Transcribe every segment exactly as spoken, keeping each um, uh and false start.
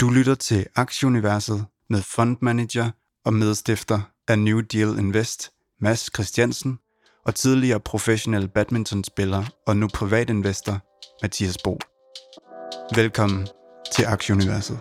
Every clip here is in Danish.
Du lytter til Aktieuniverset med fondmanager og medstifter af New Deal Invest, Mads Christiansen, og tidligere professionel badmintonspiller og nu privatinvestor, Mathias Bo. Velkommen til Aktieuniverset.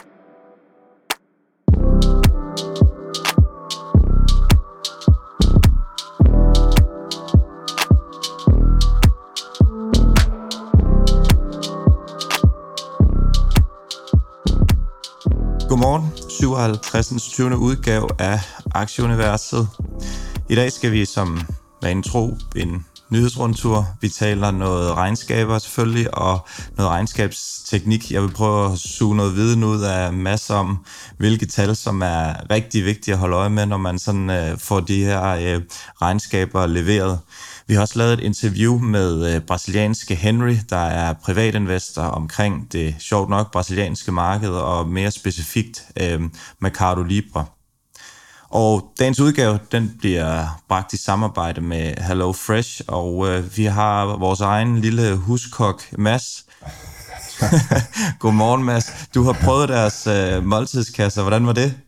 Godmorgen, syvoghalvtreds. tyvende udgave af Aktieuniverset. I dag skal vi som vanen tro en nyhedsrundtur. Vi taler noget regnskaber selvfølgelig, og noget regnskabsteknik. Jeg vil prøve at suge noget viden ud af masser om, hvilke tal, som er rigtig vigtige at holde øje med, når man sådan øh, får de her øh, regnskaber leveret. Vi har også lavet et interview med øh, brasilianske Henry, der er privatinvestor omkring det sjovt nok brasilianske marked, og mere specifikt øh, Mercado Libre. Og dagens udgave, den bliver bragt i samarbejde med Hello Fresh, og øh, vi har vores egen lille huskok, Mads. Godmorgen, Mads. Du har prøvet deres øh, måltidskasser. Hvordan var det?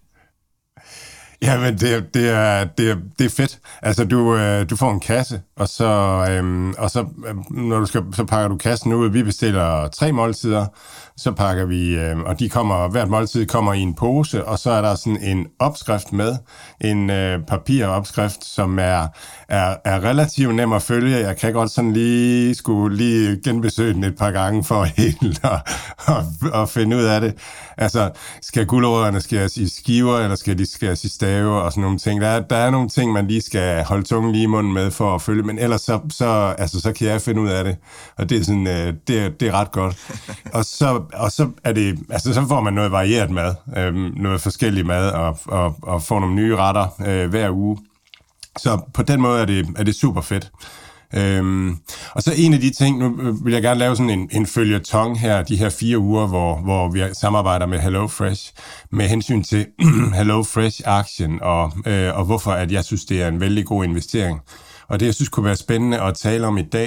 Jamen, det, det, er, det, er, det er fedt. Altså, du, øh, du får en kasse, og så, øh, og så, når du skal, så pakker du kassen ud. Vi bestiller tre måltider, så pakker vi, øh, og de kommer, hvert måltid kommer i en pose, og så er der sådan en opskrift med, en øh, papiropskrift, som er, er, er relativt nem at følge. Jeg kan godt sådan lige skulle lige genbesøge den et par gange for helt at, at, at finde ud af det. Altså, skal gulerødderne skæres i skiver, eller skal de skæres i stave, og sådan nogle ting. Der er, der er nogle ting, man lige skal holde tungen lige i munden med for at følge, men ellers så, så, altså, så kan jeg finde ud af det, og det er, sådan, øh, det er, det er ret godt. Og så, og så er det, altså så får man noget varieret mad, øh, noget forskellig mad, og, og, og får nogle nye retter øh, hver uge. Så på den måde er det, er det super fedt. Øhm, og så en af de ting, nu vil jeg gerne lave sådan en, en føljeton her, de her fire uger, hvor, hvor vi samarbejder med Hello Fresh, med hensyn til Hello Fresh-aktien, og, øh, og hvorfor at jeg synes, det er en vældig god investering. Og det, jeg synes kunne være spændende at tale om i dag,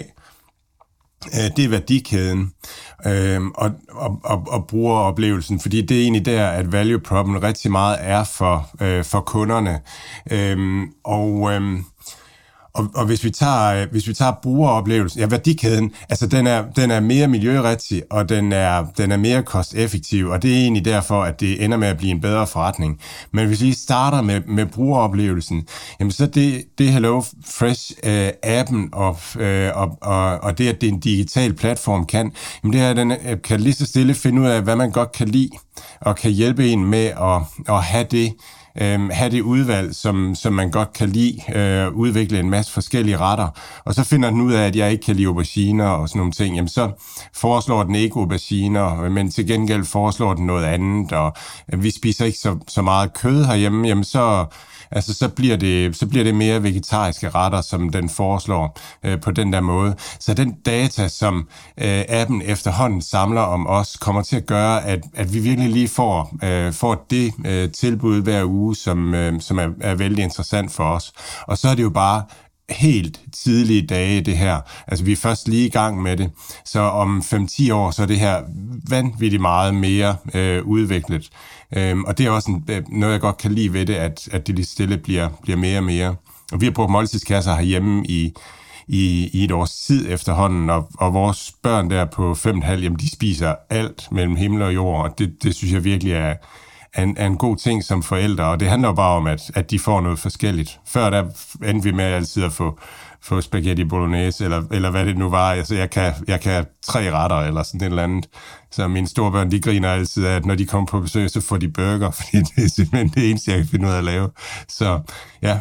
øh, det er værdikæden øh, og, og, og, og brugeroplevelsen, fordi det er egentlig der, at value proppen rigtig meget er for, øh, for kunderne. Øh, og... Øh, Og, og hvis vi tager hvis vi tager brugeroplevelsen, ja, værdikæden, altså den er den er mere miljørigtig, og den er den er mere kosteffektiv, og det er egentlig derfor, at det ender med at blive en bedre forretning. Men hvis vi starter med med brugeroplevelsen, jamen så det det Hello Fresh øh, appen og, øh, og og og det at det er en digital platform kan, jamen det er at den kan lige så stille finde ud af, hvad man godt kan lide, og kan hjælpe en med at at have det Øh, have det udvalg, som, som man godt kan lide, øh, udvikle en masse forskellige retter, og så finder den ud af, at jeg ikke kan lide auberginer og sådan nogle ting, jamen så foreslår den ikke auberginer, men til gengæld foreslår den noget andet, og øh, vi spiser ikke så, så meget kød herhjemme, jamen så Altså, så bliver det, så bliver det mere vegetariske retter, som den foreslår øh, på den der måde. Så den data, som øh, appen efterhånden samler om os, kommer til at gøre, at, at vi virkelig lige får, øh, får det øh, tilbud hver uge, som, øh, som er, er vældig interessant for os. Og så er det jo bare helt tidlige dage, det her. Altså, vi er først lige i gang med det. Så om fem til ti år, så er det her vanvittigt meget mere øh, udviklet. Øhm, og det er også en, noget, jeg godt kan lide ved det, at, at det lige stille bliver, bliver mere og mere. Og vi har brugt måltidskasser herhjemme i, i, i et års tid efterhånden, og, og vores børn der på fem og en halv, jamen de spiser alt mellem himmel og jord, og det, det synes jeg virkelig er, er, en, er en god ting som forældre, og det handler jo bare om, at, at de får noget forskelligt. Før der endte vi med altid at få få spaghetti bolognese, eller, eller hvad det nu var. Altså, jeg kan, jeg kan have tre retter, eller sådan et eller andet. Så mine store børn, de griner altid af, at når de kommer på besøg, så får de burger, fordi det er simpelthen det eneste, jeg kan finde ud af at lave. Så, ja.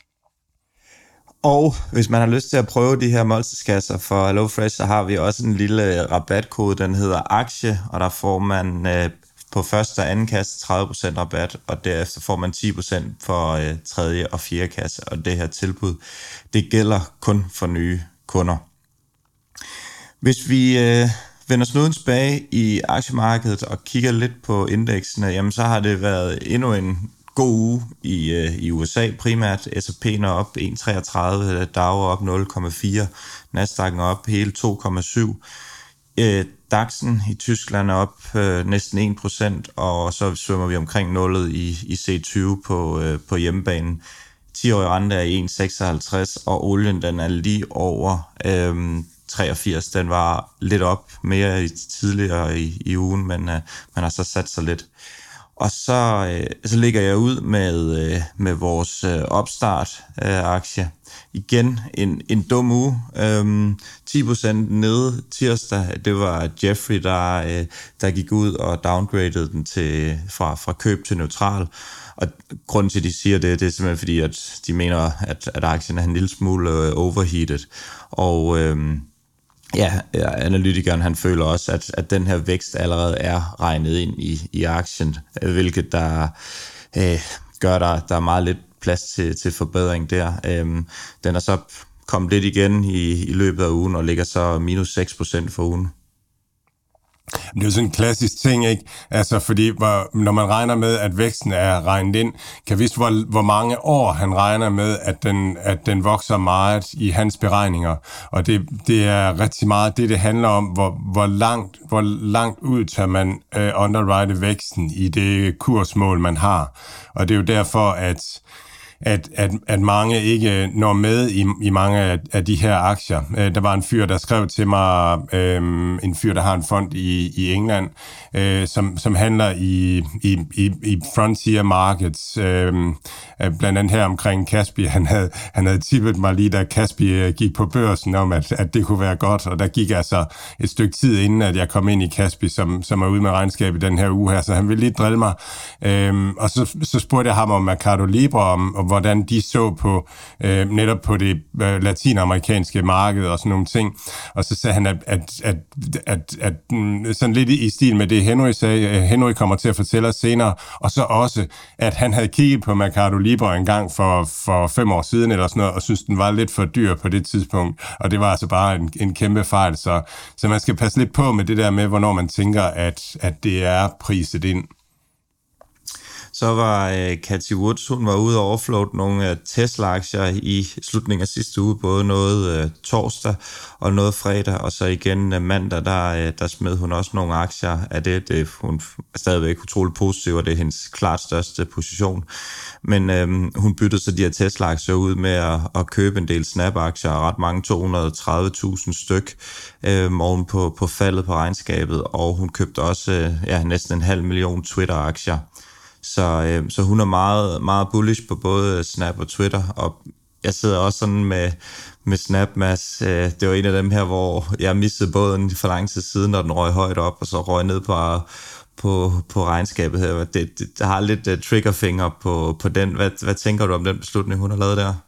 Og hvis man har lyst til at prøve de her måltidskasser for Hello Fresh, så har vi også en lille rabatkode, den hedder aktie, og der får man øh, på første og anden kasse tredive procent rabat, og derefter får man ti procent for øh, tredje og fjerde kasse, og det her tilbud, det gælder kun for nye kunder. Hvis vi øh, vender snuden tilbage i aktiemarkedet og kigger lidt på indeksene, jamen så har det været endnu en god uge i, øh, i U S A primært. S og P'en er op en komma treogtredive, Dow er op nul komma fire, Nasdaq'en er op hele to komma syv. Øh, DAX'en i Tyskland er op øh, næsten en procent, og så svømmer vi omkring nullet i, i C tyve på, øh, på hjemmebanen. ti-årig rente er i en komma seksoghalvtreds, og olien den er lige over øh, treogfirs. Den var lidt op mere i, tidligere i, i ugen, men øh, man har så sat sig lidt. Og så, øh, så ligger jeg ud med, øh, med vores øh, opstart-aktie. Øh, Igen en, en dum uge. Øhm, ti procent nede tirsdag. Det var Jeffrey, der, øh, der gik ud og downgradede den til, fra, fra køb til neutral. Og grunden til, at de siger det, det er simpelthen fordi, at de mener, at, at aktien er en lille smule øh, overheated. Og øh, ja, analytikeren han føler også, at, at den her vækst allerede er regnet ind i, i aktien, hvilket der øh, gør, der, der er meget lidt plads til, til forbedring der. Øhm, den er så kommet lidt igen i, i løbet af ugen, og ligger så minus seks procent for ugen. Det er jo sådan en klassisk ting, ikke? Altså, fordi hvor, når man regner med, at væksten er regnet ind, kan vise, hvor, hvor mange år han regner med, at den, at den vokser meget i hans beregninger. Og det, det er rigtig meget det, det handler om, hvor, hvor, langt, hvor langt ud tør man uh, underwrite væksten i det kursmål, man har. Og det er jo derfor, at At, at, at mange ikke når med i, i mange af, af de her aktier. Øh, der var en fyr, der skrev til mig, øh, en fyr, der har en fond i, i England, øh, som, som handler i, i, i, i frontier markets, øh, blandt andet her omkring Kaspi. Han havde, han havde tippet mig lige, da Kaspi gik på børsen, om at, at det kunne være godt, og der gik altså et stykke tid inden, at jeg kom ind i Kaspi, som, som er ude med regnskab i den her uge her, så han ville lige drille mig. Øh, og så, så spurgte jeg ham om Mercado Libre, om, om hvordan de så på øh, netop på det øh, latinamerikanske marked og sådan nogle ting. Og så sagde han, at, at, at, at, at sådan lidt i stil med det, Henry sagde, Henry kommer til at fortælle os senere, og så også, at han havde kigget på Mercado Libre en gang for, for fem år siden eller sådan noget, og synes den var lidt for dyr på det tidspunkt, og det var altså bare en, en kæmpe fejl. Så, så man skal passe lidt på med det der med, hvornår man tænker, at, at det er priset ind. Så var øh, Cathie Woods, hun var ude og overfloate nogle øh, Tesla-aktier i slutningen af sidste uge, både noget øh, torsdag og noget fredag, og så igen øh, mandag, der, øh, der smed hun også nogle aktier af det. det hun er stadigvæk utroligt positiv, og det er hendes klart største position. Men øh, hun byttede så de her Tesla-aktier ud med at, at købe en del Snap-aktier, ret mange to hundrede og tredive tusind styk øh, oven på, på faldet på regnskabet, og hun købte også øh, ja, næsten en halv million Twitter-aktier. Så, øh, så hun er meget, meget bullish på både Snap og Twitter, og jeg sidder også sådan med, med Snap, Mads. Øh, det var en af dem her, hvor jeg missede båden for lang tid siden, når den røg højt op, og så røg ned på, på, på regnskabet her. Det, det, det har lidt uh, triggerfinger på, på den. Hvad, hvad tænker du om den beslutning, hun har lavet der?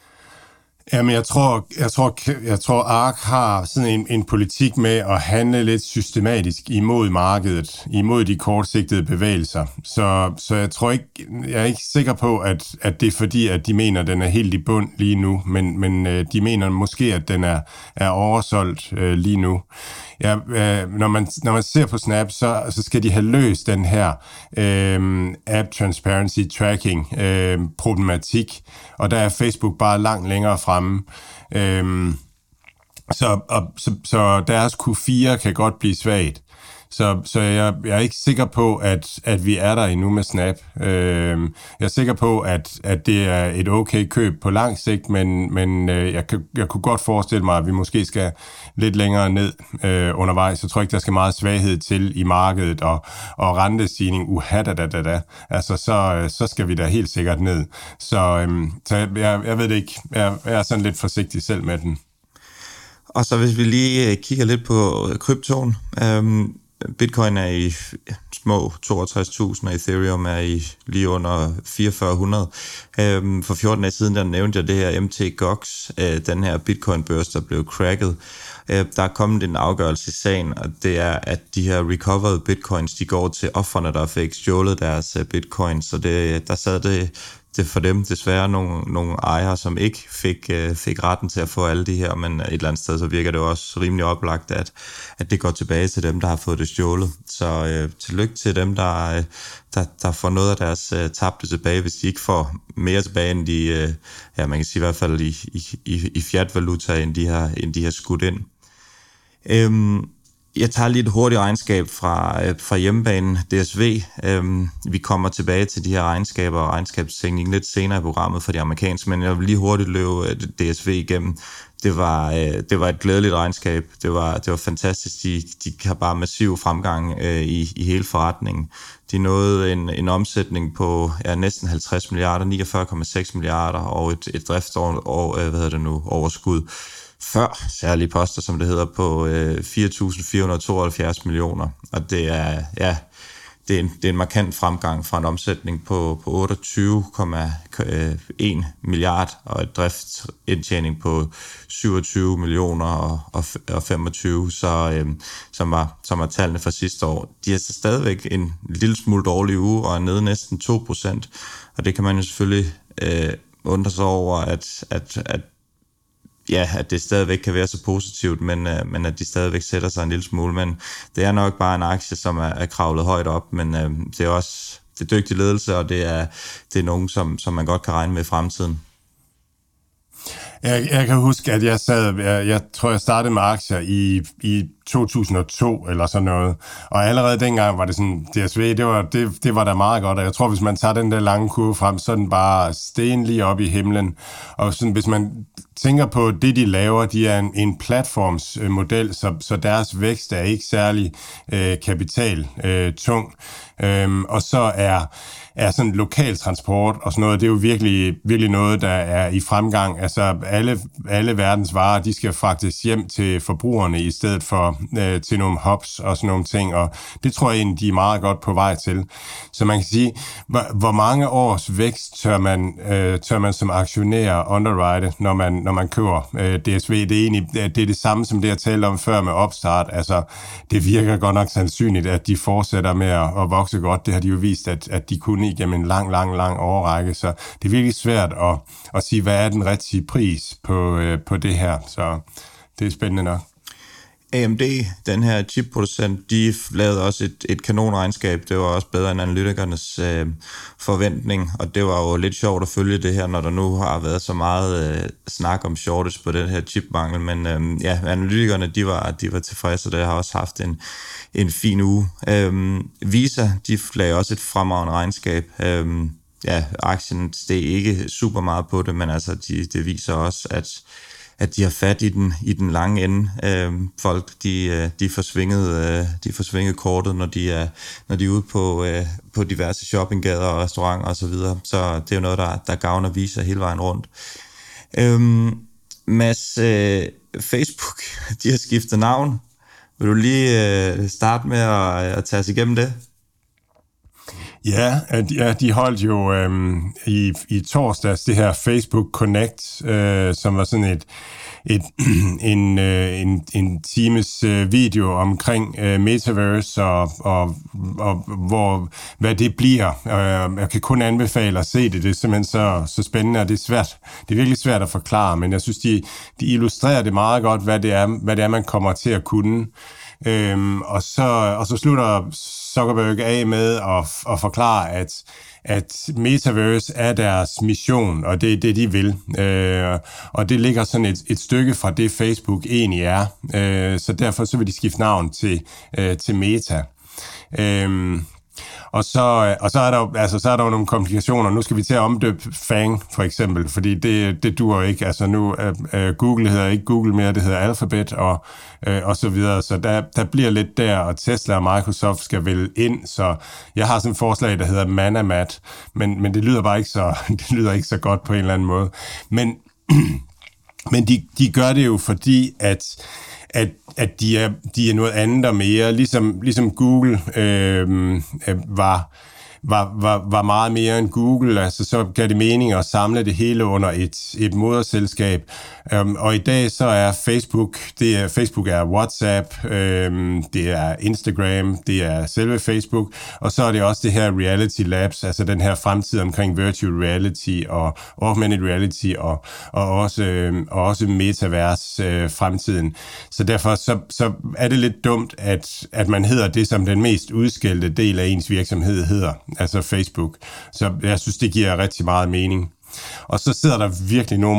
Jamen, jeg tror, jeg tror, jeg tror, A R K har sådan en, en politik med at handle lidt systematisk imod markedet, imod de kortsigtede bevægelser. Så, så jeg tror ikke, jeg er ikke sikker på, at, at det er fordi, at de mener, at den er helt i bund lige nu, men, men de mener måske, at den er, er oversolgt øh, lige nu. Ja, øh, når, man, når man ser på Snap, så, så skal de have løst den her øh, app transparency tracking øh, problematik, og der er Facebook bare langt længere fremme. Øh, så, og, så, så deres Q fire kan godt blive svagt. Så, så jeg, jeg er ikke sikker på, at, at vi er der endnu med Snap. Øh, jeg er sikker på, at, at det er et okay køb på lang sigt, men, men øh, jeg, jeg kunne godt forestille mig, at vi måske skal lidt længere ned øh, undervejs. Jeg tror ikke, der skal meget svaghed til i markedet, og, og rentestigning, uha da da da da. Altså, så, så skal vi da helt sikkert ned. Så, øh, så jeg, jeg ved det ikke. Jeg, jeg er sådan lidt forsigtig selv med den. Og så hvis vi lige kigger lidt på kryptoen. Øhm Bitcoin er i små toogtres tusind, og Ethereum er i lige under fireogfyrre hundrede. Øhm, for fjorten dage siden, der nævnte jeg det her M T Gox, øh, den her Bitcoin-børs, der blev cracket. Øh, der er kommet en afgørelse i sagen, og det er, at de her recovered bitcoins, de går til ofrene, der fik stjålet deres uh, bitcoin. Så det, der sad det, det for dem desværre nogle, nogle ejere, som ikke fik, uh, fik retten til at få alle de her, men et eller andet sted, så virker det også rimelig oplagt, at, at det går tilbage til dem, der har fået det stjålet. Så uh, tillykke til dem, der, uh, der, der får noget af deres uh, tabte tilbage, hvis de ikke får mere tilbage, end de, uh, ja, man kan sige i hvert fald i, i, i fiat-valuta, end de har, end de har skudt ind. Um, Jeg tager lige et hurtigt regnskab fra, fra hjemmebanen D S V. Øhm, vi kommer tilbage til de her regnskaber og regnskabsteknik lidt senere i programmet for de amerikanske, men jeg vil lige hurtigt løbe D S V igennem. Det var, øh, det var et glædeligt regnskab. Det var, det var fantastisk. De, de har bare massiv fremgang øh, i, i hele forretningen. De nåede en, en omsætning på ja, næsten halvtreds milliarder, niogfyrre komma seks milliarder og et, et driftsår, øh, hvad hedder det nu, overskud før særlige poster, som det hedder, på øh, fire tusind fire hundrede og tooghalvfjerds millioner. Og det er, ja, det er, en, det er en markant fremgang fra en omsætning på, på otteogtyve komma en milliard og et driftsindtjening på syvogtyve millioner og, og, og femogtyve, så, øh, som, var, som var tallene fra sidste år. De er så stadigvæk en lille smule dårlig uge og er nede næsten to procent. Og det kan man jo selvfølgelig øh, undre sig over, at, at, at ja, at det stadigvæk kan være så positivt, men, øh, men at de stadigvæk sætter sig en lille smule. Men det er nok bare en aktie, som er, er kravlet højt op, men øh, det er også det er dygtig ledelse, og det er, det er nogen, som, som man godt kan regne med i fremtiden. Jeg, jeg kan huske, at jeg sad, jeg, jeg tror, jeg startede med aktier i, i to tusind og to eller sådan noget, og allerede dengang var det sådan, D S V, det var, det, det var da meget godt, og jeg tror, hvis man tager den der lange kurve frem, så er den bare sten lige op i himlen, og sådan, hvis man tænker på det, de laver, de er en, en platformsmodel, så, så deres vækst er ikke særlig øh, kapital øh, tung, øhm, og så er er sådan lokal transport og sådan noget, det er jo virkelig, virkelig noget, der er i fremgang. Altså alle, alle verdens varer, de skal fragtes hjem til forbrugerne i stedet for øh, til nogle hubs og sådan nogle ting, og det tror jeg egentlig, de er meget godt på vej til. Så man kan sige, hvor, hvor mange års vækst tør man, øh, tør man som aktionær underwrite, når man, når man køber øh, D S V. Det er egentlig det, er det samme, som det jeg talte om før med opstart. Altså, det virker godt nok sandsynligt, at de fortsætter med at, at vokse godt. Det har de jo vist, at, at de kunne igennem en lang, lang, lang årrække, så det er virkelig svært at, at sige, hvad er den rigtige pris på, øh, på det her, så det er spændende nok. A M D, den her chipproducent, de lavede også et, et kanonregnskab. Det var også bedre end analytikernes øh, forventning, og det var jo lidt sjovt at følge det her, når der nu har været så meget øh, snak om shortage på den her chipmangel, men øh, ja, analytikerne, de var, de var tilfredse, og det har også haft en, en fin uge. Øh, Visa, de lavede også et fremragende regnskab. Øh, ja, aktien steg ikke super meget på det, men altså, de, det viser også, at at de har fat i den, i den lange ende. Øh, folk, de, de får svinget, øh, de får svinget kortet, når de er, når de er ude på, øh, på diverse shoppinggader og restauranter osv. Så, så det er jo noget, der, der gavner Visa hele vejen rundt. Øh, Mads, øh, Facebook, de har skiftet navn. Vil du lige øh, starte med at, at tage os igennem det? Ja, ja, de holdt jo øhm, i, i torsdags det her Facebook Connect, øh, som var sådan et, et en, øh, en, en times øh, video omkring øh, Metaverse og, og, og hvor, hvad det bliver. Øh, jeg kan kun anbefale at se det. Det er simpelthen så, så spændende, og det er svært. Det er virkelig svært at forklare, men jeg synes, de, de illustrerer det meget godt, hvad det er, hvad det er man kommer til at kunne. Øhm, og, så, og så slutter Zuckerberg af med at, at forklare, at, at Metaverse er deres mission, og det er det, de vil. Øh, og det ligger sådan et, et stykke fra det, Facebook egentlig er. Øh, så derfor så vil de skifte navn til, øh, til Meta. Øh, Og så, og så er der jo altså, så er der jo nogle komplikationer. Nu skal vi til at omdøbe Fang, for eksempel, fordi det, det duer ikke. Altså nu, uh, Google hedder ikke Google mere, det hedder Alphabet, og, uh, og så videre. Så der, der bliver lidt der, og Tesla og Microsoft skal vel ind, så jeg har sådan et forslag, der hedder Manamat, men, men det lyder bare ikke så, det lyder ikke så godt på en eller anden måde. Men, men de, de gør det jo, fordi at at, at de, er, de er noget andet og mere, ligesom, ligesom Google øh, var, var, var, var meget mere end Google, altså så gav det mening at samle det hele under et, et moderselskab, um, og i dag så er Facebook, det er, Facebook er WhatsApp, um, det er Instagram, det er selve Facebook, og så er det også det her Reality Labs, altså den her fremtid omkring virtual reality og augmented reality og, og også, øhm, og også metaverse øh, fremtiden. Så derfor så, så er det lidt dumt, at, at man hedder det, som den mest udskældte del af ens virksomhed hedder, altså Facebook. Så jeg synes, det giver rigtig meget mening. Og så sidder der virkelig nogen og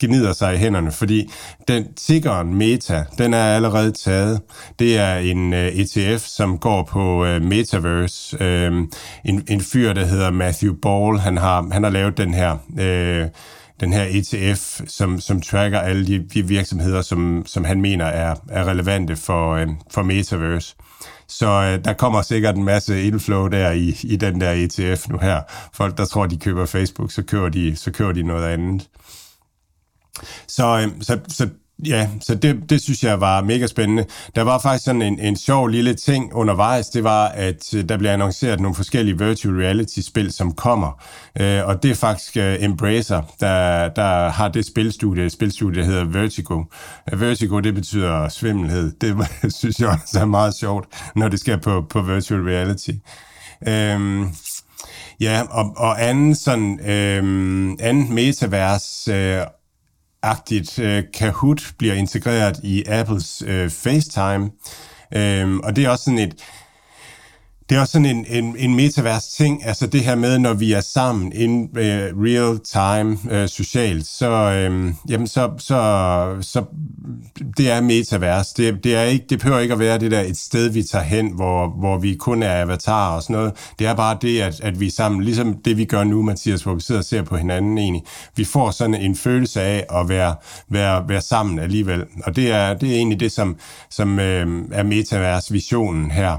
gnider sig i hænderne, fordi den tiggeren Meta, den er allerede taget. Det er en uh, E T F, som går på uh, Metaverse. Uh, en, en fyr, der hedder Matthew Ball, han har, han har lavet den her... Uh, den her E T F, som, som tracker alle de, de virksomheder, som, som han mener er, er relevante for, øh, for Metaverse. Så øh, der kommer sikkert en masse inflow der i, i den der E T F nu her. Folk, der tror, de køber Facebook, så køber de, så køber de noget andet. Så, øh, så, så ja, så det, det synes jeg var mega spændende. Der var faktisk sådan en, en sjov lille ting undervejs, det var, at der blev annonceret nogle forskellige virtual reality-spil, som kommer. Øh, og det er faktisk uh, Embracer, der, der har det spilstudie, spilstudie, der hedder Vertigo. Vertigo, det betyder svimmelhed. Det synes jeg også er meget sjovt, når det skal på, på virtual reality. Øh, ja, og, og anden sådan, øh, anden metavers øh, agtigt uh, Kahoot bliver integreret i Apples uh, FaceTime, um, og det er også sådan et det er også sådan en, en, en metavers ting, altså det her med, når vi er sammen in uh, real time uh, socialt, så, um, jamen så, så, så det er metavers. Det, det, er ikke, det behøver ikke at være det der et sted, vi tager hen, hvor, hvor vi kun er avatarer og sådan noget. Det er bare det, at, at vi er sammen, ligesom det vi gør nu, Mathias, hvor vi sidder og ser på hinanden egentlig. Vi får sådan en følelse af at være, være, være sammen alligevel, og det er, det er egentlig det, som, som øh, er metavers-visionen her.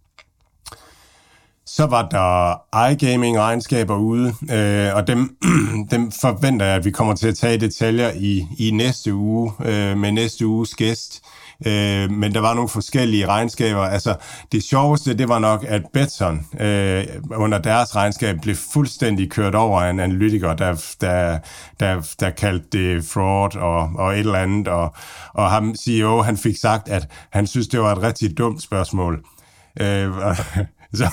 Så var der iGaming-regnskaber ude, øh, og dem, dem forventer jeg, at vi kommer til at tage detaljer i, i næste uge, øh, med næste uges gæst. Øh, men der var nogle forskellige regnskaber. Altså, det sjoveste, det var nok, at Betson øh, under deres regnskab blev fuldstændig kørt over af en analytiker, der, der, der, der kaldte det fraud og, og et eller andet. Og, og ham, C E O, han fik sagt, at han synes, det var et rigtig dumt spørgsmål. Øh, Så,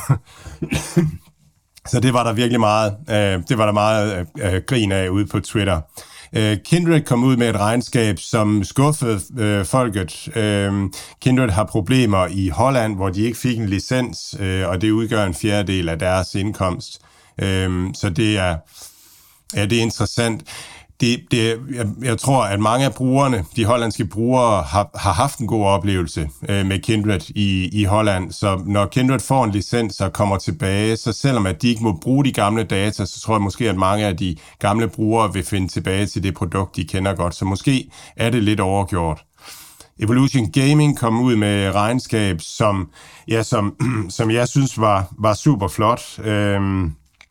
så det var der virkelig meget, øh, det var der meget øh, grin af ude på Twitter. Øh, Kindred kom ud med et regnskab, som skuffede øh, folket. Øh, Kindred har problemer i Holland, hvor de ikke fik en licens, øh, og det udgør en fjerdedel af deres indkomst. Øh, så det er, ja, det er interessant. Det, det, jeg, jeg tror, at mange af brugerne, de hollandske brugere, har, har haft en god oplevelse øh, med Kindred i, i Holland. Så når Kindred får en licens og kommer tilbage, så selvom at de ikke må bruge de gamle data, så tror jeg måske, at mange af de gamle brugere vil finde tilbage til det produkt, de kender godt. Så måske er det lidt overgjort. Evolution Gaming kom ud med regnskab, som, ja, som, som jeg synes var, var super flot. Øhm,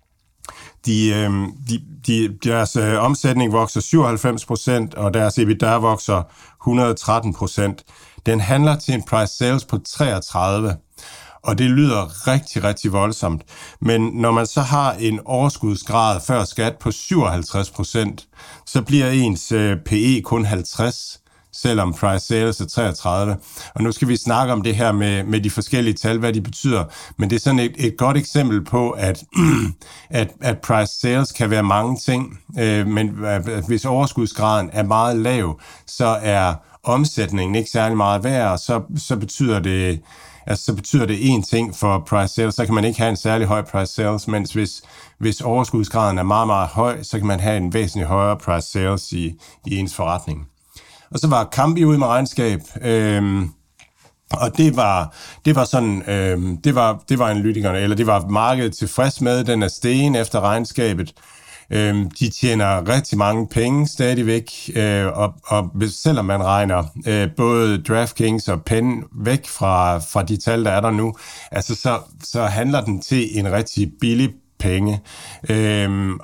De, øh, de, de, deres øh, omsætning vokser syvoghalvfems procent, og deres EBITDA vokser et hundrede og tretten procent. Den handler til en price sales på treogtredive, og det lyder rigtig, rigtig voldsomt. Men når man så har en overskudsgrad før skat på syvoghalvtreds procent, så bliver ens øh, P E kun halvtreds, selvom price sales er treogtredive. Og nu skal vi snakke om det her med, med de forskellige tal, hvad de betyder. Men det er sådan et, et godt eksempel på, at, at, at price sales kan være mange ting. Øh, men at hvis overskudsgraden er meget lav, så er omsætningen ikke særlig meget værd, og så, så betyder det... Altså, så betyder det én ting for price sales, så kan man ikke have en særlig høj price sales, mens hvis, hvis overskudsgraden er meget, meget høj, så kan man have en væsentlig højere price sales i, i ens forretning. Og så var Kambi ude med regnskab, øhm, og det var, det var sådan, øhm, det var, det var analytikerne, eller det var markedet tilfreds med, den er stegen efter regnskabet. Øhm, de tjener rigtig mange penge stadigvæk, øh, og, og selvom man regner øh, både DraftKings og Penn væk fra, fra de tal, der er der nu, altså så, så handler den til en rigtig billig penge. Øhm,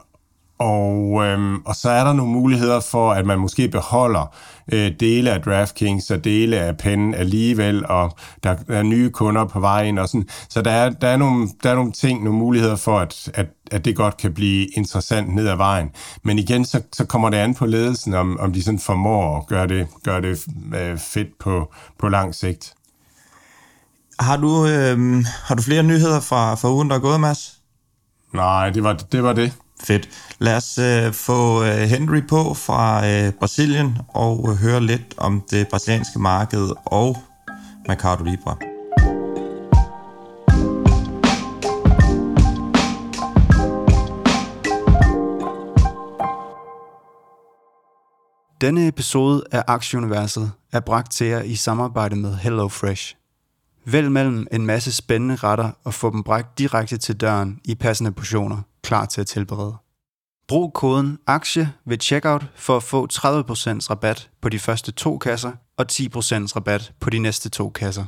Og, øhm, og så er der nogle muligheder for, at man måske beholder øh, dele af DraftKings og dele af Penn alligevel, og der er nye kunder på vejen og sådan. Så der er, der er, nogle, der er nogle ting, nogle muligheder for, at, at, at det godt kan blive interessant ned ad vejen. Men igen, så, så kommer det an på ledelsen, om, om de sådan formår at gøre det, gøre det øh, fedt på, på lang sigt. Har du, øh, har du flere nyheder fra, fra ugen, der er gået, Mads? Nej, det var det. Var det. Fedt. Lad os øh, få øh, Henry på fra øh, Brasilien og øh, høre lidt om det brasilianske marked og Mercado Libre. Denne episode af Aktieuniverset er bragt til jer i samarbejde med HelloFresh. Vælg mellem en masse spændende retter og få dem bragt direkte til døren i passende portioner, klar til at tilberede. Brug koden AKTIE ved checkout for at få tredive procent rabat på de første to kasser og ti procent rabat på de næste to kasser.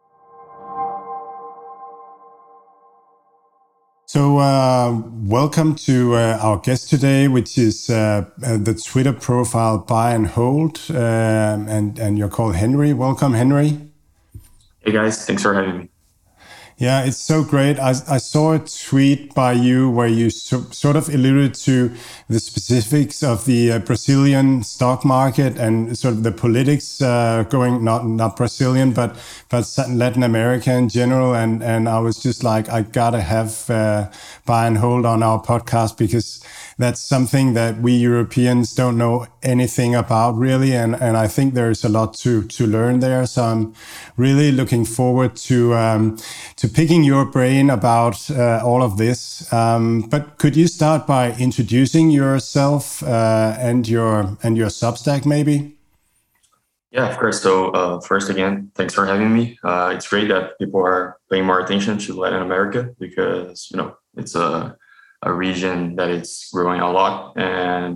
So, uh, welcome to uh, our guest today, which is uh, uh, the Twitter profile Buy and Hold, uh, and, and you're called Henry. Welcome, Henry. Hey guys, thanks for having me. Yeah, it's so great. I, I saw a tweet by you where you so, sort of alluded to the specifics of the uh, Brazilian stock market and sort of the politics uh, going, not not Brazilian, but but Latin America in general. And, and I was just like, I gotta have uh, Buy and Hold on our podcast because that's something that we Europeans don't know anything about really. And, and I think there's a lot to, to learn there. So I'm really looking forward to um, to picking your brain about uh, all of this. Um, but could you start by introducing yourself uh, and your and your Substack, maybe? Yeah, of course. So uh, first, again, thanks for having me. Uh, it's great that people are paying more attention to Latin America because you know it's a a region that is growing a lot, and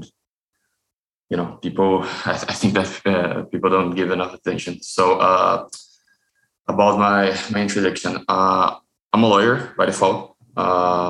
you know people. I, th- I think that uh, people don't give enough attention. So. Uh, About my, my introduction, uh, I'm a lawyer by default. Uh,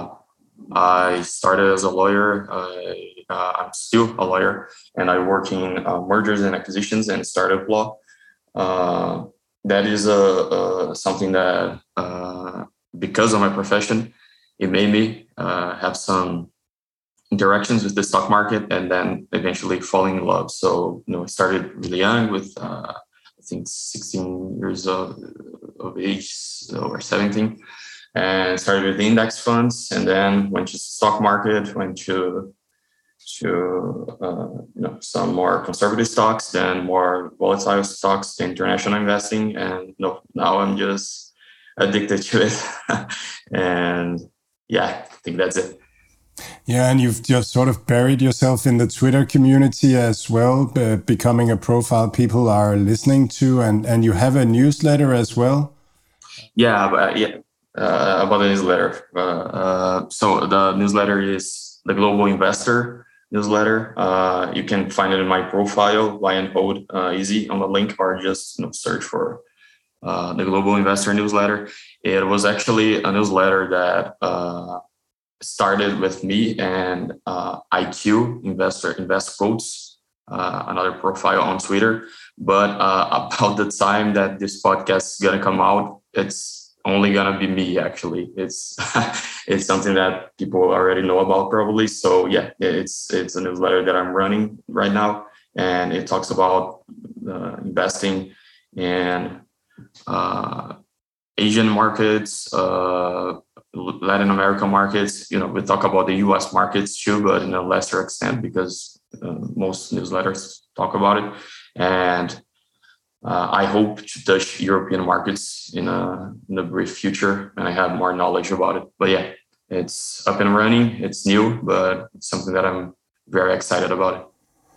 I started as a lawyer. I, uh, I'm still a lawyer, and I work in uh, mergers and acquisitions and startup law. Uh, that is a, a something that, uh, because of my profession, it made me uh, have some interactions with the stock market, and then eventually falling in love. So, you know, I started really young with. Uh, I think sixteen years of, of age or seventeen, and started with index funds, and then went to stock market, went to to uh, you know some more conservative stocks, then more volatile stocks, to international investing, and no, now I'm just addicted to it, and yeah, I think that's it. Yeah, and you've just sort of buried yourself in the Twitter community as well, uh, becoming a profile people are listening to, and, and you have a newsletter as well. Yeah, but, yeah, uh, about the newsletter. Uh, uh, so the newsletter is the Global Investor newsletter. Uh, you can find it in my profile, Buy and Hold, uh, easy on the link, or just you know, search for uh, the Global Investor newsletter. It was actually a newsletter that. Uh, started with me and uh, I Q, Investor Invest Quotes, uh, another profile on Twitter. But uh, about the time that this podcast is gonna come out, it's only gonna be me. Actually, it's it's something that people already know about probably. So yeah, it's it's a newsletter that I'm running right now, and it talks about uh, investing in uh, Asian markets. Uh, Latin American markets, you know, we talk about the U S markets too, but in a lesser extent because uh, most newsletters talk about it. And uh, I hope to touch European markets in a, in a brief future, and I have more knowledge about it. But yeah, it's up and running. It's new, but it's something that I'm very excited about.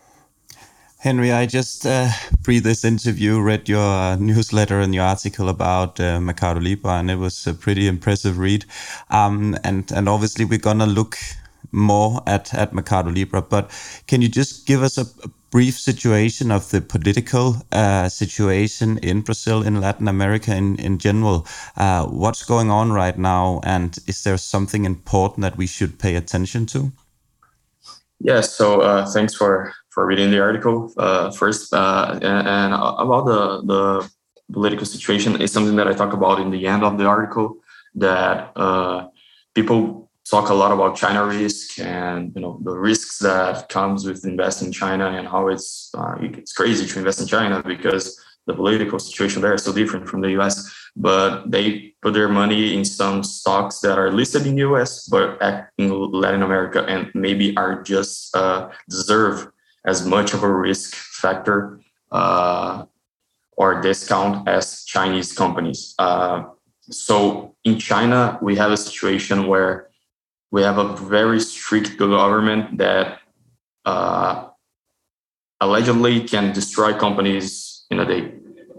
Henry, I just uh, pre this interview read your uh, newsletter and your article about uh, Mercado Libre, and it was a pretty impressive read. Um, and and obviously we're gonna look more at at Mercado Libre, but can you just give us a, a brief situation of the political uh, situation in Brazil, in Latin America in in general? Uh, what's going on right now, and is there something important that we should pay attention to? Yeah. So uh, thanks for. for reading the article uh, first. Uh, and, and about the, the political situation is something that I talk about in the end of the article, that uh, people talk a lot about China risk and, you know, the risks that comes with investing in China and how it's, uh, it's crazy to invest in China because the political situation there is so different from the U S, but they put their money in some stocks that are listed in the U S, but act in Latin America and maybe are just uh, deserve as much of a risk factor uh, or discount as Chinese companies. Uh, so in China, we have a situation where we have a very strict government that uh, allegedly can destroy companies in a day.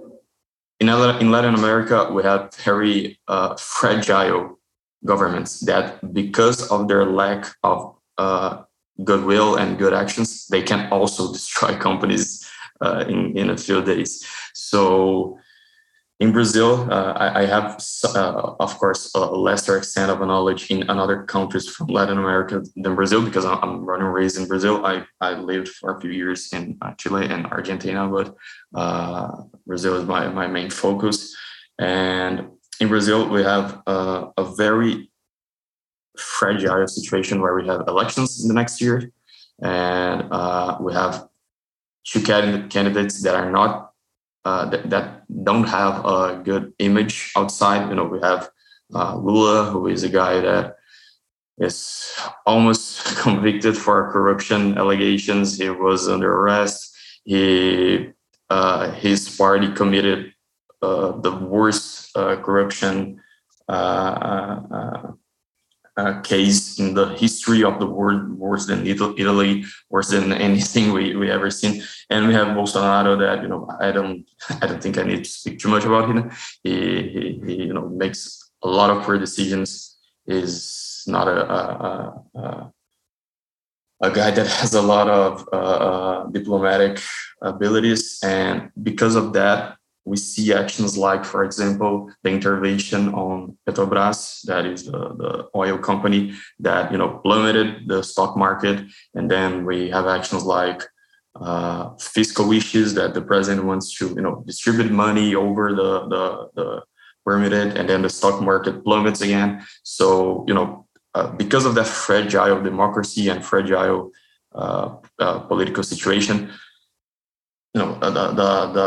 In in Latin America, we have very uh, fragile governments that, because of their lack of uh, goodwill and good actions, they can also destroy companies uh, in, in a few days. So in Brazil, uh, I, I have, uh, of course, a lesser extent of knowledge in other countries from Latin America than Brazil, because I'm, I'm born and raised in Brazil. I, I lived for a few years in Chile and Argentina, but uh, Brazil is my, my main focus. And in Brazil, we have uh, a very fragile situation where we have elections in the next year, and uh, we have two candidates that are not Uh, that, that don't have a good image outside. You know, we have uh, Lula, who is a guy that is almost convicted for corruption allegations. He was under arrest. He, uh, his party committed uh, the worst uh, corruption uh, uh, Uh, case in the history of the world, worse than Italy, worse than anything we, we ever seen. And we have Bolsonaro that, you know, I don't I don't think I need to speak too much about him. He, he, he you know, makes a lot of poor decisions. Is not a, a, a a guy that has a lot of uh, diplomatic abilities, and because of that, we see actions like, for example, the intervention on Petrobras, that is the, the oil company that, you know, plummeted the stock market. And then we have actions like uh, fiscal wishes that the president wants to, you know, distribute money over the, the, the permitted, and then the stock market plummets again. So, you know, uh, because of that fragile democracy and fragile uh, uh, political situation, you know, the, the, the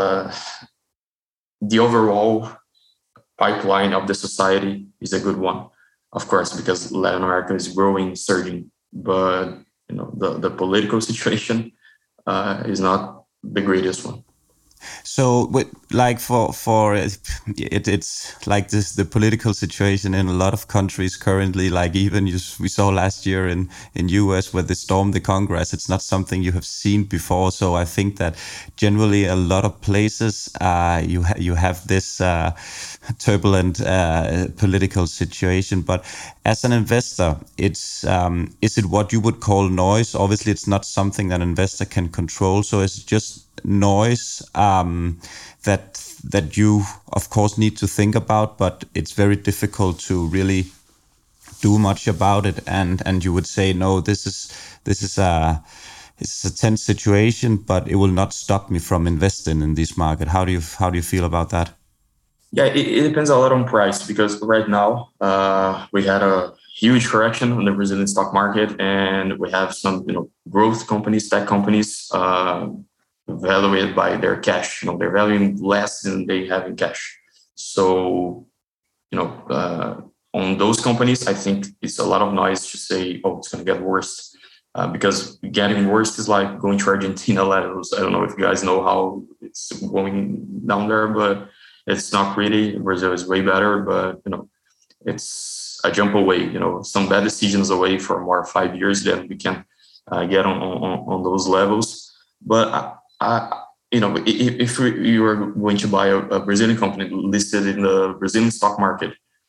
the overall pipeline of the society is a good one, of course, because Latin America is growing, surging, but you know the, the political situation uh, is not the greatest one. So, like for for it, it's like this the political situation in a lot of countries currently. Like even you, we saw last year in in U S where they stormed the Congress. It's not something you have seen before. So I think that generally a lot of places uh, you ha you have this uh, turbulent uh, political situation. But as an investor, it's um, is it what you would call noise? Obviously, it's not something that an investor can control. So it's just noise um, that that you of course need to think about, but it's very difficult to really do much about it. And and you would say, no, this is this is a this is a tense situation, but it will not stop me from investing in this market. How do you how do you feel about that? Yeah, it, it depends a lot on price, because right now uh, we had a huge correction on the Brazilian stock market, and we have some, you know, growth companies, tech companies, uh, evaluated by their cash. You know, they're valuing less than they have in cash. So, you know, uh, on those companies, I think it's a lot of noise to say, oh, it's going to get worse. Uh, because getting worse is like going to Argentina levels. I don't know if you guys know how it's going down there, but it's not pretty. Brazil is way better, but, you know, it's a jump away, you know, some bad decisions away for more five years, then we can uh, get on, on, on those levels. But I, Uh, you know, if, if you were going to buy a, a Brazilian company listed in the Brazilian stock market,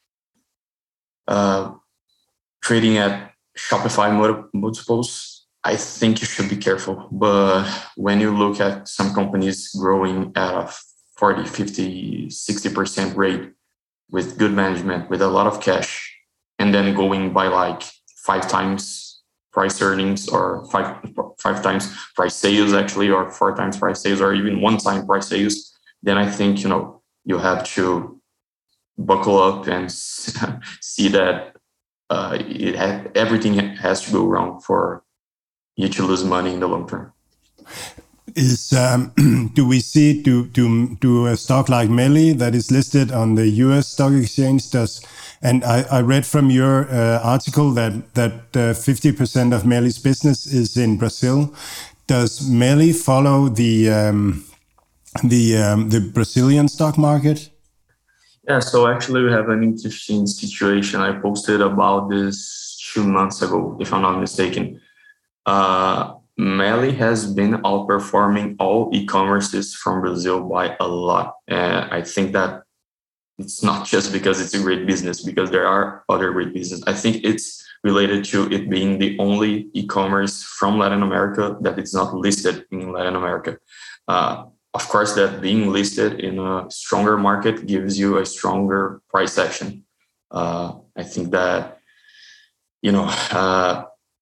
uh, trading at Shopify multiples, I think you should be careful. But when you look at some companies growing at a forty, fifty, sixty percent rate with good management, with a lot of cash, and then going by like five times price earnings, or five five times price sales actually, or four times price sales, or even one time price sales, then I think, you know, you have to buckle up and see that uh, it ha everything has to go wrong for you to lose money in the long term. Is um, do we see do do do a stock like Meli that is listed on the U S stock exchange does? And I, I read from your uh, article that that uh, fifty percent of Meli's business is in Brazil. Does Meli follow the um, the um, the Brazilian stock market? Yeah, so actually we have an interesting situation. I posted about this two months ago, if I'm not mistaken. Uh, Meli has been outperforming all e-commerces from Brazil by a lot. And I think that it's not just because it's a great business, because there are other great business. I think it's related to it being the only e-commerce from Latin America that is not listed in Latin America. Uh, of course, that being listed in a stronger market gives you a stronger price action. Uh, I think that, you know, uh,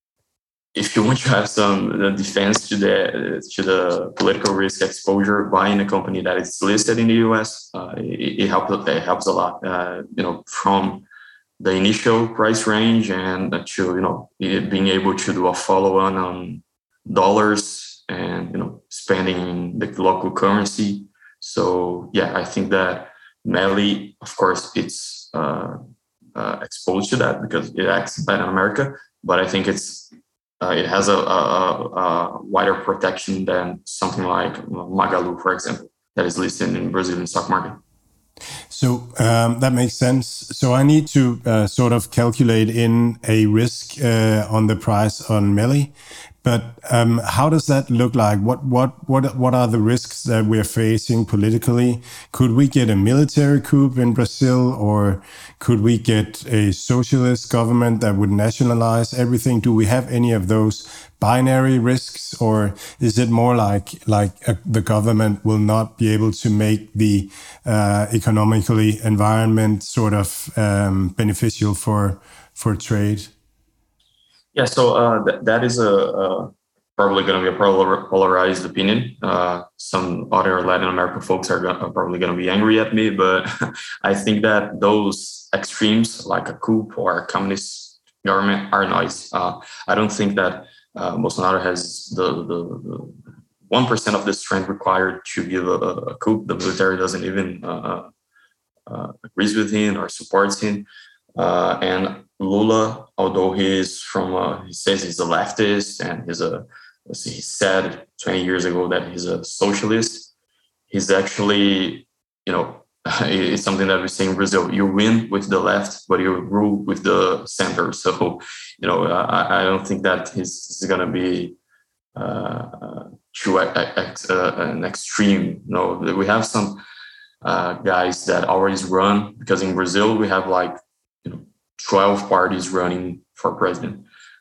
if you want to have some uh, defense to the to the political risk exposure, buying a company that is listed in the U S, uh, it, it helps. It helps a lot. Uh, you know, from the initial price range and to you know being able to do a follow on on dollars and you know spending in the local currency. So yeah, I think that Meli, of course, it's uh, uh, exposed to that because it acts in Latin America, but I think it's Uh, it has a, a, a wider protection than something like Magalu, for example, that is listed in Brazilian stock market. So um, that makes sense. So I need to uh, sort of calculate in a risk uh, on the price on Meli. But um, how does that look like? What what what what are the risks that we're facing politically? Could we get a military coup in Brazil, or could we get a socialist government that would nationalize everything? Do we have any of those binary risks, or is it more like like uh, the government will not be able to make the uh, economically environment sort of um, beneficial for for trade? Yeah, so uh, th- that is a, a probably going to be a polar- polarized opinion. Uh, some other Latin American folks are, go- are probably going to be angry at me, but I think that those extremes, like a coup or a communist government, are noise. Uh, I don't think that uh, Bolsonaro has the, the, the one percent of the strength required to give a, a coup. The military doesn't even uh, uh, agrees with him or supports him. Uh, and Lula, although he's from, uh, he says he's a leftist and he's a, he said twenty years ago that he's a socialist. He's actually, you know, it's something that we say in Brazil: you win with the left, but you rule with the center. So, you know, I, I don't think that he's, he's going to be uh, too uh, an extreme. You know, we have some uh, guys that always run, because in Brazil we have like twelve parties running for president.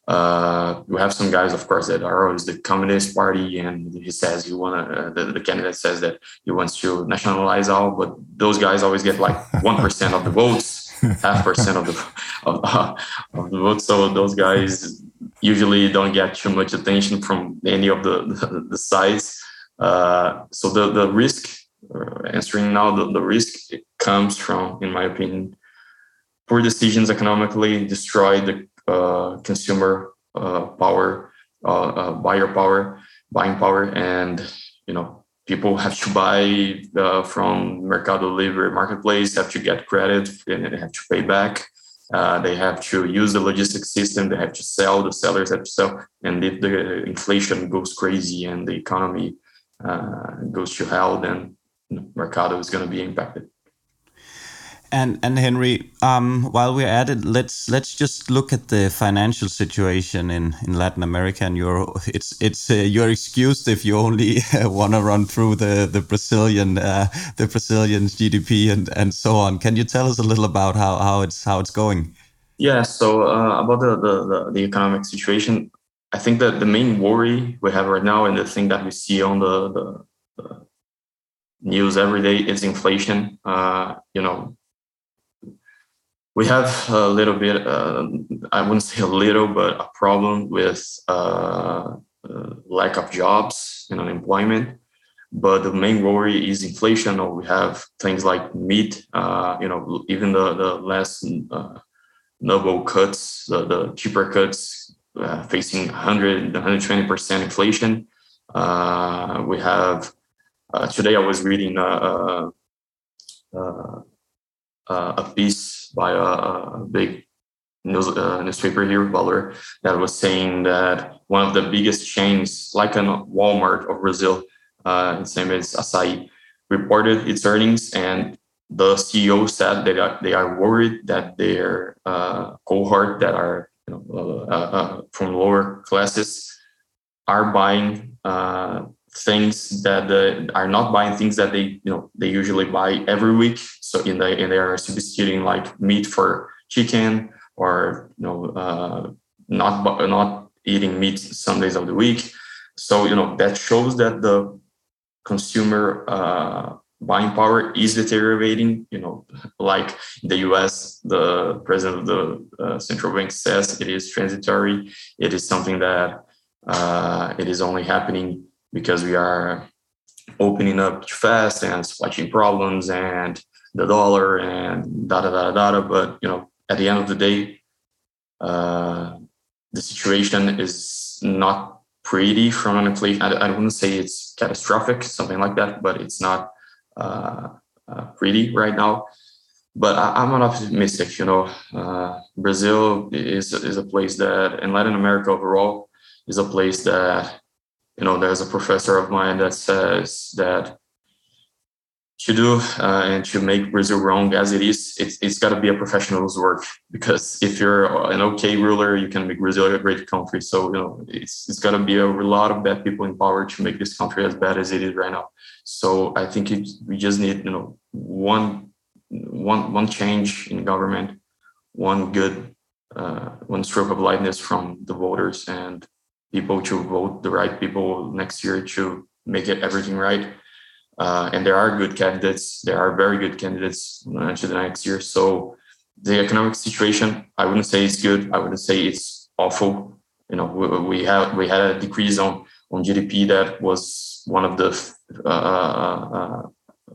Uh, we have some guys, of course, that are always the Communist Party, and he says he want uh, the, the candidate says that he wants to nationalize all, but those guys always get like one percent of the votes, half percent of the of, uh, of the votes. So those guys usually don't get too much attention from any of the the, the sides. Uh, so the the risk, uh, answering now, the, the risk comes from, in my opinion, poor decisions economically destroy the uh, consumer uh, power, uh, uh, buyer power, buying power, and you know people have to buy uh, from Mercado Libre marketplace, have to get credit, and they have to pay back. Uh, they have to use the logistics system. They have to sell. The sellers have to sell, and if the inflation goes crazy and the economy uh, goes to hell, then you know, Mercado is going to be impacted. And and Henry, um, while we're at it, let's let's just look at the financial situation in, in Latin America. And you're it's it's uh, you're excused if you only uh, want to run through the the Brazilian uh, the Brazilian G D P and, and so on. Can you tell us a little about how, how it's how it's going? Yeah. So uh, about the, the the the economic situation, I think that the main worry we have right now, and the thing that we see on the the, the news every day, is inflation. Uh, you know. We have a little bit, uh, I wouldn't say a little, but a problem with uh, uh, lack of jobs and unemployment. But the main worry is inflation. Or we have things like meat, uh, you know, even the, the less uh, noble cuts, the, the cheaper cuts, uh, facing one hundred, one hundred twenty percent inflation. Uh, we have, uh, today I was reading uh, uh, uh, a piece by a, a big news, uh, newspaper here, Valor, that was saying that one of the biggest chains, like a Walmart of Brazil, uh, its name is Assaí, reported its earnings, and the C E O said that they are, they are worried that their uh, cohort that are you know, uh, uh, from lower classes are buying uh, things that uh, are not buying things that they you know they usually buy every week. So in the and they are substituting like meat for chicken, or you know uh, not not eating meat some days of the week. So you know that shows that the consumer uh, buying power is deteriorating. You know, like in the U S, the president of the uh, central bank says it is transitory. It is something that uh, it is only happening because we are opening up too fast and supply chain problems and the dollar and da da da da da. But you know, at the end of the day, uh, the situation is not pretty from an inflation. I, I wouldn't say it's catastrophic, something like that, but it's not uh, uh, pretty right now. But I, I'm an optimistic. You know, uh, Brazil is is a place that, and Latin America overall, is a place that, you know, there's a professor of mine that says that to do uh, and to make Brazil wrong as it is, it's, it's got to be a professional's work. Because if you're an okay ruler, you can make Brazil a great country. So, you know, it's it's got to be a lot of bad people in power to make this country as bad as it is right now. So I think it, we just need, you know, one one one change in government, one good uh, one stroke of lightness from the voters and people to vote the right people next year to make it everything right. Uh, and there are good candidates. There are very good candidates uh, to the next year. So the economic situation, I wouldn't say it's good. I wouldn't say it's awful. You know, we, we have we had a decrease on on G D P that was one of the uh, uh,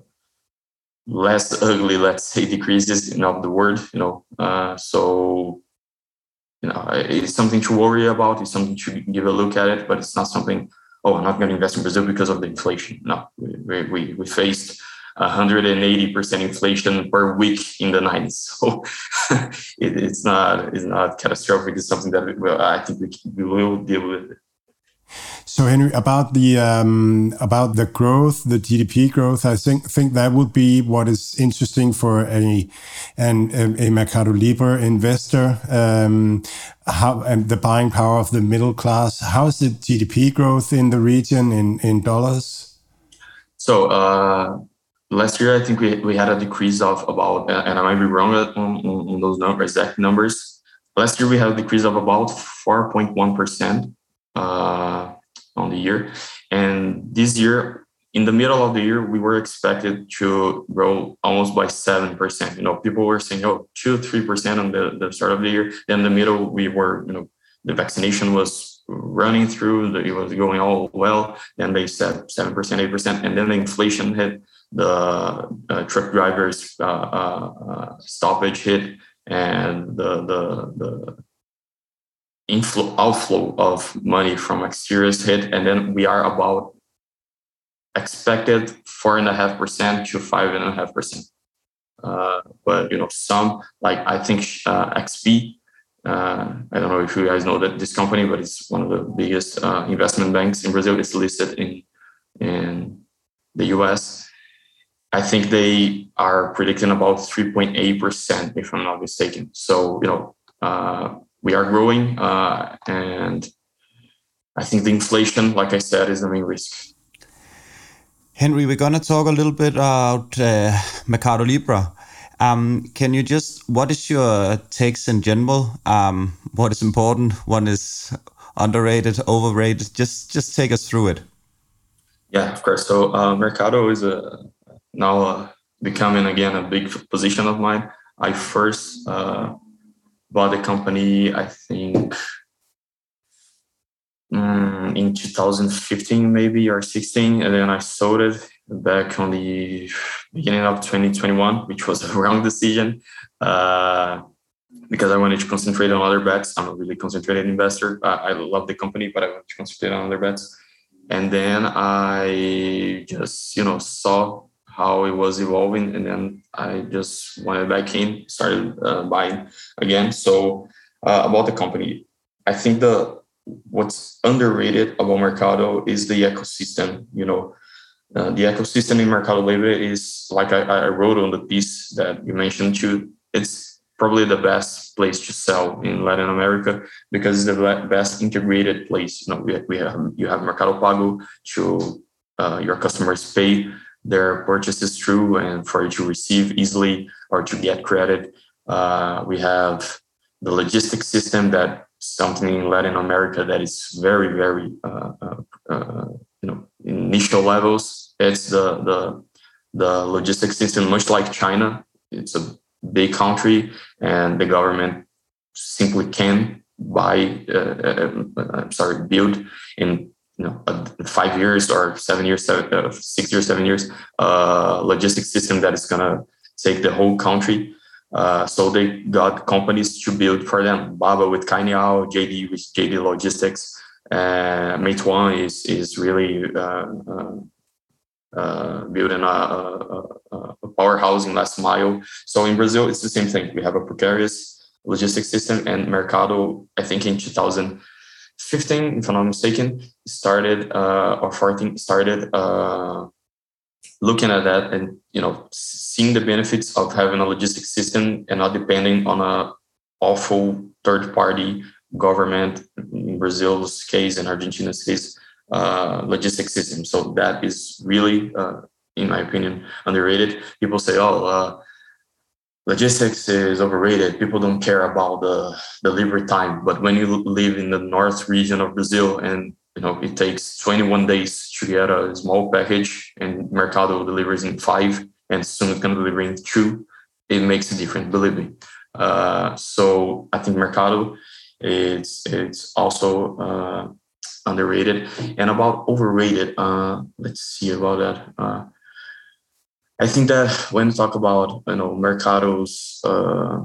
less ugly, let's say, decreases in of the world. You know, uh, so you know it's something to worry about. It's something to give a look at it, but it's not something. Oh, I'm not going to invest in Brazil because of the inflation. No, we we, we faced one hundred eighty percent inflation per week in the nineties. So it, it's not it's not catastrophic. It's something that we, well, I think we, we will deal with it. So Henry, about the um, about the growth, the G D P growth, I think think that would be what is interesting for a an a Mercado Libre investor. Um, how and the buying power of the middle class. How's the G D P growth in the region in in dollars? So uh, last year, I think we we had a decrease of about, and I might be wrong on, on those numbers, exact numbers. Last year we had a decrease of about four point one percent. Uh, on the year, and this year, in the middle of the year, we were expected to grow almost by seven percent. You know, people were saying, "Oh, two, three percent on the, the start of the year." Then in the middle, we were, you know, the vaccination was running through, it was going all well. Then they said seven percent, eight percent, and then the inflation hit, the uh, truck drivers uh, uh, stoppage hit, and the the the inflow outflow of money from exteriors hit, and then we are about expected four and a half percent to five and a half percent. Uh, but you know, some like I think uh, X P. Uh, I don't know if you guys know that this company, but it's one of the biggest uh, investment banks in Brazil. It's listed in in the U S. I think they are predicting about three point eight percent, if I'm not mistaken. So you know. Uh, We are growing, uh, and I think the inflation, like I said, is the main risk. Henry, we're going to talk a little bit about uh, Mercado Libre. Um, can you just, what is your takes in general? Um, what is important? What is underrated, overrated? Just, just take us through it. Yeah, of course. So uh, Mercado is a, now uh, becoming again a big position of mine. I first. Uh, Bought the company, I think, um, in two thousand fifteen, maybe, or sixteen, and then I sold it back on the beginning of twenty twenty-one, which was a wrong decision uh, because I wanted to concentrate on other bets. I'm a really concentrated investor. I, I love the company, but I wanted to concentrate on other bets. And then I just, you know, saw how it was evolving, and then I just went back in, started uh, buying again. So uh, about the company, I think the what's underrated about Mercado is the ecosystem. You know, uh, the ecosystem in Mercado Libre is, like I, I wrote on the piece that you mentioned too. It's probably the best place to sell in Latin America because it's the best integrated place. You know, we, we have you have Mercado Pago to uh, your customers pay their purchases through, and for you to receive easily or to get credit. Uh, we have the logistics system, that something in Latin America that is very, very uh, uh, uh, you know, initial levels. It's the the the logistics system, much like China. It's a big country, and the government simply can buy, uh, uh, I'm sorry, build in you know five years or seven years, seven, uh, six years, seven years, uh, logistics system that is gonna take the whole country. Uh, so they got companies to build for them. Baba with Cainiao, J D with J D Logistics, uh, Meituan is is really uh, uh, uh, building a, a, a powerhouse in last mile. So in Brazil, it's the same thing. We have a precarious logistics system, and Mercado, I think in two thousand fifteen, if I'm not mistaken, started uh, or fourteen started uh, looking at that and you know seeing the benefits of having a logistics system and not depending on a awful third party government, in Brazil's case and Argentina's case, uh, logistics system. So that is really, uh, in my opinion, underrated. People say, oh, uh, logistics is overrated. People don't care about the delivery time. But when you live in the north region of Brazil and you know it takes twenty-one days to get a small package and Mercado delivers in five and soon it's going to deliver in two, it makes a difference, believe me. Uh, so I think Mercado is it's also uh, underrated. And about overrated, uh, let's see about that. Uh, I think that when we talk about you know Mercado's uh,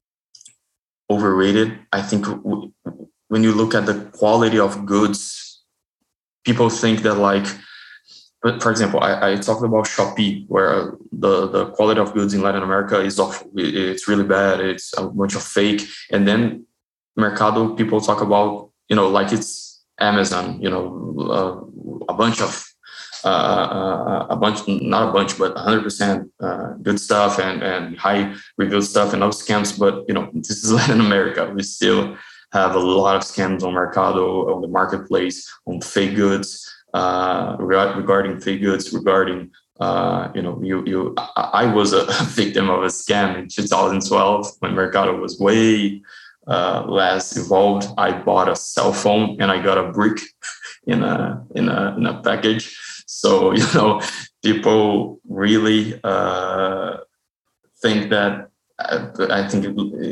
overrated, I think w- when you look at the quality of goods, people think that like, but for example, I, I talked about Shopee, where the, the quality of goods in Latin America is awful. It's really bad. It's a bunch of fake. And then Mercado, people talk about, you know, like it's Amazon, you know, uh, a bunch of, uh, uh, a bunch, not a bunch, but one hundred percent uh, good stuff and, and high reviewed stuff and no scams. But, you know, this is Latin America. We still have a lot of scams on Mercado, on the marketplace, on fake goods. Uh, regarding fake goods, regarding uh, you know, you you, I, I was a victim of a scam in two thousand twelve when Mercado was way uh, less evolved. I bought a cell phone and I got a brick in a in a in a package. So you know, people really uh, think that. Uh, I think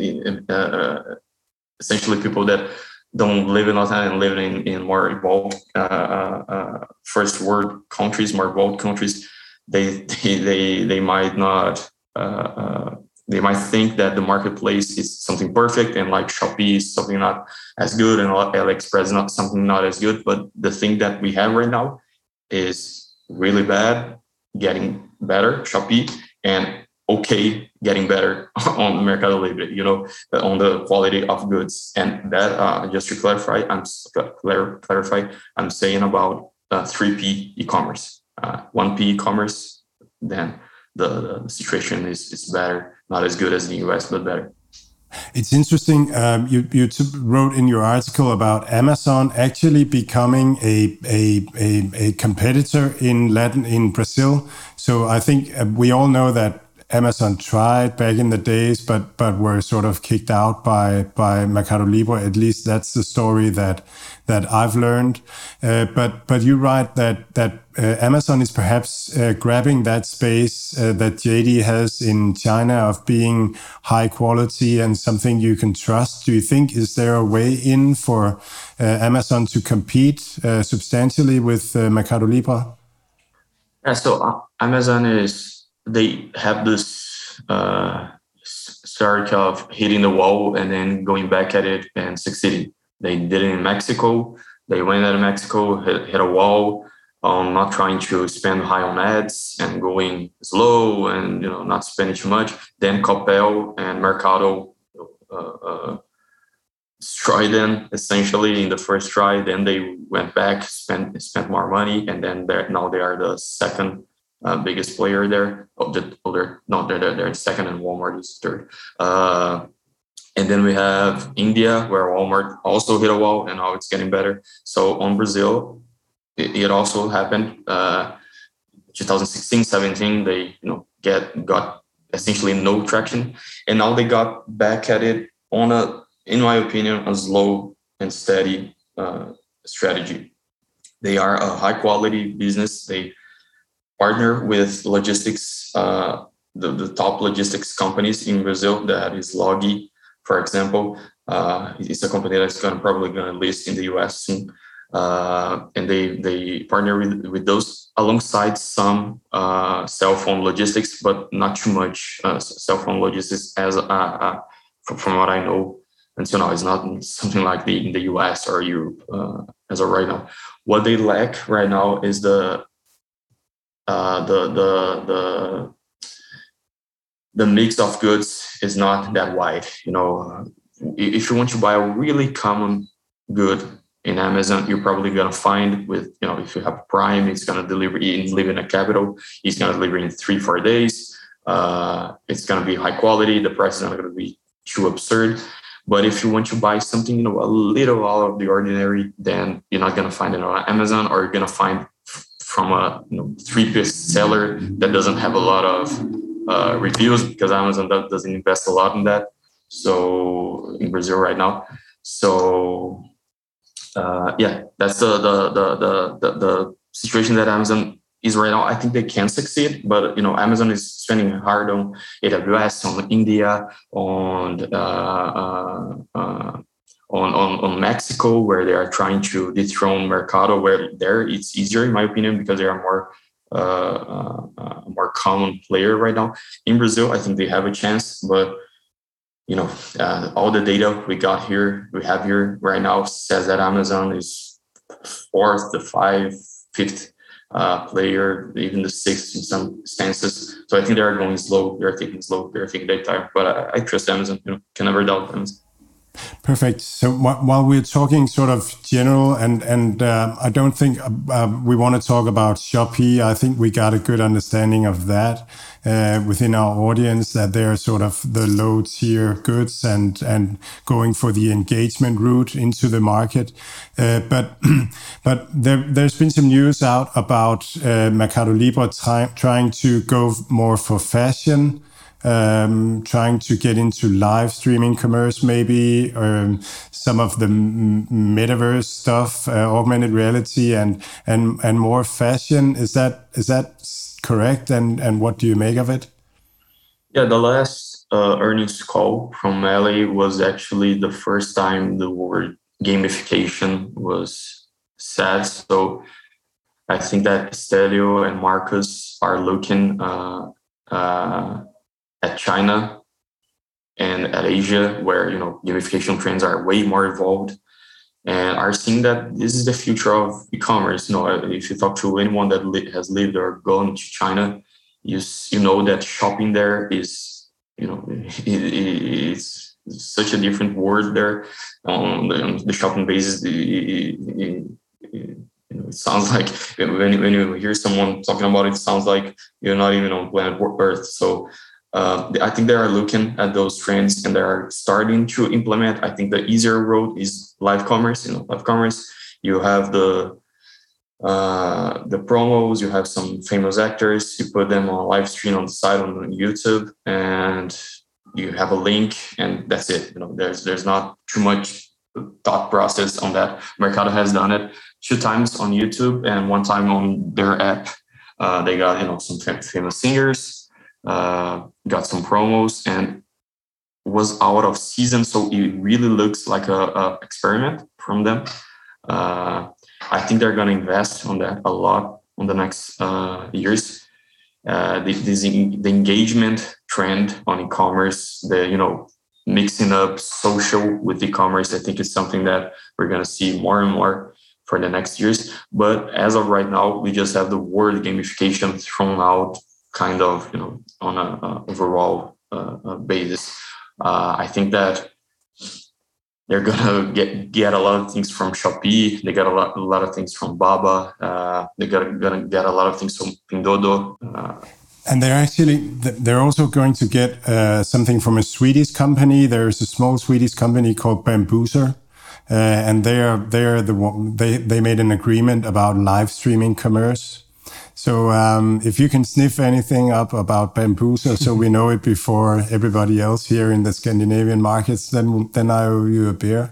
uh, essentially people that don't live in Latin and live in, in more evolved uh, uh, first world countries, more evolved countries, they they they, they might not uh, uh, they might think that the marketplace is something perfect and like Shopee is something not as good and AliExpress is not something not as good. But the thing that we have right now is really bad, getting better, Shopee, and okay, getting better on Mercado Libre, you know, on the quality of goods. And that, uh, just to clarify, I'm clar- clarify, I'm saying about uh, three P e-commerce. Uh, one P e-commerce, then the, the situation is, is better, not as good as the U S, but better. It's interesting. Um, you you t- wrote in your article about Amazon actually becoming a a a, a competitor in Latin in Brazil. So I think uh, we all know that Amazon tried back in the days, but but were sort of kicked out by by Mercado Libre. At least that's the story that that I've learned. Uh, but but you write that that uh, Amazon is perhaps uh, grabbing that space uh, that J D has in China of being high quality and something you can trust. Do you think is there a way in for uh, Amazon to compete uh, substantially with uh, Mercado Libre? Yeah. So uh, Amazon is. They have this uh, start of hitting the wall and then going back at it and succeeding. They did it in Mexico. They went out of Mexico, hit, hit a wall on not trying to spend high on ads and going slow and you know not spending too much. Then Coppel and Mercado uh, uh, destroyed them essentially in the first try. Then they went back, spent spent more money, and then now they are the second. Uh, biggest player there. Oh, the, oh they're, no, they're, they're second and Walmart is third. Uh, And then we have India, where Walmart also hit a wall, and now it's getting better. So on Brazil, it, it also happened. Uh, twenty sixteen, seventeen, they you know get got essentially no traction, and now they got back at it on a, in my opinion, a slow and steady uh, strategy. They are a high quality business. They partner with logistics, uh, the, the top logistics companies in Brazil. That is Logi, for example. Uh, it's a company that's going to probably going to list in the U S soon. Uh, and they they partner with, with those alongside some uh, cell phone logistics, but not too much uh, cell phone logistics as uh, uh, from, from what I know until now. It's not something like the in the U S or Europe uh, as of right now. What they lack right now is the uh, the the the the mix of goods is not that wide. You know, if you want to buy a really common good in Amazon, you're probably going to find with, you know, if you have Prime, it's going to deliver, you live in a capital, it's going to deliver in three, four days. Uh, it's going to be high quality. The price is not going to be too absurd. But if you want to buy something, you know, a little out of the ordinary, then you're not going to find it on Amazon, or you're going to find from a you know, three-piece seller that doesn't have a lot of uh, reviews, because Amazon doesn't invest a lot in that. So in Brazil right now. So uh, yeah, that's the the, the the the the situation that Amazon is right now. I think they can succeed, but you know, Amazon is spending hard on A W S, on India, on uh, uh, uh, on, on on Mexico, where they are trying to dethrone Mercado, where there it's easier, in my opinion, because they are more uh, uh, uh, more common player right now. In Brazil, I think they have a chance, but you know, uh, all the data we got here, we have here right now says that Amazon is fourth, the five, fifth uh, player, even the sixth in some stances. So I think they are going slow. They are taking slow. They are taking their time. But I, I trust Amazon. You know, can never doubt Amazon. Perfect. So wh- while we're talking sort of general, and and uh, I don't think uh, uh, we want to talk about Shopee. I think we got a good understanding of that uh, within our audience, that they're sort of the low tier goods and and going for the engagement route into the market. Uh, but but there there's been some news out about uh, Mercado Libre try- trying to go more for fashion. Um, trying to get into live streaming commerce, maybe, or some of the m- metaverse stuff, uh, augmented reality, and and and more fashion. Is that is that correct? And and what do you make of it? Yeah, the last uh, earnings call from Melee was actually the first time the word gamification was said. So I think that Stelio and Marcus are looking Uh, uh, at China and at Asia, where you know gamification trends are way more evolved, and are seeing that this is the future of e-commerce. You know, if you talk to anyone that li- has lived or gone to China, you you know that shopping there is, you know, it, it's such a different world there. On the, on the shopping basis, it, it, it, it, you know, it sounds like when when you hear someone talking about it, it sounds like you're not even on planet Earth. So. Uh, I think they are looking at those trends and they are starting to implement. I think the easier road is live commerce. You know, live commerce. You have the uh, the promos. You have some famous actors. You put them on live stream on the side on YouTube, and you have a link, and that's it. You know, there's there's not too much thought process on that. Mercado has done it two times on YouTube and one time on their app. Uh, they got you know some famous singers. Uh, got some promos and was out of season, so it really looks like a, a experiment from them. Uh, I think they're going to invest on that a lot on the next uh, years. Uh, the, this, the engagement trend on e-commerce, the you know mixing up social with e-commerce, I think is something that we're going to see more and more for the next years. But as of right now, we just have the word gamification thrown out, kind of, you know, on a, a overall uh, uh, basis. Uh, I think that they're gonna get get a lot of things from Shopee. They got a lot a lot of things from Baba. Uh, they got gonna get a lot of things from Pinduoduo. Uh, And they're actually, they're also going to get uh, something from a Swedish company. There's a small Swedish company called Bambuser. Uh, and they are, they are the one, they, they made an agreement about live streaming commerce. So um, if you can sniff anything up about Bambuser, so we know it before everybody else here in the Scandinavian markets, then then I owe you a beer.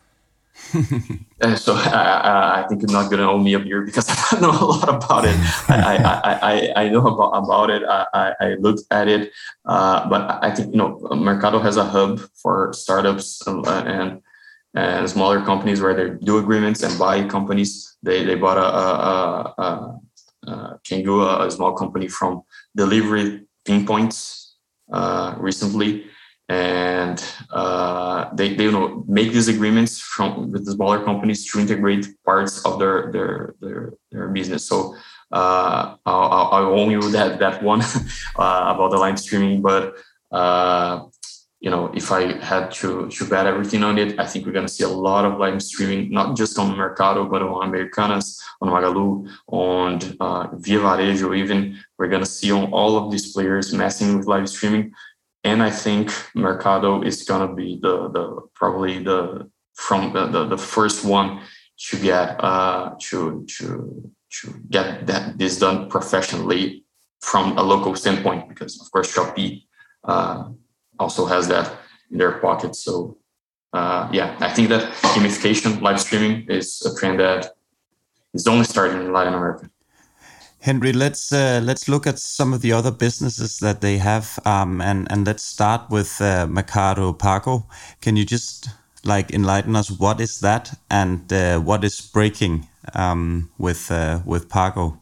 Uh, so I, I think you're not going to owe me a beer because I know a lot about it. I, I, I, I know about, about it. I, I looked at it, uh, but I think, you know, Mercado has a hub for startups and, and, and smaller companies where they do agreements and buy companies. They they bought a, a, a, a Kangoo, a small company from Delivery Pinpoints uh, recently. And uh, they, they you know make these agreements from with the smaller companies to integrate parts of their their their, their business. So uh, I'll, I'll own you that that one uh, about the live streaming. But uh, you know, if I had to to bet everything on it, I think we're gonna see a lot of live streaming, not just on Mercado, but on Americanas, on Magalu, on uh, Via Varejo. Even we're gonna see on all of these players messing with live streaming. And I think Mercado is gonna be the the probably the from the, the, the first one to get uh to to to get that this done professionally from a local standpoint, because of course Shopee uh, also has that in their pocket. So uh, yeah, I think that gamification, live streaming is a trend that is only starting in Latin America. Henry, let's uh, let's look at some of the other businesses that they have, um, and and let's start with uh, Mercado Pago. Can you just like enlighten us? What is that, and uh, what is breaking um, with uh, with Pago?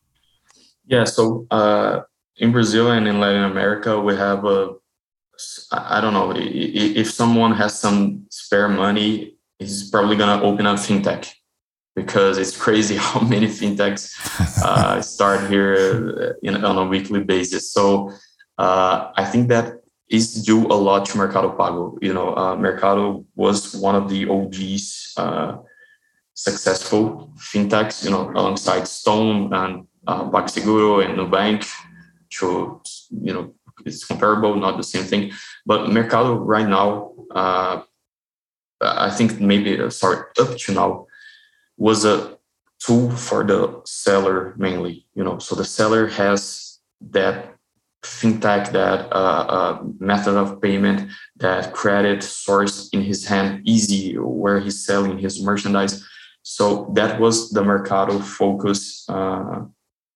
Yeah, so uh, in Brazil and in Latin America, we have a I don't know if someone has some spare money, he's probably gonna open up fintech. Because it's crazy how many fintechs uh, start here in, on a weekly basis. So uh, I think that is due a lot to Mercado Pago. You know, uh, Mercado was one of the O Gs uh, successful fintechs, you know, alongside Stone and uh, PagSeguro and Nubank. So, you know, it's comparable, not the same thing. But Mercado right now, uh, I think maybe, uh, sorry, up to now, was a tool for the seller mainly, you know, so the seller has that fintech, that uh, uh, method of payment, that credit source in his hand, easy where he's selling his merchandise. So that was the Mercado focus uh,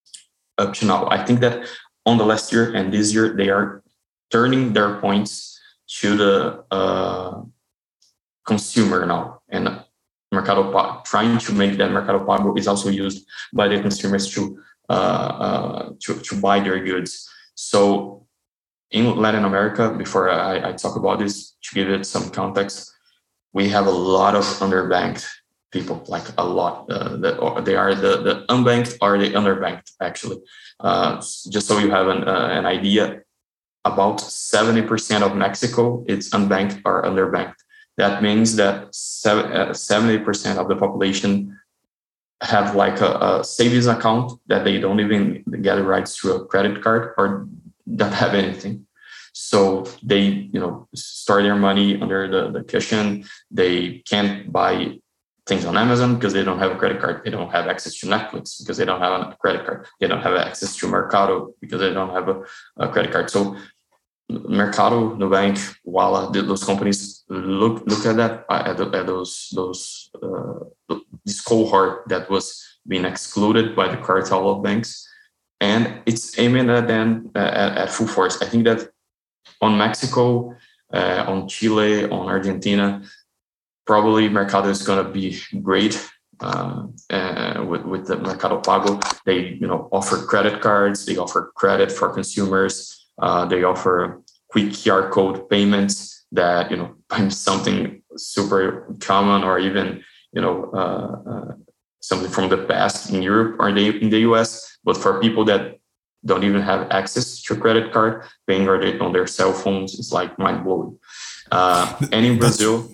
up to now. I think that on the last year and this year, they are turning their points to the uh, consumer now. And Mercado Pago, trying to make that Mercado Pago is also used by the consumers to, uh, uh, to to buy their goods. So in Latin America, before I, I talk about this, to give it some context, we have a lot of underbanked people, like a lot. Uh, that they are the, the unbanked or the underbanked, actually. Uh, just so you have an, uh, an idea, about seventy percent of Mexico, it's unbanked or underbanked. That means that seventy percent of the population have like a, a savings account that they don't even get rights to a credit card or don't have anything. So they, you know, store their money under the, the cushion. They can't buy things on Amazon because they don't have a credit card. They don't have access to Netflix because they don't have a credit card. They don't have access to Mercado because they don't have a, a credit card. So Mercado, Nubank, Walla, those companies look look at that at, the, at those those uh, this cohort that was being excluded by the cartel of banks, and it's aiming at them uh, at, at full force. I think that on Mexico, uh, on Chile, on Argentina, probably Mercado is going to be great uh, uh, with with the Mercado Pago. They you know offer credit cards, they offer credit for consumers. Uh, they offer quick Q R code payments that, you know, something super common or even, you know, uh, uh, something from the past in Europe or in the U S. But for people that don't even have access to a credit card, paying on their cell phones is like mind blowing. Uh, and in Brazil,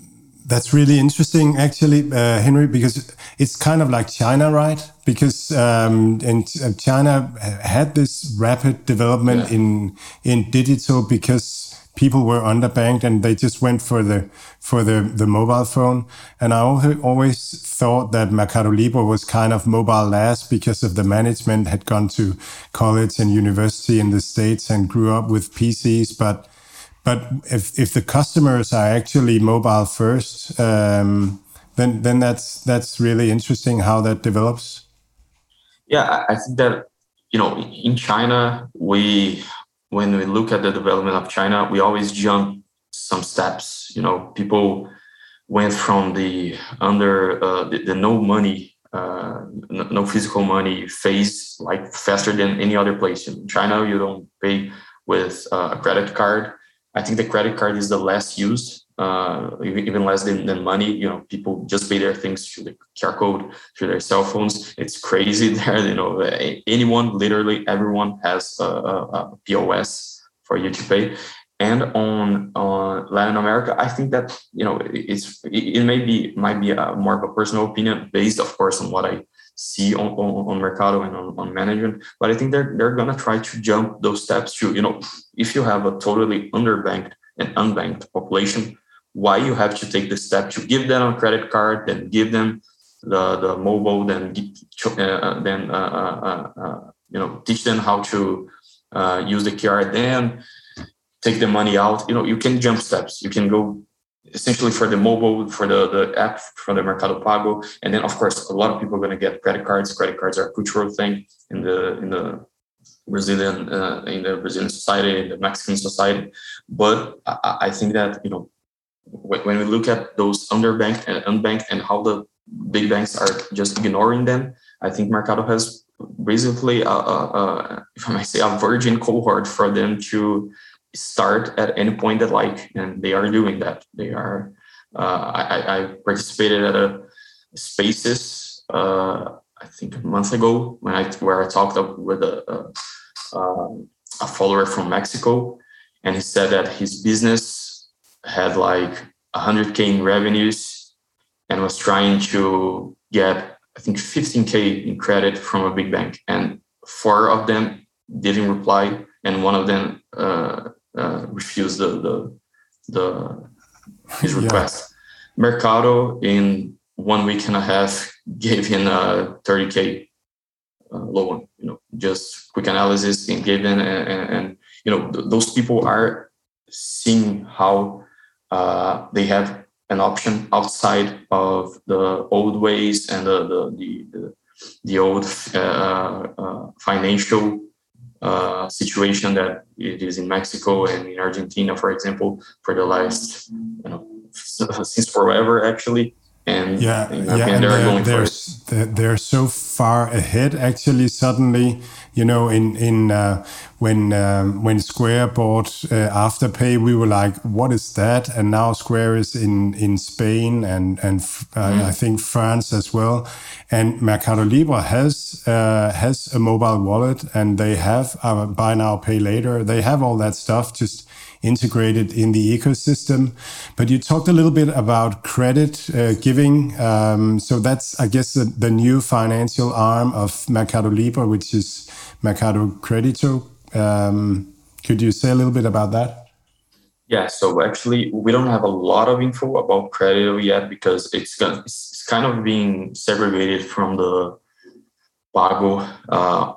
That's really interesting, actually, uh, Henry, because it's kind of like China, right? Because um, and China had this rapid development yeah. in in digital because people were underbanked and they just went for the for the, the mobile phone. And I always thought that Mercado Libre was kind of mobile last because of the management had gone to college and university in the States and grew up with P Cs, but. But if if the customers are actually mobile first, um, then then that's that's really interesting how that develops. Yeah, I think that, you know, in China, we when we look at the development of China, we always jump some steps. You know, people went from the under uh, the, the no money, uh, no, no physical money phase like faster than any other place. In China, you don't pay with uh, a credit card. I think the credit card is the less used, uh, even less than, than money. You know, people just pay their things through the Q R code, through their cell phones. It's crazy there. You know, anyone, literally everyone has a, a, a P O S for you to pay. And on, on Latin America, I think that, you know, it's it, it may be might be a, more of a personal opinion based, of course, on what I see on, on, on Mercado and on, on management, but I think they're they're gonna try to jump those steps to, you know, if you have a totally underbanked and unbanked population, why you have to take the step to give them a credit card, then give them the the mobile, then uh, then uh, uh, uh, you know, teach them how to uh, use the Q R, then take the money out. You know, you can jump steps. You can go essentially for the mobile, for the, the app, for the Mercado Pago. And then, of course, a lot of people are going to get credit cards. Credit cards are a cultural thing in the in the Brazilian uh, in the Brazilian society, in the Mexican society. But I, I think that, you know, when we look at those underbanked and unbanked and how the big banks are just ignoring them, I think Mercado has basically, a, a, a, if I might say, a virgin cohort for them to start at any point that like, and they are doing that. They are. Uh, I, I participated at a Spaces, uh, I think a month ago, when I where I talked up with a, a, a follower from Mexico, and he said that his business had like one hundred K in revenues and was trying to get, I think, fifteen K in credit from a big bank, and four of them didn't reply, and one of them uh, uh, refused the the, the his request. Yeah. Mercado in one week and a half gave him a thirty K uh, loan. You know, just quick analysis and gave them, and, and, and you know, th- those people are seeing how uh, they have an option outside of the old ways and the the the, the, the old uh, uh, financial uh, situation that it is in Mexico and in Argentina, for example, for the last, you know, since forever actually. And yeah, and, yeah, and and they're, they're, going they're, for they're, they're so far ahead. Actually, suddenly, you know, in in uh, when um, when Square bought uh, Afterpay, we were like, "What is that?" And now Square is in in Spain and and uh, mm. I think France as well. And Mercado Libre has uh, has a mobile wallet, and they have uh, buy now, pay later. They have all that stuff just integrated in the ecosystem. But you talked a little bit about credit uh, giving. Um, so that's, I guess, the, the new financial arm of Mercado Libre, which is Mercado Crédito. Um, could you say a little bit about that? Yeah, so actually, we don't have a lot of info about Crédito yet because it's, it's kind of being segregated from the Pago uh,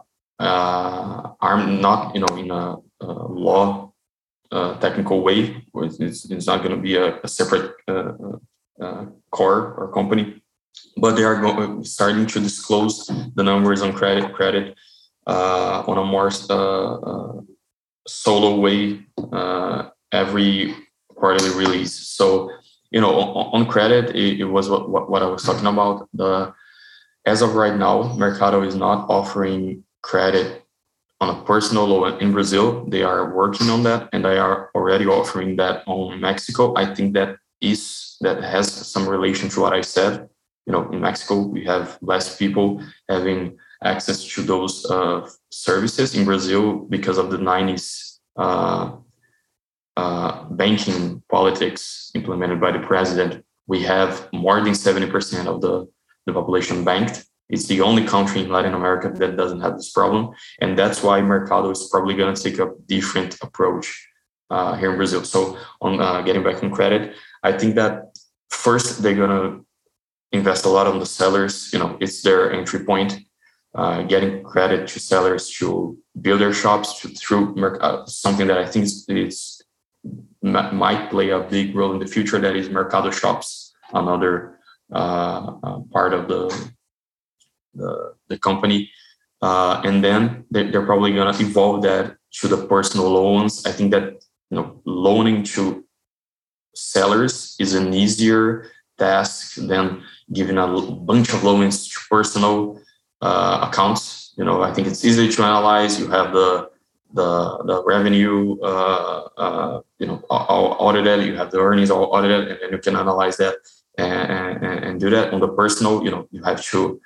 uh, arm, not, you know, in a, a law Uh, technical way. It's, it's not going to be a, a separate uh, uh, core or company, but they are go- starting to disclose the numbers on credit credit uh, on a more uh, uh, solo way uh, every quarterly release. So, you know, on, on credit, it, it was what, what, what I was talking about. The as of right now, Mercado is not offering credit on a personal loan in Brazil. They are working on that, and they are already offering that on Mexico. I think that is that has some relation to what I said. You know, in Mexico, we have less people having access to those uh, services. In Brazil, because of the nineties uh, uh, banking politics implemented by the president, we have more than seventy percent of the, the population banked. It's the only country in Latin America that doesn't have this problem. And that's why Mercado is probably going to take a different approach uh, here in Brazil. So on uh, getting back on credit, I think that first they're going to invest a lot on the sellers. You know, it's their entry point, uh, getting credit to sellers to build their shops to, through uh, something that I think is, is might play a big role in the future. That is Mercado Shops, another uh, uh, part of the the, the company. Uh, and then they, they're probably going to evolve that to the personal loans. I think that, you know, loaning to sellers is an easier task than giving a bunch of loans to personal uh, accounts. You know, I think it's easy to analyze. You have the the the revenue, uh, uh, you know, all audited. You have the earnings all audited, and then you can analyze that and, and, and do that. On the personal, you know, you have to.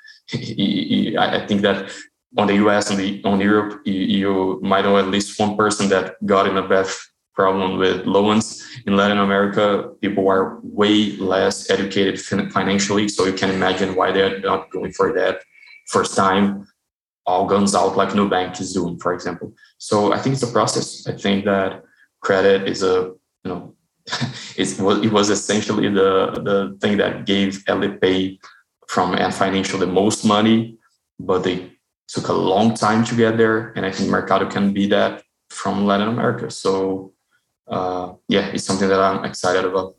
I think that on the U S and the on Europe, you, you might know at least one person that got in a bad problem with loans. In Latin America, people are way less educated financially, so you can imagine why they're not going for that first time, all guns out like Nubank is doing, for example. So I think it's a process. I think that credit is a, you know, it's, it was essentially the, the thing that gave Alipay from Ant Financial the most money, but they took a long time to get there. And I think Mercado can be that from Latin America. So uh, yeah, it's something that I'm excited about.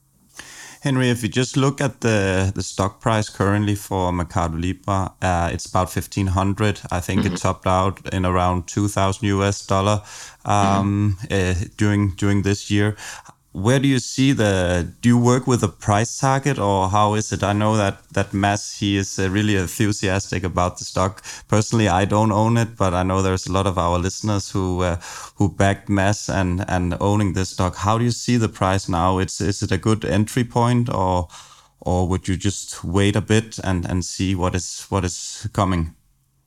Henry, if you just look at the, the stock price currently for Mercado Libre, uh, it's about fifteen hundred. I think mm-hmm. it topped out in around two thousand U S dollar um, mm-hmm. uh, during during this year. Where do you see the, do you work with a price target, or how is it? I know that, that Mads, he is uh, really enthusiastic about the stock. Personally, I don't own it, but I know there's a lot of our listeners who uh, who backed Mads and, and owning this stock. How do you see the price now? It's, is it a good entry point, or or would you just wait a bit and, and see what is what is coming?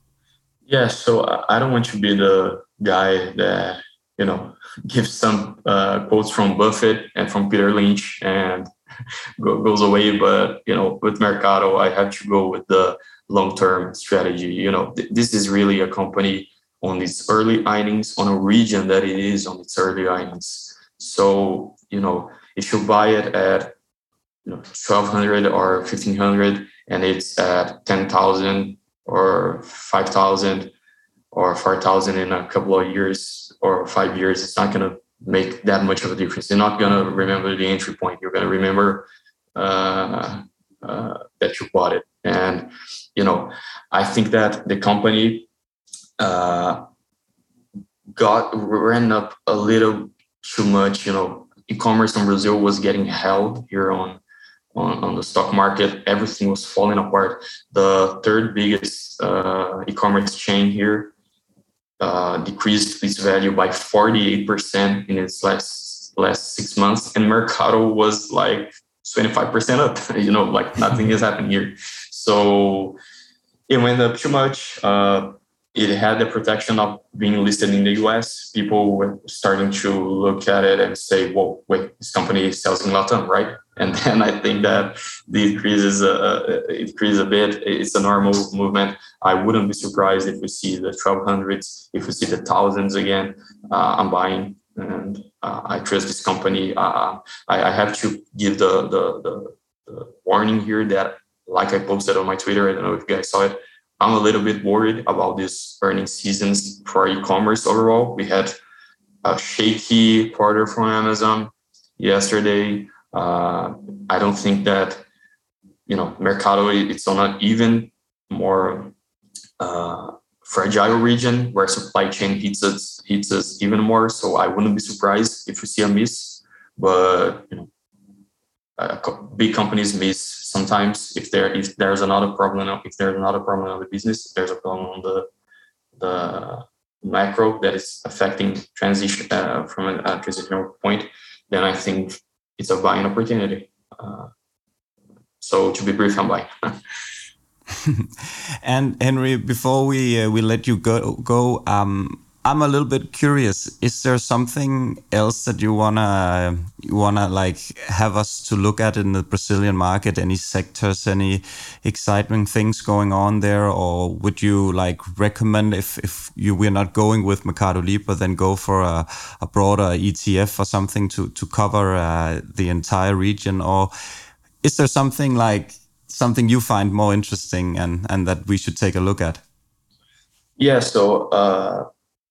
Yeah, so I don't want to be the guy that, you know, gives some uh, quotes from Buffett and from Peter Lynch and go, goes away. But, you know, with Mercado, I have to go with the long-term strategy. You know, th- this is really a company on its early innings, on a region that it is on its early innings. So, you know, if you buy it at, you know, twelve hundred or fifteen hundred and it's at ten thousand or five thousand or four thousand in a couple of years, or five years, it's not going to make that much of a difference. You're not going to remember the entry point. You're going to remember uh, uh, that you bought it. And, you know, I think that the company uh, got ran up a little too much. You know, e-commerce in Brazil was getting held here on, on, on the stock market. Everything was falling apart. The third biggest uh, e-commerce chain here Uh, decreased its value by forty-eight percent in its last last six months, and Mercado was like twenty-five percent up. You know, like nothing has happened here. So it went up too much. Uh, it had the protection of being listed in the U S. People were starting to look at it and say, "Whoa, wait, this company sells in Latam, right?" And then I think that the increase is uh, it increases a bit. It's a normal movement. I wouldn't be surprised if we see the twelve hundreds, if we see the thousands again. Uh, I'm buying, and uh, I trust this company. Uh, I, I have to give the, the the the warning here that, like I posted on my Twitter, I don't know if you guys saw it, I'm a little bit worried about this earnings seasons for e-commerce overall. We had a shaky quarter from Amazon yesterday. Uh, I don't think that, you know, Mercado, it's on an even more uh, fragile region where supply chain hits us, hits us even more. So I wouldn't be surprised if we see a miss. But, you know, uh, big companies miss sometimes. If there if there's another problem, if there's another problem on the business, if there's a problem on the the macro that is affecting transition uh, from a, a transitional point, then I think it's a buying opportunity. Uh, so to be brief, I'm buying. And Henry, before we uh, we let you go, go um, I'm a little bit curious. Is there something else that you wanna you wanna like have us to look at in the Brazilian market? Any sectors, any exciting things going on there, or would you like recommend if if you we're not going with Mercado Libre, then go for a, a broader E T F or something to to cover uh, the entire region? Or is there something like something you find more interesting and and that we should take a look at? Yeah. So. Uh...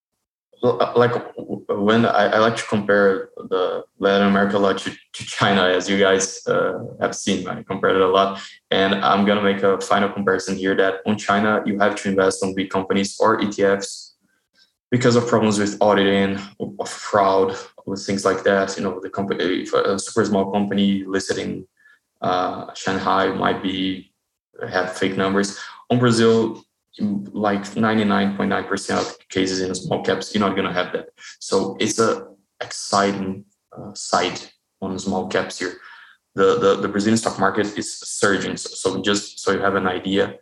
Like when I, I like to compare the Latin America a lot to, to China, as you guys uh, have seen, I compared it a lot. And I'm going to make a final comparison here that on China, you have to invest on big companies or E T Fs because of problems with auditing, of fraud, with things like that. You know, the company, if a super small company listed in uh, Shanghai might be have fake numbers. On Brazil, like ninety-nine point nine percent of cases in small caps, you're not going to have that. So it's a exciting uh, side on small caps here. The, the the Brazilian stock market is surging. So, so just so you have an idea,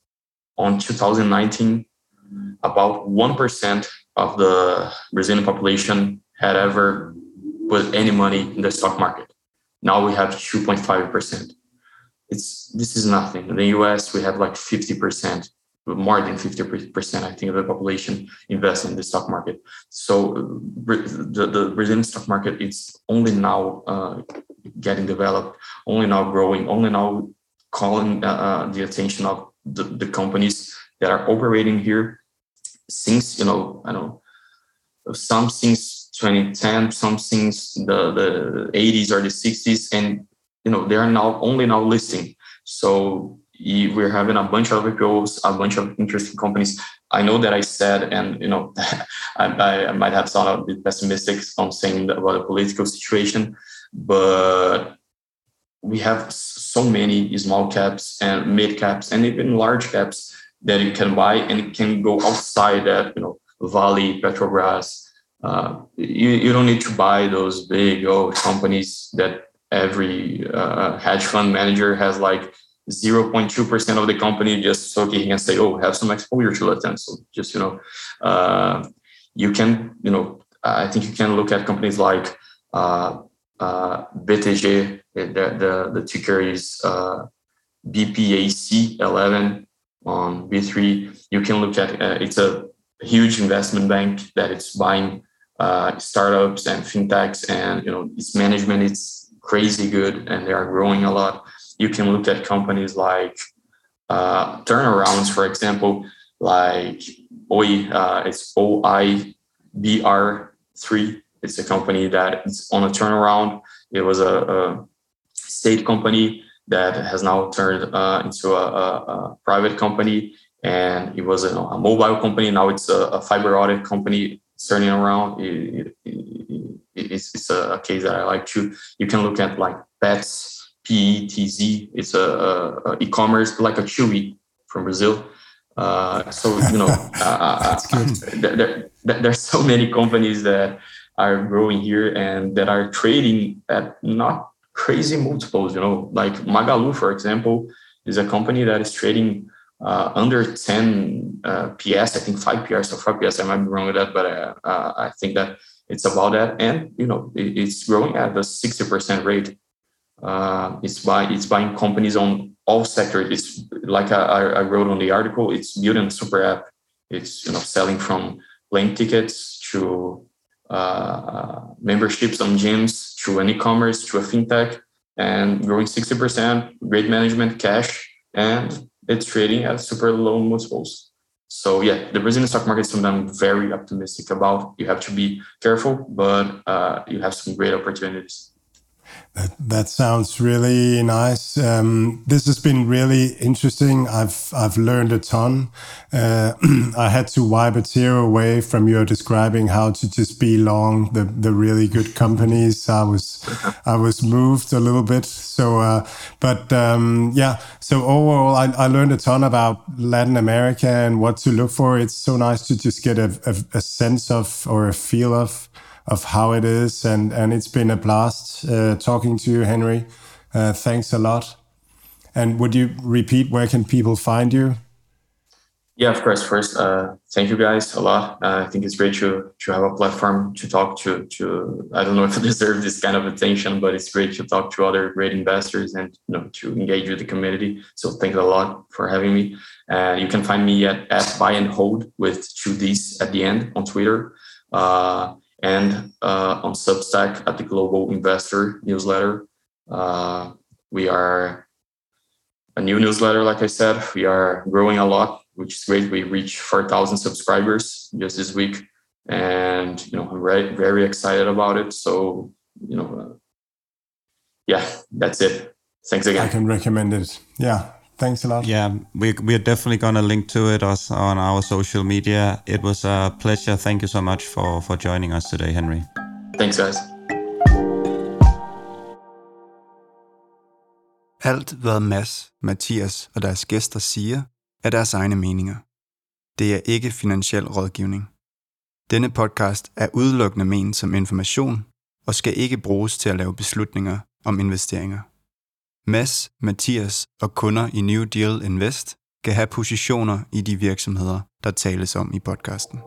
on two thousand nineteen, about one percent of the Brazilian population had ever put any money in the stock market. Now we have two point five percent. It's this is nothing. In the U S, we have like fifty percent. More than fifty percent, I think, of the population invest in the stock market. So the, the Brazilian stock market is only now uh, getting developed, only now growing, only now calling uh, the attention of the, the companies that are operating here since, you know, I don't know, some since twenty ten, some since the, the eighties or the sixties, and, you know, they are now only now listing. So we're having a bunch of I P Os, a bunch of interesting companies. I know that I said, and you know, I, I might have sounded a bit pessimistic on saying about the political situation, but we have so many small caps and mid caps and even large caps that you can buy and it can go outside that. You know, Vale, Petrobras. Uh, you you don't need to buy those big old companies that every uh, hedge fund manager has like zero point two percent of the company just so he can say, oh, have some exposure to Latin. So just, you know, uh, you can, you know, I think you can look at companies like uh, uh, B T G, the, the, the ticker is uh, B P A C eleven on B three. You can look at, uh, it's a huge investment bank that it's buying uh, startups and fintechs, and, you know, its management, it's crazy good and they are growing a lot. You can look at companies like uh, turnarounds, for example, like O I, uh, it's O I B R three. It's a company that is on a turnaround. It was a, a state company that has now turned uh, into a, a, a private company, and it was a, a mobile company. Now it's a, a fiber optic company turning around. It, it, it, it's, it's a case that I like to. You can look at like Pets. P E T Z, it's a, a, a e-commerce like a Chewy from Brazil. Uh, so, you know, uh, there, there, there's so many companies that are growing here and that are trading at not crazy multiples, you know, like Magalu, for example, is a company that is trading uh, under ten uh, P S, I think five P S or five P S. I might be wrong with that, but uh, uh, I think that it's about that. And, you know, it, it's growing at the sixty percent rate. Uh, it's by it's buying companies on all sectors. It's like I, I wrote on the article. It's building a super app. It's, you know, selling from plane tickets to uh, memberships on gyms to an e-commerce to a fintech, and growing sixty percent. Great management, cash, and it's trading at super low multiples. So yeah, the Brazilian stock market is something I'm very optimistic about. You have to be careful, but uh, you have some great opportunities. That, that sounds really nice. Um, this has been really interesting. I've I've learned a ton. Uh, I had to wipe a tear away from your describing how to just be long the, the really good companies. I was I was moved a little bit. So, uh, but um, yeah. So overall, I, I learned a ton about Latin America and what to look for. It's so nice to just get a, a, a sense of or a feel of. of how it is, and, and it's been a blast uh, talking to you, Henry. Uh, thanks a lot. And would you repeat, where can people find you? Yeah, of course. First, uh, thank you guys a lot. Uh, I think it's great to to have a platform to talk to. To I don't know if I deserve this kind of attention, but it's great to talk to other great investors and you know to engage with the community. So thanks a lot for having me. And uh, you can find me at, at Buy and Hold with two D's at the end on Twitter, uh, and uh, on Substack at the Global Investor newsletter. Uh, we are a new newsletter, like I said. We are growing a lot, which is great. We reached four thousand subscribers just this week. And, you know, I'm very, very excited about it. So, you know, uh, yeah, that's it. Thanks again. I can recommend it. Yeah, thanks a lot. Yeah, we, we're definitely going to link to it us on our social media. It was a pleasure. Thank you so much for, for joining us today, Henry. Thanks, guys. Alt, hvad Mads, Mathias og deres gæster siger, er deres egne meninger. Det er ikke finansiel rådgivning. Denne podcast er udelukkende ment som information og skal ikke bruges til at lave beslutninger om investeringer. Mads, Mathias og kunder i New Deal Invest kan have positioner i de virksomheder, der tales om i podcasten.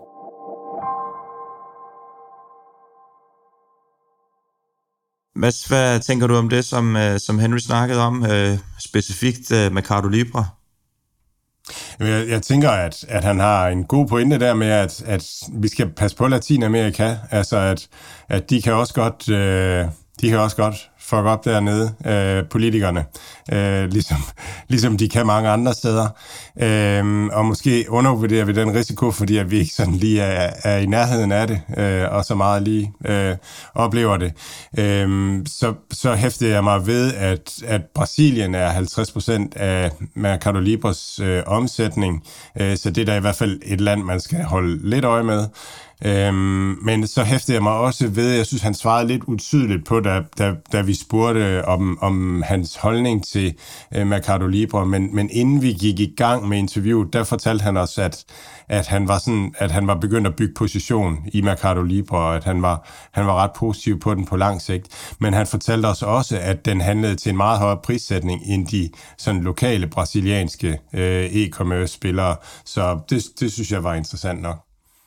Mads, hvad tænker du om det, som, som Henry snakkede om, øh, specifikt øh, Mercado Libre? Jeg, jeg tænker, at, at han har en god pointe der med, at, at vi skal passe på Latinamerika. Altså, at, at de kan også godt, øh, de kan også godt fuck op dernede, øh, politikerne, øh, ligesom, ligesom de kan mange andre steder. Øh, og måske undervurderer vi den risiko, fordi at vi ikke sådan lige er, er i nærheden af det, øh, og så meget lige øh, oplever det. Øh, så, så hæftede jeg mig ved, at, at Brasilien er halvtreds procent af Mercado Libres øh, omsætning, øh, så det er da i hvert fald et land, man skal holde lidt øje med. Øhm, men så hæftede jeg mig også ved, jeg synes, han svarede lidt utydeligt på, da, da, da vi spurgte om, om hans holdning til øh, Mercado Libre, men, men inden vi gik i gang med interviewet, der fortalte han os, at, at, han var sådan, at han var begyndt at bygge position i Mercado Libre, og at han var, han var ret positiv på den på lang sigt. Men han fortalte os også, at den handlede til en meget højere prissætning end de sådan lokale brasilianske øh, e-commerce-spillere, så det, det synes jeg var interessant nok.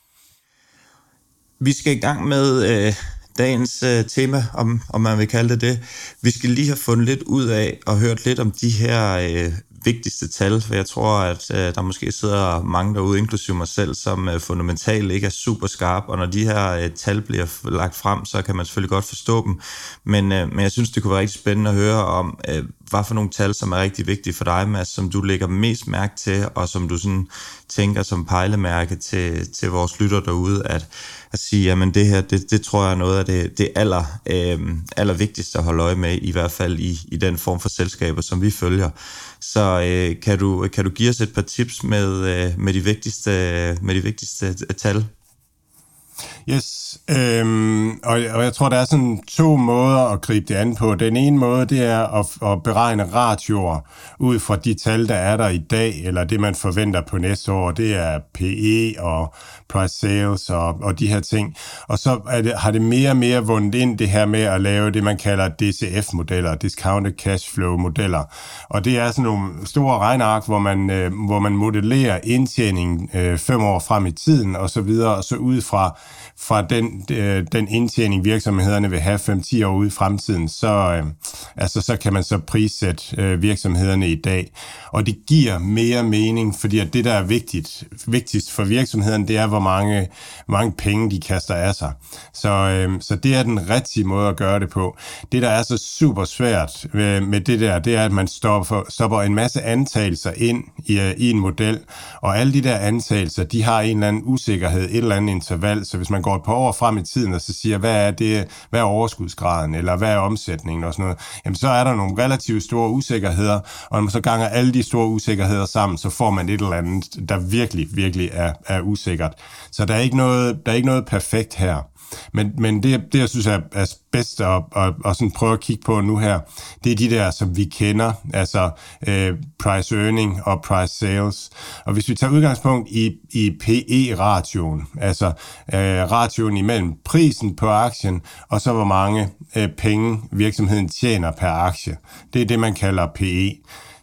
Vi skal i gang med øh, dagens øh, tema, om, om man vil kalde det det. Vi skal lige have fundet lidt ud af og hørt lidt om de her øh, vigtigste tal, for jeg tror, at øh, der måske sidder mange derude, inklusive mig selv, som øh, fundamentalt ikke er super skarp, og når de her øh, tal bliver lagt frem, så kan man selvfølgelig godt forstå dem, men, øh, men jeg synes, det kunne være rigtig spændende at høre om, øh, hvad for nogle tal, som er rigtig vigtige for dig, Mads, som du lægger mest mærke til, og som du sådan tænker som pejlemærke til, til vores lytter derude, at, at sige, jamen det her, det, det tror jeg er noget af det, det aller, øh, aller vigtigste at holde øje med, i hvert fald i, i den form for selskaber, som vi følger. Så øh, kan, du, kan du give os et par tips med, øh, med, de, vigtigste, med de vigtigste tal? Yes, øhm, og, og jeg tror, der er sådan to måder at gribe det an på. Den ene måde, det er at, at beregne ratioer ud fra de tal, der er der i dag, eller det, man forventer på næste år. Det er P E og price sales og, og de her ting. Og så er det, har det mere og mere vundet ind det her med at lave det, man kalder D C F-modeller, Discounted Cash Flow-modeller. Og det er sådan nogle store regneark, hvor man, øh, hvor man modellerer indtjening øh, fem år frem i tiden, og så videre, og så ud fra fra den, øh, den indtjening, virksomhederne vil have fem til ti år ude i fremtiden, så, øh, altså, så kan man så prissætte øh, virksomhederne i dag. Og det giver mere mening, fordi at det, der er vigtigt, vigtigst for virksomhederne, det er, hvor mange, hvor mange penge de kaster af sig. Så, øh, så det er den rigtige måde at gøre det på. Det, der er så super svært med, med det der, det er, at man stopper, stopper en masse antagelser ind i, i en model, og alle de der antagelser, de har en eller anden usikkerhed, et eller andet interval, så hvis man går et par år frem i tiden, og så siger, hvad er det, hvad er overskudsgraden, eller hvad er omsætningen og sådan noget, jamen så er der nogle relativt store usikkerheder, og når man så ganger alle de store usikkerheder sammen, så får man et eller andet, der virkelig, virkelig er, er usikkert. Så der er ikke noget, der er ikke noget perfekt her. Men, men det, det, jeg synes er, er bedst at, at, at sådan prøve at kigge på nu her, det er de der, som vi kender, altså øh, price earning og price sales. Og hvis vi tager udgangspunkt i, i P E-ratioen, altså øh, ratioen imellem prisen på aktien, og så hvor mange øh, penge virksomheden tjener per aktie, det er det, man kalder P E.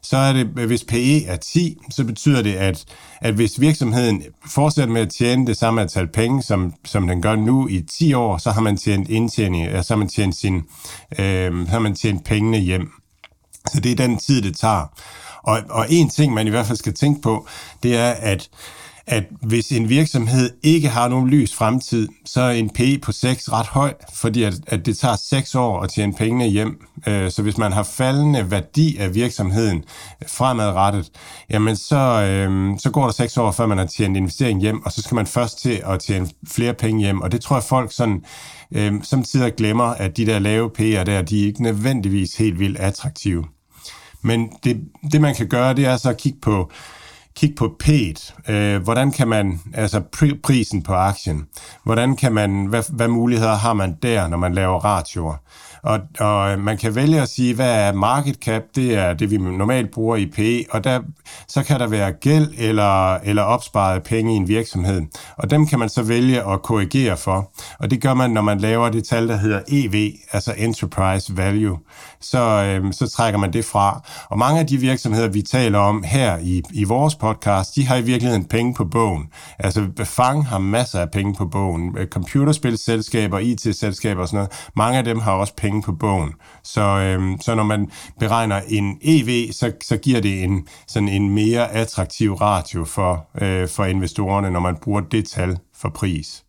så er det, hvis P E er ti, så betyder det, at, at hvis virksomheden fortsætter med at tjene det samme antal penge, som, som den gør nu i ti år, så har man tjent indtjening, så har man tjent, sin, øh, så har man tjent pengene hjem. Så det er den tid, det tager. Og, og en ting, man i hvert fald skal tænke på, det er, at at hvis en virksomhed ikke har nogen lys fremtid, så er en P E på seks ret høj, fordi at, at det tager seks år at tjene pengene hjem. Så hvis man har faldende værdi af virksomheden fremadrettet, jamen så, øh, så går der seks år, før man har tjent investering hjem, og så skal man først til at tjene flere penge hjem. Og det tror jeg, folk sådan, øh, samtidig glemmer, at de der lave P E'er der, de er ikke nødvendigvis helt vildt attraktive. Men det, det man kan gøre, det er så at kigge på Kig på P E'et. Øh, hvordan kan man, altså pr- prisen på aktien, hvordan kan man, hvad, hvad muligheder har man der, når man laver ratioer? Og, og man kan vælge at sige, hvad er market cap, det er det, vi normalt bruger i P E, og der, så kan der være gæld eller, eller opsparede penge i en virksomhed. Og dem kan man så vælge at korrigere for. Og det gør man, når man laver det tal, der hedder E V, altså Enterprise Value. Så, øhm, så trækker man det fra. Og mange af de virksomheder, vi taler om her i, i vores podcast, de har i virkeligheden penge på bogen. Altså Fang har masser af penge på bogen. Computerspilselskaber, I T-selskaber og sådan noget. Mange af dem har også penge på bogen. Så, øhm, så når man beregner en E V, så, så giver det en, sådan en mere attraktiv ratio for, øh, for investorerne, når man bruger det tal for pris.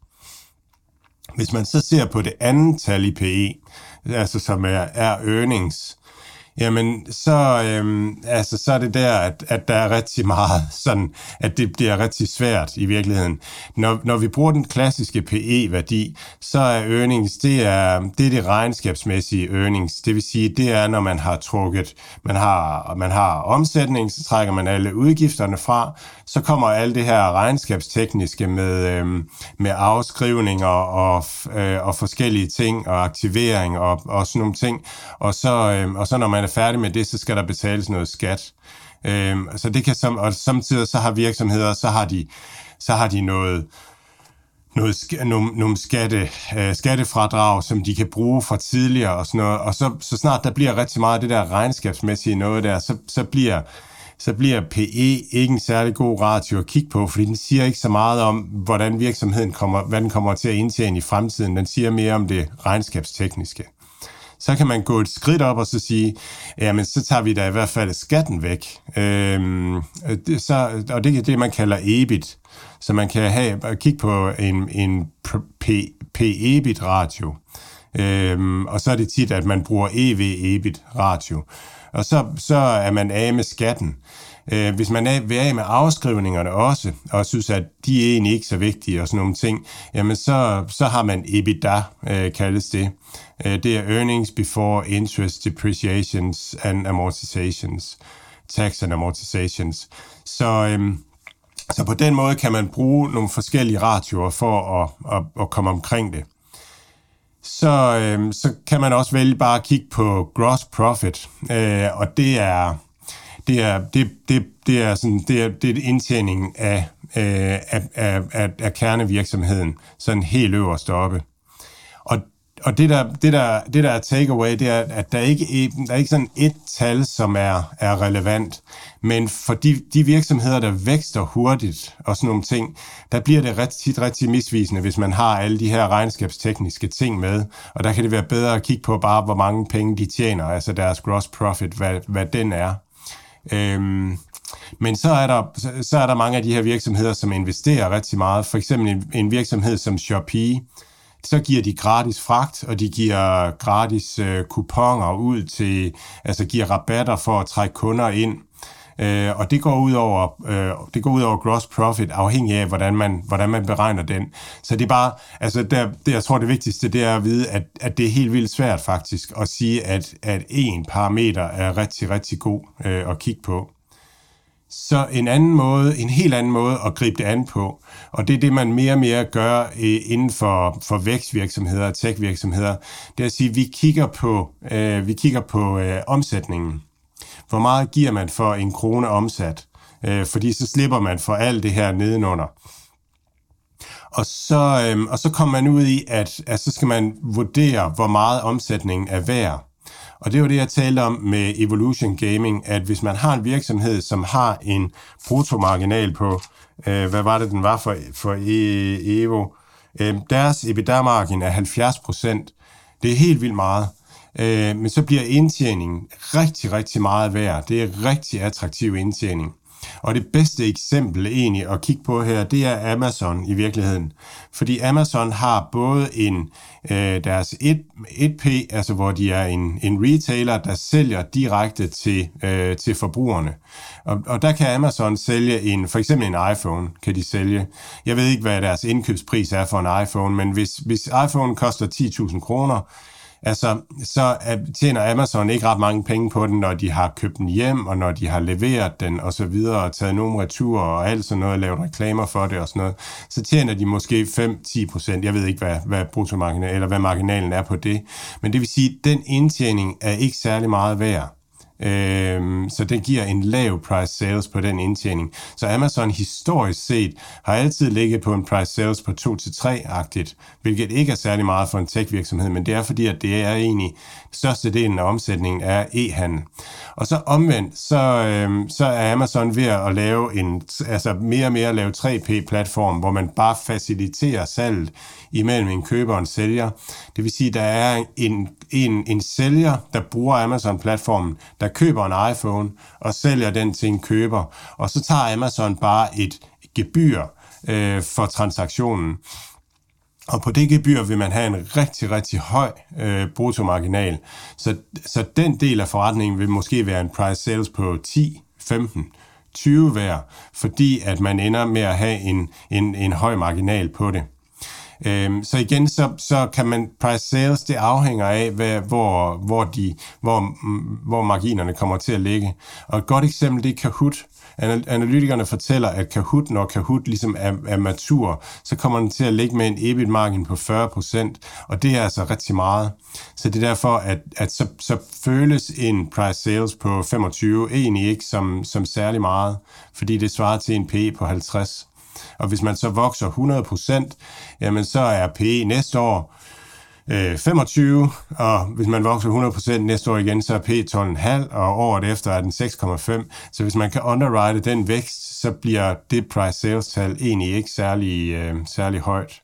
Hvis man så ser på det andet tal i P E, altså som er, er earnings, jamen så, øhm, altså, så er det der, at, at der er rigtig meget sådan, at det bliver rigtig svært i virkeligheden. Når, når vi bruger den klassiske P E-værdi, så er earnings, det er, det er det regnskabsmæssige earnings. Det vil sige, det er, når man har trukket, man har, man har omsætning, så trækker man alle udgifterne fra, så kommer alt det her regnskabstekniske med, øhm, med afskrivninger og, øh, og forskellige ting, og aktivering og, og sådan nogle ting. Og så, øhm, og så når man er færdig med det, så skal der betales noget skat. Øhm, så det kan som, og samtidig så har virksomheder, så har de, så har de noget, noget, nogle, nogle skatte, øh, skattefradrag, som de kan bruge fra tidligere og sådan noget. Og så, så snart der bliver rigtig meget af det der regnskabsmæssige noget der, så, så bliver så bliver P E ikke en særlig god ratio at kigge på, fordi den siger ikke så meget om, hvordan virksomheden kommer, hvad den kommer til at indtjene i fremtiden. Den siger mere om det regnskabstekniske. Så kan man gå et skridt op og så sige, jamen så tager vi da i hvert fald skatten væk. Øhm, det, så, og det er det, man kalder E B I T. Så man kan have, kigge på en, en P E B I T-ratio. Øhm, og så er det tit, at man bruger E V-E B I T-ratio. Og så, så er man af med skatten. Øh, hvis man er, vil af med afskrivningerne også, og synes, at de er egentlig ikke så vigtige og sådan nogle ting, jamen så, så har man EBITDA, øh, kaldes det. Øh, det er earnings before interest, depreciations and amortizations. Tax and amortizations. Så, øh, så på den måde kan man bruge nogle forskellige ratioer for at, at, at komme omkring det. Så, øh, så kan man også vælge bare at kigge på gross profit, øh, og det er det er det det det er sådan det er det er indtjeningen af øh, af, af, af af kernevirksomheden, sådan helt øverst oppe. Og og det der det der det der er takeaway, det er, at der ikke der er ikke sådan et tal, som er er relevant, men for de, de virksomheder, der vækster hurtigt og sådan nogle ting, der bliver det ret tit rigtig misvisende, hvis man har alle de her regnskabstekniske ting med, og der kan det være bedre at kigge på bare, hvor mange penge de tjener, altså deres gross profit, hvad, hvad den er. Øhm, men så er, der, så er der mange af de her virksomheder, som investerer rigtig meget. For eksempel en, en virksomhed som Shopee, så giver de gratis fragt, og de giver gratis øh, kuponer ud til, altså giver rabatter for at trække kunder ind. Øh, og det går ud over øh, det går ud over gross profit, afhængig af hvordan man hvordan man beregner den. Så det er bare, altså der, det jeg tror det vigtigste, det er at vide, at at det er helt vildt svært faktisk at sige, at at en parameter er rigtig rigtig god øh, at kigge på. Så en anden måde, en helt anden måde at gribe det an på, og det er det, man mere og mere gør inden for, for vækstvirksomheder og tech-virksomheder, det er at sige, at vi kigger på, øh, vi kigger på øh, omsætningen. Hvor meget giver man for en krone omsat? Øh, fordi så slipper man for alt det her nedenunder. Og så, øh, og så kommer man ud i, at, at så skal man vurdere, hvor meget omsætningen er værd. Og det var det, jeg talte om med Evolution Gaming, at hvis man har en virksomhed, som har en bruttomarginal på, øh, hvad var det, den var for, for Evo, øh, deres EBITDA-margin er halvfjerds procent. Det er helt vildt meget. Øh, men så bliver indtjeningen rigtig, rigtig meget værd. Det er rigtig attraktiv indtjening. Og det bedste eksempel egentlig at kigge på her, det er Amazon i virkeligheden. Fordi Amazon har både en øh, deres et P, altså hvor de er en, en retailer, der sælger direkte til, øh, til forbrugerne. Og, og der kan Amazon sælge en, for eksempel en iPhone, kan de sælge. Jeg ved ikke, hvad deres indkøbspris er for en iPhone, men hvis, hvis iPhone koster ti tusind kroner, altså, så tjener Amazon ikke ret mange penge på den, når de har købt den hjem, og når de har leveret den, og så videre, og taget nogle returer, og alt sådan noget, og lavet reklamer for det, og sådan noget. Så tjener de måske fem til ti procent. Jeg ved ikke, hvad, hvad bruttomarginalen, eller hvad marginalen er på det. Men det vil sige, at den indtjening er ikke særlig meget værd. Øhm, så det giver en lav price sales på den indtjening. Så Amazon historisk set har altid ligget på en price sales på to til tre-agtigt, hvilket ikke er særlig meget for en tech-virksomhed, men det er fordi, at det er egentlig største delen af omsætningen er e-handel. Og så omvendt, så, øhm, så er Amazon ved at lave en, altså mere og mere lave tre P-platform, hvor man bare faciliterer salget imellem en køber og en sælger. Det vil sige, at der er en, en, en sælger, der bruger Amazon-platformen, der køber en iPhone og sælger den til en køber, og så tager Amazon bare et gebyr øh, for transaktionen. Og på det gebyr vil man have en rigtig, rigtig høj øh, bruttomarginal. Så, så den del af forretningen vil måske være en price sales på ti, femten, tyve hver, fordi at man ender med at have en, en, en høj marginal på det. Øhm, så igen, så, så kan man price sales, det afhænger af, hvad, hvor, hvor, de, hvor, hvor marginerne kommer til at ligge. Og et godt eksempel, det er Kahoot. Analytikerne fortæller, at Kahoot, når Kahoot ligesom er, er matur, så kommer den til at ligge med en E B I T-margin på fyrre procent, og det er altså rigtig meget. Så det er derfor, at, at så, så føles en price sales på femogtyve egentlig ikke som, som særlig meget, fordi det svarer til en P E på halvtreds. Og hvis man så vokser hundrede procent, jamen så er P E næste år øh, femogtyve, og hvis man vokser hundrede procent næste år igen, så er P E tolv komma fem, og året efter er den seks komma fem. Så hvis man kan underwrite den vækst, så bliver det price sales tal egentlig ikke særlig, øh, særlig højt.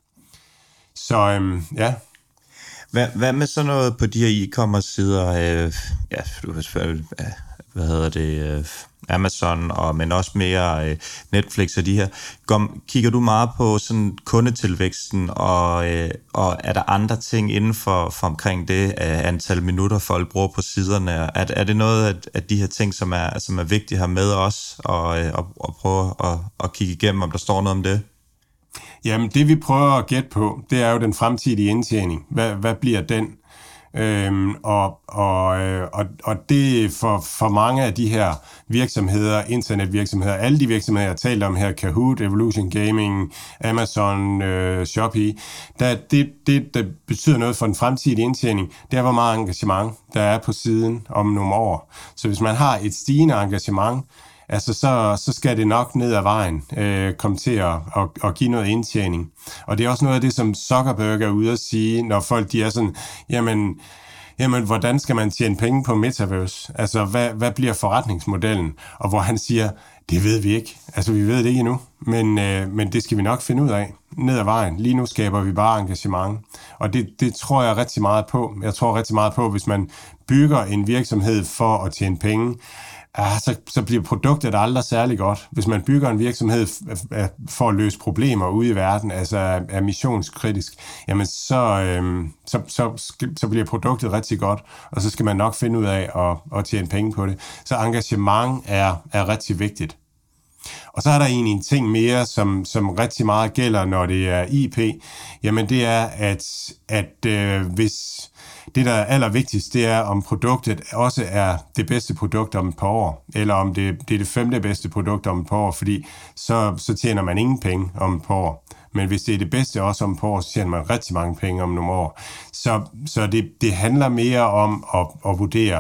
Så øh, ja. Hvad, hvad med sådan noget på de her e-commerce sider? Øh, ja, du kan selvfølgelig, hvad hedder det, øh, Amazon, og, men også mere øh, Netflix og de her. Kom, kigger du meget på sådan kundetilvæksten, og, øh, og er der andre ting inden for, for omkring det øh, antal minutter, folk bruger på siderne? Er, er det noget af, af de her ting, som er, som er vigtigt her med os, og, øh, og, og prøve at og kigge igennem, om der står noget om det? Jamen, det vi prøver at gætte på, det er jo den fremtidige indtjening. Hvad, hvad bliver den? Øhm, og, og, og, og det for, for mange af de her virksomheder, internetvirksomheder, alle de virksomheder, jeg har talt om her, Kahoot, Evolution Gaming, Amazon, øh, Shopee, der, det, det, der betyder noget for den fremtidige indtjening, det er, hvor meget engagement der er på siden om nogle år. Så hvis man har et stigende engagement, altså så, så skal det nok ned ad vejen øh, komme til at, at, at give noget indtjening. Og det er også noget af det, som Zuckerberg er ude at sige, når folk de er sådan, jamen, jamen hvordan skal man tjene penge på Metaverse? Altså, hvad, hvad bliver forretningsmodellen? Og hvor han siger, det ved vi ikke. Altså, vi ved det ikke endnu, men, øh, men det skal vi nok finde ud af ned ad vejen. Lige nu skaber vi bare engagement. Og det, det tror jeg rigtig meget på. Jeg tror rigtig meget på, hvis man bygger en virksomhed for at tjene penge, Ah, så, så bliver produktet aldrig særlig godt. Hvis man bygger en virksomhed for at løse problemer ude i verden, altså er, er missionskritisk, jamen så, øhm, så, så, så bliver produktet rigtig godt, og så skal man nok finde ud af at, at tjene penge på det. Så engagement er, er rigtig vigtigt. Og så er der egentlig en ting mere, som, som rigtig meget gælder, når det er I P. Jamen det er, at, at øh, hvis det, der er allervigtigst, det er, om produktet også er det bedste produkt om et par år, eller om det, det er det femte bedste produkt om et par år, fordi så, så tjener man ingen penge om et par år. Men hvis det er det bedste også om et par år, så tjener man rigtig mange penge om nogle år. Så, så det, det handler mere om at, at vurdere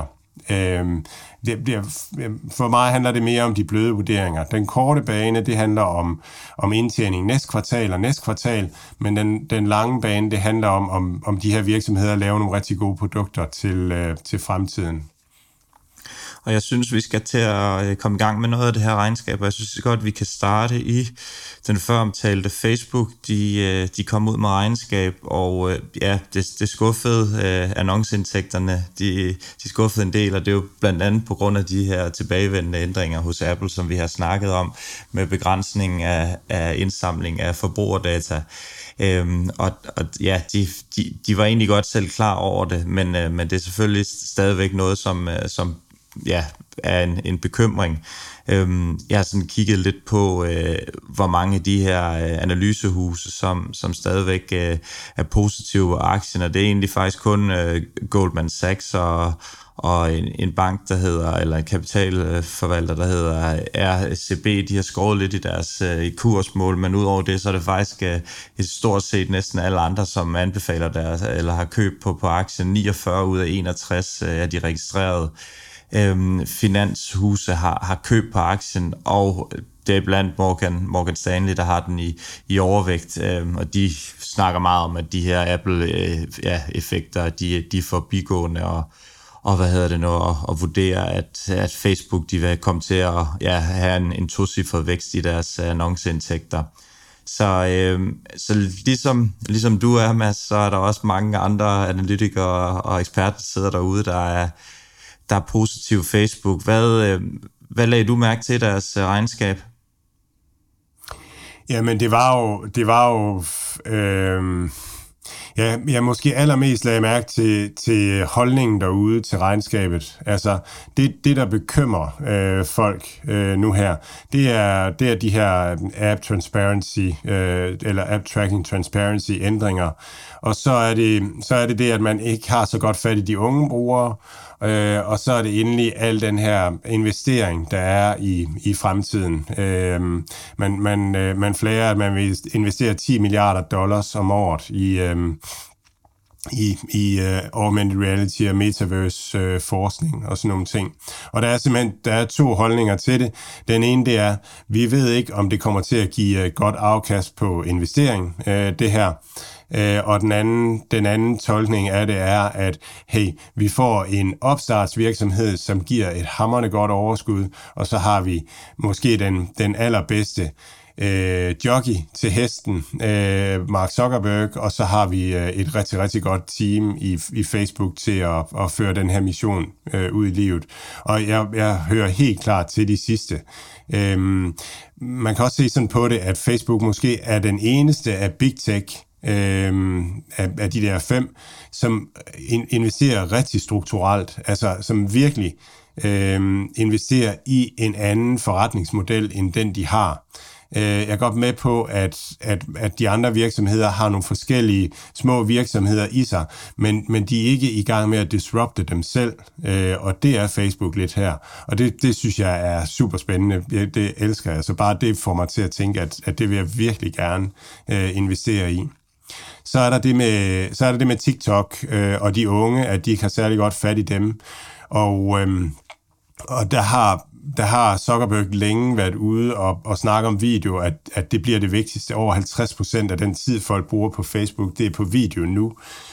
Øh, det, det, for mig handler det mere om de bløde vurderinger. Den korte bane, det handler om, om indtjening næste kvartal og næste kvartal, men den, den lange bane, det handler om, om, om de her virksomheder laver nogle rigtig gode produkter til, øh, til fremtiden. Og jeg synes, vi skal til at komme i gang med noget af det her regnskab, og jeg synes godt, vi kan starte i den føromtalte Facebook. De, de kom ud med regnskab, og ja, det, det skuffede annonceindtægterne. De, de skuffede en del, og det er jo blandt andet på grund af de her tilbagevendende ændringer hos Apple, som vi har snakket om, med begrænsning af, af indsamling af forbrugerdata. Øhm, og, og ja, de, de, de var egentlig godt selv klar over det, men, men det er selvfølgelig stadigvæk noget, som, som ja, er en, en bekymring. Øhm, jeg har sådan kigget lidt på, øh, hvor mange af de her øh, analysehuse, som, som stadigvæk øh, er positive af aktien, og det er egentlig faktisk kun øh, Goldman Sachs og, og en, en bank, der hedder, eller en kapitalforvalter, der hedder R C B, de har skåret lidt i deres øh, kursmål, men udover det, så er det faktisk øh, et stort set næsten alle andre, som anbefaler deres, eller har købt på, på aktien. niogfyrre ud af enogtres øh, er de registreret Øhm, finanshuse har, har købt på aktien, og det er blandt Morgan, Morgan Stanley, der har den i, i overvægt, øhm, og de snakker meget om, at de her Apple-effekter, øh, ja, de, de er forbigående, og, og hvad hedder det nu, og, og vurderer, at, at Facebook, de vil komme til at ja, have en, en tocifret vækst i deres annonceindtægter. Så, øh, så ligesom, ligesom du er, Mads, så er der også mange andre analytikere og eksperter, der sidder derude, der er der er positiv Facebook. Hvad, hvad lagde du mærke til deres regnskab? Jamen, det var jo, det var jo øh, ja, jeg måske allermest lagde mærke til, til holdningen derude til regnskabet. Altså, det, det der bekymrer øh, folk øh, nu her, det er, det er de her app transparency, øh, eller app tracking transparency ændringer. Og så er, det, så er det det, at man ikke har så godt fat i de unge brugere, Øh, og så er det endelig al den her investering, der er i, i fremtiden. Øh, man, man, øh, man flager, at man vil investere ti milliarder dollars om året i, øh, i, i uh, augmented reality og metaverse uh, forskning og sådan nogle ting. Og der er simpelthen der er to holdninger til det. Den ene, det er, vi ved ikke, om det kommer til at give uh, godt afkast på investering, uh, det her. Uh, og den anden, den anden tolkning af det er, at hey, vi får en opstartsvirksomhed, som giver et hamrende godt overskud, og så har vi måske den, den allerbedste Øh, jockey til hesten, øh, Mark Zuckerberg, og så har vi øh, et rigtig, rigtig godt team i, i Facebook til at, at føre den her mission øh, ud i livet. Og jeg, jeg hører helt klart til de sidste. Øh, man kan også se sådan på det, at Facebook måske er den eneste af Big Tech, øh, af, af de der fem, som in, investerer rigtig strukturelt, altså som virkelig øh, investerer i en anden forretningsmodel, end den de har. Jeg er godt med på, at, at, at de andre virksomheder har nogle forskellige små virksomheder i sig, men, men de er ikke i gang med at disrupte dem selv, og det er Facebook lidt her. Og det, det synes jeg er super spændende. Det elsker jeg. Så bare det får mig til at tænke, at, at det vil jeg virkelig gerne uh, investere i. Så er der det med, så er der det med TikTok uh, og de unge, at de ikke har særlig godt fat i dem. Og, um, og der har Der har Zuckerberg længe været ude og, og snakke om video, at, at det bliver det vigtigste. Over halvtreds procent af den tid, folk bruger på Facebook, det er på video nu.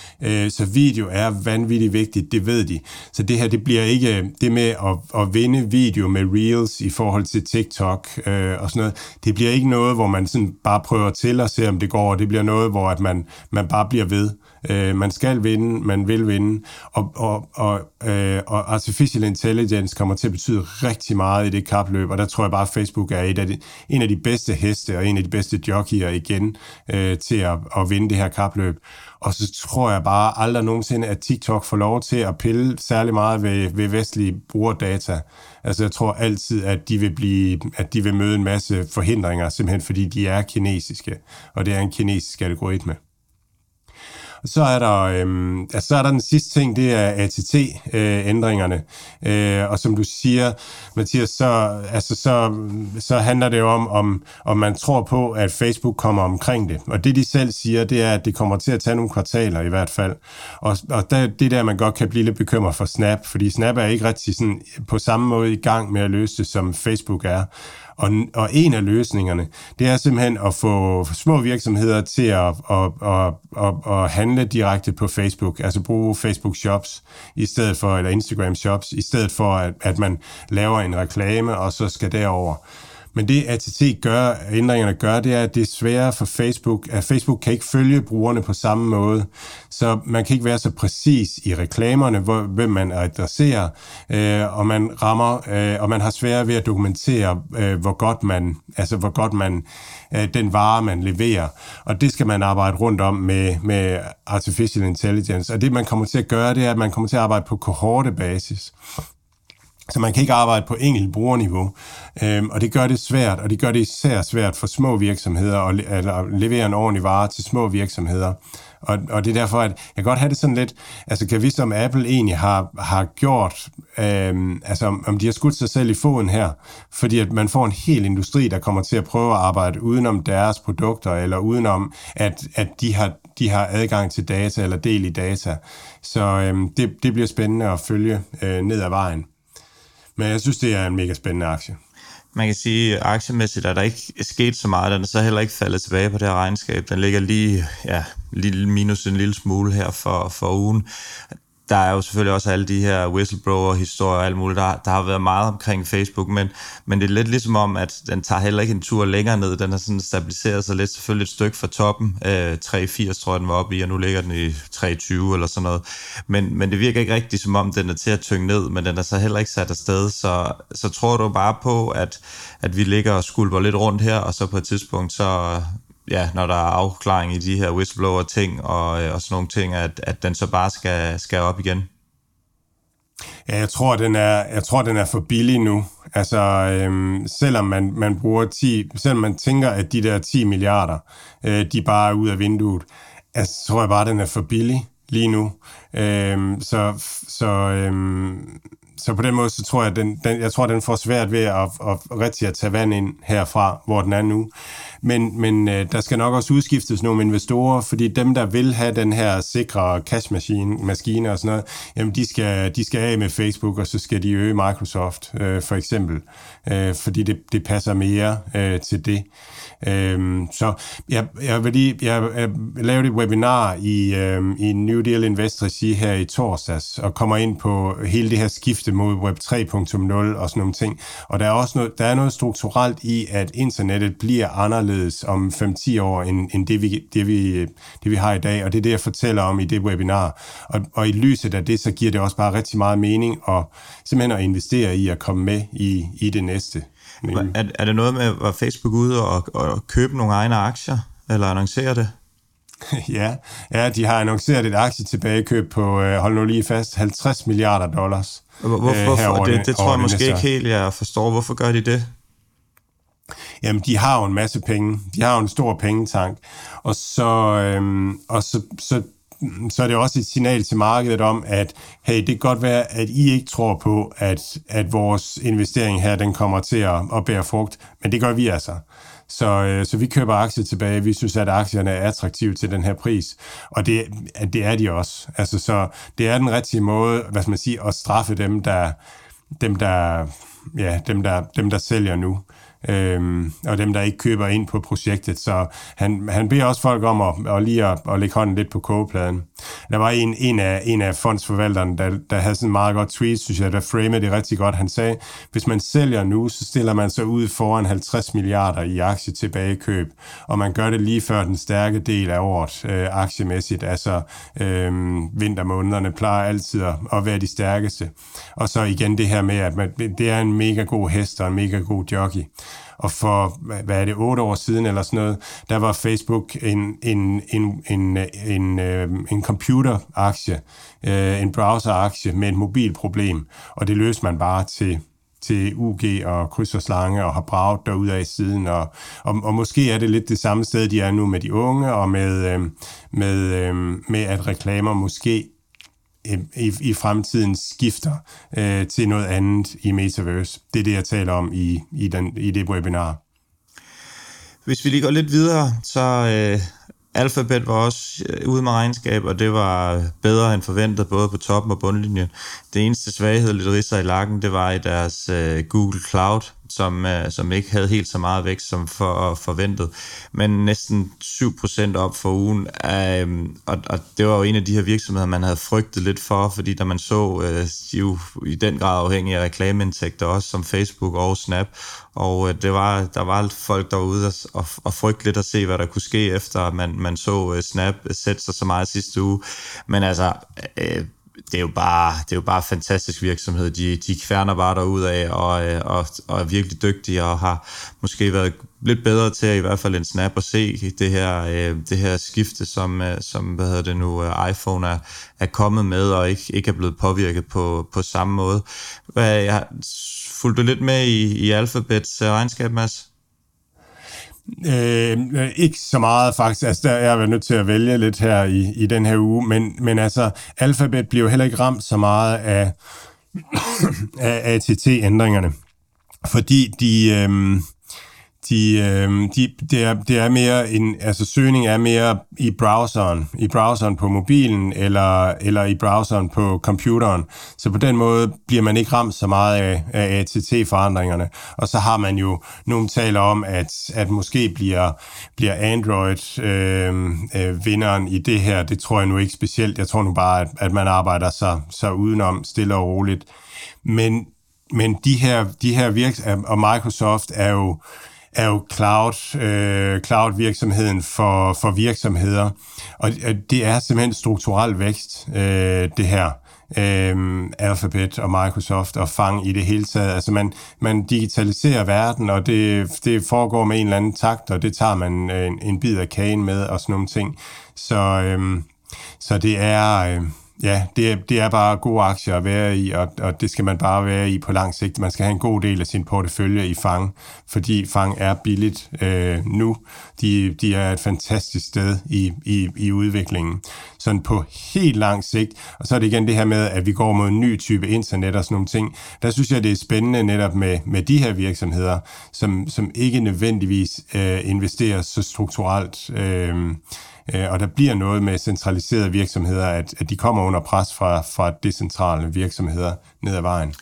Så video er vanvittigt vigtigt, det ved de. Så det her, det bliver ikke det med at, at vinde video med Reels i forhold til TikTok øh, og sådan noget. Det bliver ikke noget, hvor man sådan bare prøver til at se, om det går. Det bliver noget, hvor at man, man bare bliver ved. Øh, man skal vinde, man vil vinde. Og, og, og, øh, og artificial intelligence kommer til at betyde rigtig meget i det kapløb, og der tror jeg bare, at Facebook er et af de, en af de bedste heste og en af de bedste jockeyer igen øh, til at, at vinde det her kapløb. Og så tror jeg bare aldrig nogensinde, at TikTok får lov til at pille særlig meget ved, ved vestlige brugerdata. Altså jeg tror altid, at de vil blive, at de vil møde en masse forhindringer, simpelthen fordi de er kinesiske, og det er en kinesisk algoritme. Så er der, øhm, altså, så er der den sidste ting, det er A T T-ændringerne. Øh, og som du siger, Mathias, så, altså, så, så handler det jo om, om, om man tror på, at Facebook kommer omkring det. Og det, de selv siger, det er, at det kommer til at tage nogle kvartaler i hvert fald. Og, og der, det der, man godt kan blive lidt bekymret for Snap, fordi Snap er ikke rigtig sådan, på samme måde i gang med at løse det, som Facebook er. Og, og en af løsningerne, det er simpelthen at få små virksomheder til at, at, at, at, at handle direkte på Facebook, altså bruge Facebook Shops i stedet for, eller Instagram Shops, i stedet for, at, at man laver en reklame, og så skal derover. Men det A T T gør, ændringerne gør, det er, at det er sværere for Facebook, at Facebook kan ikke følge brugerne på samme måde. Så man kan ikke være så præcis i reklamerne, hvor, hvem man adresserer, øh, og man rammer, øh, og man har sværere ved at dokumentere, øh, hvor godt man, altså hvor godt man, øh, den vare, man leverer. Og det skal man arbejde rundt om med, med artificial intelligence. Og det, man kommer til at gøre, det er, at man kommer til at arbejde på kohortebasis. Så man kan ikke arbejde på enkelt brugerniveau, øhm, og det gør det svært, og det gør det især svært for små virksomheder at, at, at levere en ordentlig vare til små virksomheder. Og, og det er derfor, at jeg kan godt have det sådan lidt, altså kan jeg vide, om Apple egentlig har, har gjort, øhm, altså om de har skudt sig selv i foden her, fordi at man får en hel industri, der kommer til at prøve at arbejde udenom deres produkter, eller udenom, at, at de har de har adgang til data, eller del i data. Så øhm, det, det bliver spændende at følge øh, ned ad vejen. Men jeg synes, det er en mega spændende aktie. Man kan sige, at aktiemæssigt er der ikke sket så meget. Den er så heller ikke faldet tilbage på det her regnskab. Den ligger lige, ja, lige minus en lille smule her for, for ugen. Der er jo selvfølgelig også alle de her whistleblower-historier og alt muligt. Der, der har været meget omkring Facebook, men, men det er lidt ligesom om, at den tager heller ikke en tur længere ned. Den har sådan stabiliseret sig lidt, selvfølgelig et stykke fra toppen. Øh, tre firs tror jeg, den var oppe i, og nu ligger den i tre tyve eller sådan noget. Men, men det virker ikke rigtigt, som om den er til at tynge ned, men den er så heller ikke sat afsted. Så, så tror du bare på, at, at vi ligger og skulper lidt rundt her, og så på et tidspunkt, så... ja, når der er afklaring i de her whistleblower-ting og, og sådan nogle ting, at, at den så bare skal, skal op igen? Ja, jeg tror, den er, jeg tror, den er for billig nu. Altså, øhm, selvom man, man bruger ti, selvom man tænker, at de der ti milliarder, øh, de bare er ud af vinduet, altså, så tror jeg bare, den er for billig lige nu. Øhm, så, så, øhm, så på den måde, så tror jeg, den, den, jeg tror, den får svært ved at, at rigtig at tage vand ind herfra, hvor den er nu. Men, men øh, der skal nok også udskiftes nogle investorer, fordi dem, der vil have den her sikre cash-maskine og sådan noget, jamen de skal, de skal af med Facebook, og så skal de øge Microsoft, øh, for eksempel. Øh, fordi det, det passer mere øh, til det. Øh, så jeg, jeg, vil lige, jeg, jeg lavede et webinar i, øh, i New Deal Invest regi her i torsdags, og kommer ind på hele det her skifte mod Web tre punkt nul og sådan nogle ting. Og der er også noget, der er noget strukturelt i, at internettet bliver anderledes om fem til ti år, end, end det, vi, det, vi, det vi har i dag, og det er det, jeg fortæller om i det webinar. Og, og i lyset af det, så giver det også bare rigtig meget mening at simpelthen at investere i at komme med i, i det næste. Er, er det noget med, at Facebook ude og, og købe nogle egne aktier, eller annoncere det? ja, ja, de har annonceret et aktietilbagekøb på, hold nu lige fast, halvtreds milliarder dollars. Hvorfor? Hvorfor? Det, det tror jeg måske ikke helt, jeg forstår. Hvorfor gør de det? Jamen, de har jo en masse penge. De har jo en stor pengetank. Og så, øhm, og så, så, så er det også et signal til markedet om, at hey, det kan godt være, at I ikke tror på, at, at vores investering her, den kommer til at, at bære frugt. Men det gør vi altså. Så, øh, så vi køber aktier tilbage. Vi synes, at aktierne er attraktive til den her pris. Og det, det er de også. Altså, så det er den rigtige måde, hvad skal man sige, at straffe dem, der, dem, der, ja, dem, der, dem, der sælger nu. Øhm, og dem, der ikke køber ind på projektet. Så han, han beder også folk om at, at lige at, at lægge hånden lidt på kogepladen. Der var en, en, af, en af fondsforvalterne, der, der havde sådan en meget godt tweet, synes jeg, der framede det rigtig godt. Han sagde, hvis man sælger nu, så stiller man sig ud foran halvtreds milliarder i aktie tilbagekøb, og man gør det lige før den stærke del af året øh, aktiemæssigt. Altså øh, vintermånederne plejer altid at, at være de stærkeste. Og så igen det her med, at man, det er en mega god hest og en mega god jockey. Og for, hvad er det, otte år siden eller sådan noget, der var Facebook en, en, en, en, en, en computeraktie, en browseraktie med et mobilproblem, og det løste man bare til til U G og kryds og slange og har braget derudad siden, og, og, og måske er det lidt det samme sted, de er nu med de unge, og med, øh, med, øh, med at reklamer måske i, i fremtiden skifter øh, til noget andet i Metaverse. Det er det, jeg taler om i, i, den, i det webinar. Hvis vi lige går lidt videre, så øh, Alphabet var også øh, ude med regnskab, og det var bedre end forventet, både på toppen og bundlinjen. Det eneste svaghed, lidt ridser i lakken, det var i deres øh, Google Cloud, som, øh, som ikke havde helt så meget vækst som for, forventet, men næsten syv procent op for ugen. Øh, og, og det var jo en af de her virksomheder, man havde frygtet lidt for, fordi da man så, øh, de jo i den grad afhængige af reklameindtægter, også som Facebook og Snap, og øh, det var, der var folk derude og, og, og frygte lidt at se, hvad der kunne ske, efter man, man så øh, Snap sætte sig så meget sidste uge. Men altså... Øh, Det er jo bare, det er jo bare fantastisk virksomhed. De, de kværner bare derudad og, og, og er virkelig dygtige og har måske været lidt bedre til at, i hvert fald en Snap at se det her, det her skifte, som, som hvad hedder det nu, iPhone er, er kommet med og ikke, ikke er blevet påvirket på, på samme måde. Jeg fulgte du lidt med i, i Alphabets regnskab, Mads? Øh, ikke så meget faktisk, altså der er jeg været nødt til at vælge lidt her i, i den her uge, men, men altså Alphabet bliver jo heller ikke ramt så meget af, af A T T-ændringerne, fordi de, øhm, de, øhm, de, det, er, det er mere en, altså søgning er mere i browseren, i browseren på mobilen eller, eller i browseren på computeren, så på den måde bliver man ikke ramt så meget af, af A T T-forandringerne, og så har man jo, nogen taler om, at, at måske bliver, bliver Android øh, øh, vinderen i det her, det tror jeg nu ikke specielt, jeg tror nu bare, at, at man arbejder sig, sig udenom stille og roligt, men, men de her, de her virks- og Microsoft er jo er jo cloud, øh, cloud-virksomheden for, for virksomheder. Og det er simpelthen strukturel vækst, øh, det her. Øh, Alphabet og Microsoft og Fang i det hele taget. Altså man, man digitaliserer verden, og det, det foregår med en eller anden takt, og det tager man en, en bid af kagen med og sådan nogle ting. Så, øh, så det er... Øh, Ja, det er, det er bare gode aktier at være i, og, og det skal man bare være i på lang sigt. Man skal have en god del af sin portefølje i Fang, fordi Fang er billigt øh, nu. De, de er et fantastisk sted i, i, i udviklingen. Sådan på helt lang sigt. Og så er det igen det her med, at vi går mod en ny type internet og sådan nogle ting. Der synes jeg, det er spændende netop med, med de her virksomheder, som, som ikke nødvendigvis øh, investerer så strukturelt. Øh, Og der bliver noget med centraliserede virksomheder, at, at de kommer under pres fra, fra decentrale virksomheder ned ad vejen.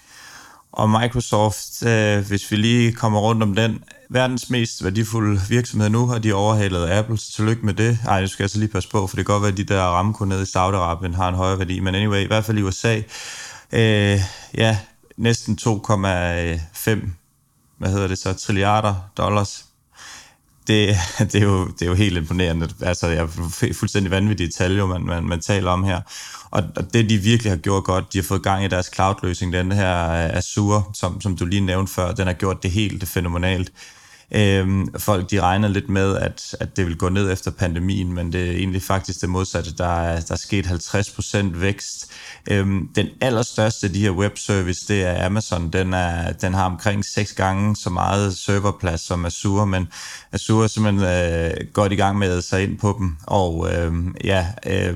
Og Microsoft, øh, hvis vi lige kommer rundt om den, verdens mest værdifulde virksomhed nu, har de overhalet Apple, så tillykke med det. Ej, det skal jeg så lige passe på, for det kan godt være, at de der Aramco nede i Saudi-Arabien har en højere værdi, men anyway, i hvert fald i U S A, øh, ja, næsten to komma fem, hvad hedder det så, trilliarder dollars. Det, det, er jo, det er jo helt imponerende. Altså, jeg er fuldstændig vanvittige tal, jo, man, man, man taler om her. Og, og det, de virkelig har gjort godt, de har fået gang i deres cloud-løsning, den her Azure, som, som du lige nævnte før, den har gjort det helt fænomenalt. Øhm, folk, de regner lidt med, at, at det vil gå ned efter pandemien, men det er egentlig faktisk det modsatte. Der er, der er sket halvtreds procent vækst. Øhm, den allerstørste af de her webservice, det er Amazon. Den, er, den har omkring seks gange så meget serverplads som Azure, men Azure er simpelthen øh, godt i gang med at sig ind på dem. Og øh, ja... Øh,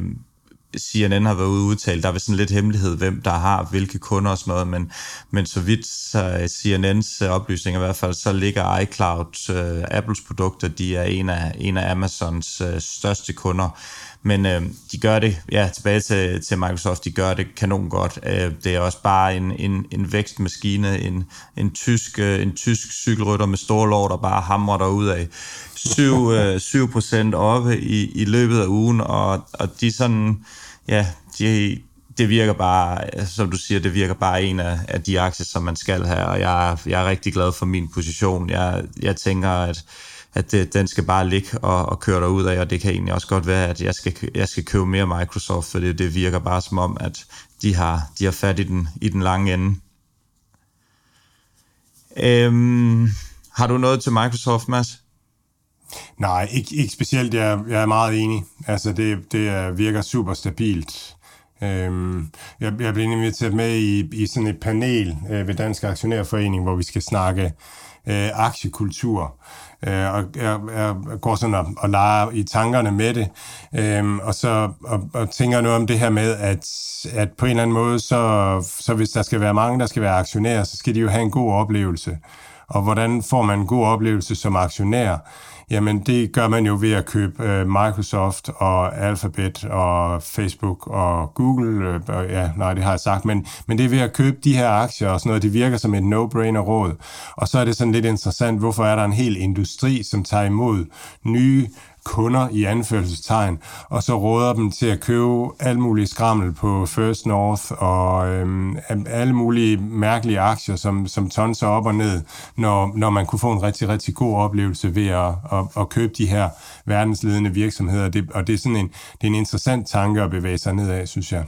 C N N har været ude udtalt, der er sådan lidt hemmelighed, hvem der har hvilke kunder og sådan noget, men, men så vidt så C N N's oplysninger i hvert fald, så ligger iCloud, uh, Apples produkter, de er en af, en af Amazons uh, største kunder, men uh, de gør det, ja, tilbage til, til Microsoft, de gør det kanon godt. Uh, det er også bare en, en, en vækstmaskine, en, en, tysk, uh, en tysk cykelrytter med store lår, der bare hamrer derudad. syv procent oppe i, i løbet af ugen, og, og de sådan, ja, de, det virker bare, som du siger, det virker bare en af, af de aktier, som man skal have, og jeg, jeg er rigtig glad for min position. Jeg, jeg tænker, at, at det, den skal bare ligge og, og køre derud af, og det kan egentlig også godt være, at jeg skal, jeg skal købe mere Microsoft, for det, det virker bare som om, at de har, de har fat i den, i den lange ende. Øhm, har du noget til Microsoft, Mads? Nej, ikke, ikke specielt. Jeg, jeg er meget enig. Altså, det, det virker super stabilt. Øhm, jeg, jeg blev inviteret med i, i sådan et panel øh, ved Dansk Aktionærforening, hvor vi skal snakke øh, aktiekultur. Øh, og jeg, jeg går sådan og, og leger i tankerne med det, øhm, og så og, og tænker noget om det her med, at, at på en eller anden måde, så, så hvis der skal være mange, der skal være aktionærer, så skal de jo have en god oplevelse. Og hvordan får man en god oplevelse som aktionær? Jamen, det gør man jo ved at købe øh, Microsoft og Alphabet og Facebook og Google. Øh, ja, nej, det har jeg sagt, men, men det er ved at købe de her aktier og sådan noget. Det virker som et no-brainer-råd. Og så er det sådan lidt interessant, hvorfor er der en hel industri, som tager imod nye kunder i anførselstegn, og så råder dem til at købe alt muligt skrammel på First North og øhm, alle mulige mærkelige aktier, som, som tonser op og ned, når, når man kunne få en rigtig, rigtig god oplevelse ved at, at, at købe de her verdensledende virksomheder. Det, og det er sådan en, det er en interessant tanke at bevæge sig nedad, synes jeg.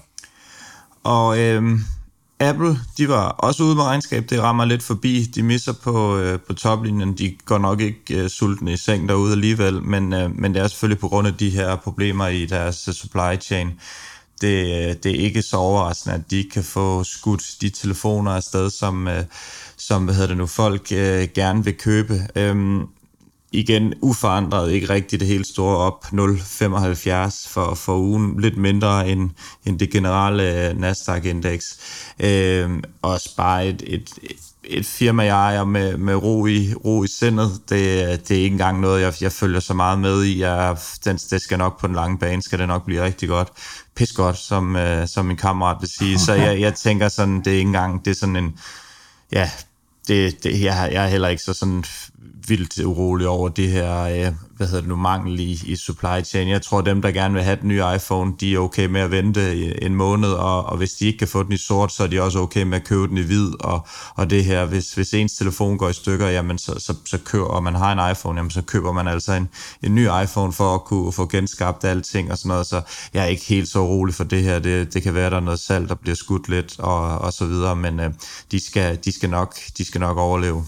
Og øhm Apple, de var også ude med regnskab, det rammer lidt forbi, de misser på, øh, på toplinjen, de går nok ikke øh, sultne i seng derude alligevel, men, øh, men det er selvfølgelig på grund af de her problemer i deres uh, supply chain. Det, øh, det er ikke så overraskende, at de kan få skudt de telefoner afsted, som, øh, som hvad hedder det nu, folk øh, gerne vil købe. Øhm, Igen uforandret, ikke rigtig det helt store op, nul komma femoghalvfjerds for, for ugen, lidt mindre end, end det generelle Nasdaq-indeks. Øhm, også bare et, et, et firma, jeg ejer med, med ro, i, ro i sindet. Det, det er ikke engang noget, jeg, jeg følger så meget med i. Jeg, den, det skal nok på den lange bane, skal det nok blive rigtig godt. Pis godt, som, øh, som min kammerat vil sige. Så jeg, jeg tænker sådan, det er ikke engang, det er sådan en, ja, det, det, jeg, jeg er heller ikke så sådan vildt urolig over det her, øh, hvad hedder det nu, mangel i, i supply chain. Jeg tror, dem, der gerne vil have den nye iPhone, de er okay med at vente en måned, og, og hvis de ikke kan få den i sort, så er de også okay med at købe den i hvid, og, og det her, hvis, hvis ens telefon går i stykker, jamen så, så, så køber, og man har en iPhone, jamen så køber man altså en, en ny iPhone for at kunne få genskabt alting og sådan noget, så jeg er ikke helt så urolig for det her. Det, det kan være, der er noget salg, der bliver skudt lidt, og, og så videre, men øh, de, skal, de, skal nok, de skal nok overleve.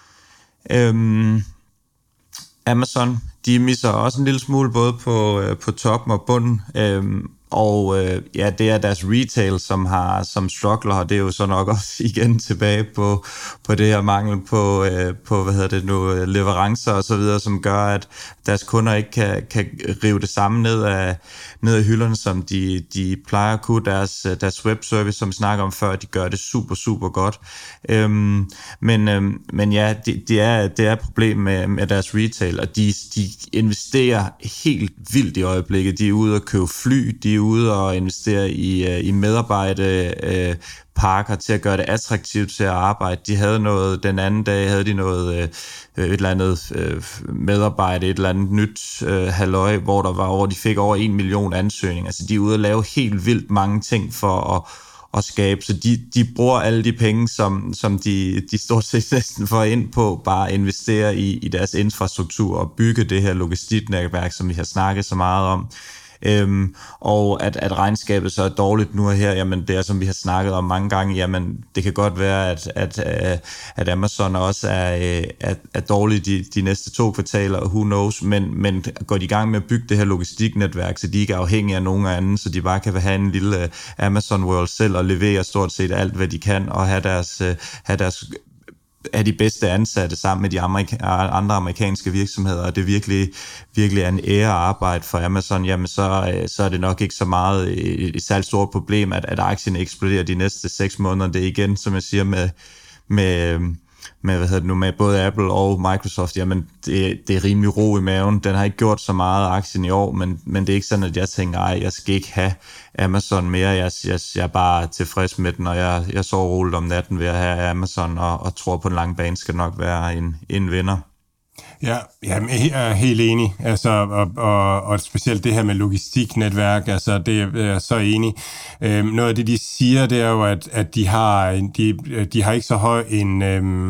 Øhm, Amazon, de misser også en lille smule både på, øh, på toppen og bunden, øhm, og øh, ja, det er deres retail, som har som struggler, og det er jo så nok også igen tilbage på, på det her mangel på, øh, på hvad hedder det nu, leverancer og så videre, som gør, at deres kunder ikke kan, kan rive det samme ned af, ned af hylderne, som de, de plejer at kunne. Deres, deres webservice, som vi snakker om før, de gør det super, super godt. Øhm, men, øhm, men ja, det, det, er, det er et problem med, med deres retail, og de, de investerer helt vildt i øjeblikket. De er ude at købe fly, de er ude og investere i, i medarbejde, øh, parker til at gøre det attraktivt til at arbejde. De havde noget, den anden dag havde de noget, øh, et eller andet øh, medarbejde, et eller andet nyt øh, halløj, hvor der var over, de fik over en million ansøgninger. Altså de er ude at lave helt vildt mange ting for at, at skabe, så de, de bruger alle de penge, som, som de, de stort set næsten får ind på, bare at investere i, i deres infrastruktur og bygge det her logistiknetværk, som vi har snakket så meget om. Øhm, og at, at regnskabet så er dårligt nu og her, jamen det er, som vi har snakket om mange gange, jamen det kan godt være, at, at, at Amazon også er, er, er dårligt de, de næste to kvartaler, who knows, men, men går de i gang med at bygge det her logistiknetværk, så de ikke er afhængige af nogen anden, så de bare kan have en lille Amazon World selv og levere stort set alt, hvad de kan, og have deres, have deres er de bedste ansatte sammen med de amerika- andre amerikanske virksomheder, og det virkelig, virkelig er en ære at arbejde for Amazon, jamen så, så er det nok ikke så meget et, et særligt stort problem, at, at aktien eksploderer de næste seks måneder. Det er igen, som jeg siger, med, med, med, hvad hedder det nu, med både Apple og Microsoft, jamen det, det er rimelig ro i maven. Den har ikke gjort så meget aktien i år, men, men det er ikke sådan, at jeg tænker, ej, jeg skal ikke have Amazon mere. Jeg, jeg, jeg er bare tilfreds med den, og jeg, jeg sover roligt om natten ved at have Amazon, og, og tror på en lang bane skal nok være en, en vinder. Ja, jeg er helt enig, altså, og, og, og specielt det her med logistiknetværk, altså, det er jeg så enig. Øhm, noget af det, de siger, det er jo, at, at de, har, de, de har ikke så høj en, øhm,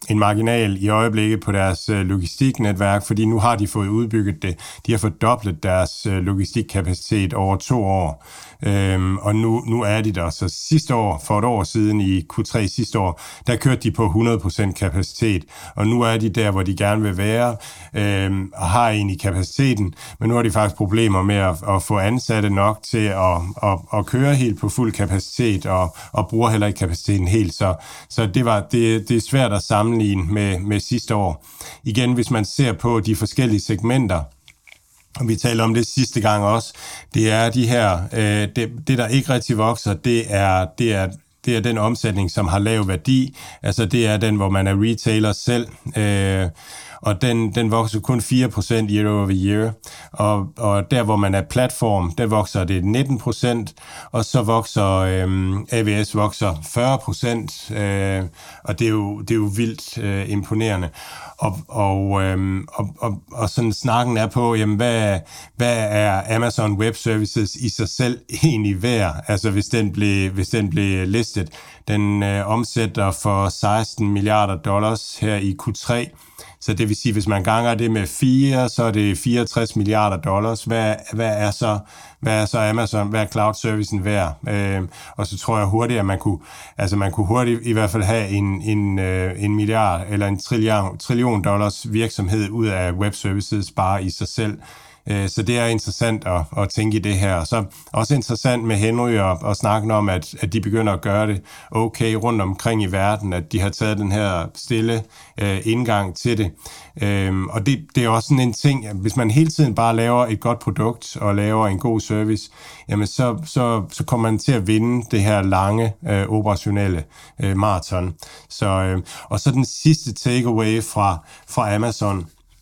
en marginal i øjeblikket på deres øh, logistiknetværk, fordi nu har de fået udbygget det. De har fordoblet deres øh, logistikkapacitet over to år. Øhm, og nu, nu er de der. Så sidste år, for et år siden i Q tre sidste år, der kørte de på hundrede procent kapacitet. Og nu er de der, hvor de gerne vil være, øhm, og har egentlig kapaciteten. Men nu har de faktisk problemer med at, at få ansatte nok til at, at, at køre helt på fuld kapacitet, og, og bruger heller ikke kapaciteten helt. Så, så det, var, det, det er svært at sammenligne med, med sidste år. Igen, hvis man ser på de forskellige segmenter, og vi talte om det sidste gang også, det er de her, øh, det, det der ikke rigtig vokser, det er, det er, det er den omsætning, som har lav værdi, altså det er den, hvor man er retailer selv, øh, og den, den vokser kun fire procent year over year, og, og der, hvor man er platform, der vokser det nitten procent, og så vokser øhm, A W S vokser fyrre procent, øh, og det er jo, det er jo vildt øh, imponerende. Og, og, øhm, og, og, og sådan snakken er på, jamen, hvad, hvad er Amazon Web Services i sig selv egentlig værd, altså hvis den blev, hvis den blev listet. Den øh, omsætter for seksten milliarder dollars her i Q tre, så det vil sige, hvis man ganger det med fire, så er det fireogtres milliarder dollars. Hvad, hvad, er, så, hvad er så Amazon, hvad er cloud servicen værd? Øh, og så tror jeg hurtigt, at man kunne, altså man kunne hurtigt i hvert fald have en, en, en milliard eller en trillion, trillion dollars virksomhed ud af web services bare i sig selv. Så det er interessant at, at tænke i det her. Så også interessant med Henry og, og snakke om, at, at de begynder at gøre det okay rundt omkring i verden, at de har taget den her stille øh, indgang til det. Øhm, og det, det er også sådan en ting, at hvis man hele tiden bare laver et godt produkt og laver en god service, jamen så, så, så kommer man til at vinde det her lange øh, operationelle øh, maraton. Så, øh, og så den sidste takeaway fra, fra Amazon,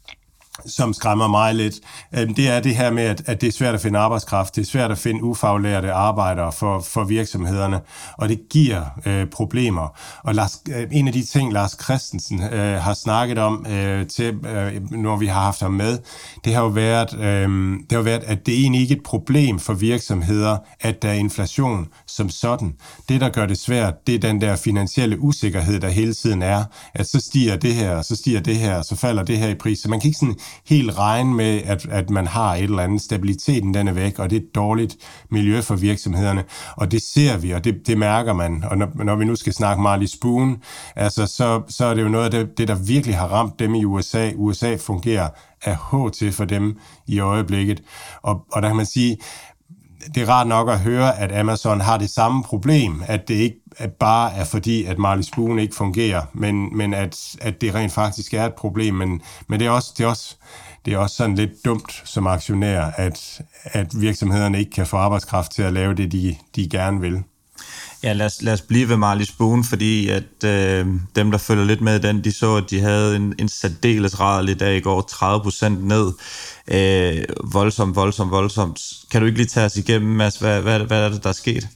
som skræmmer mig lidt, det er det her med, at det er svært at finde arbejdskraft, det er svært at finde ufaglærte arbejdere for, for virksomhederne, og det giver øh, problemer. Og Lars, en af de ting, Lars Christensen øh, har snakket om, øh, til, øh, når vi har haft ham med, det har jo været, øh, det har været, at det er egentlig ikke et problem for virksomheder, at der er inflation som sådan. Det, der gør det svært, det er den der finansielle usikkerhed, der hele tiden er, at så stiger det her, så stiger det her, så falder det her i pris. Så man kan ikke sådan helt regne med, at, at man har et eller andet. Stabiliteten, den er væk, og det er et dårligt miljø for virksomhederne. Og det ser vi, og det, det mærker man. Og når, når vi nu skal snakke Marley Spoon, altså, så, så er det jo noget af det, det, der virkelig har ramt dem i U S A. U S A fungerer af H til for dem i øjeblikket. Og, og der kan man sige, det er rart nok at høre, at Amazon har det samme problem, at det ikke at bare er fordi, at Marley Spoon ikke fungerer, men, men at, at det rent faktisk er et problem. Men, men det, er også, det, er også, det er også sådan lidt dumt som aktionær, at, at virksomhederne ikke kan få arbejdskraft til at lave det, de, de gerne vil. Ja, lad os, lad os blive ved Marley Spoon, fordi at øh, dem, der følger lidt med den, de så, at de havde en, en særdeles rædderlig dag i går, tredive procent ned. Øh, voldsomt, voldsomt, voldsomt. Kan du ikke lige tage os igennem, Mads, hvad, hvad, hvad er det, der er sket?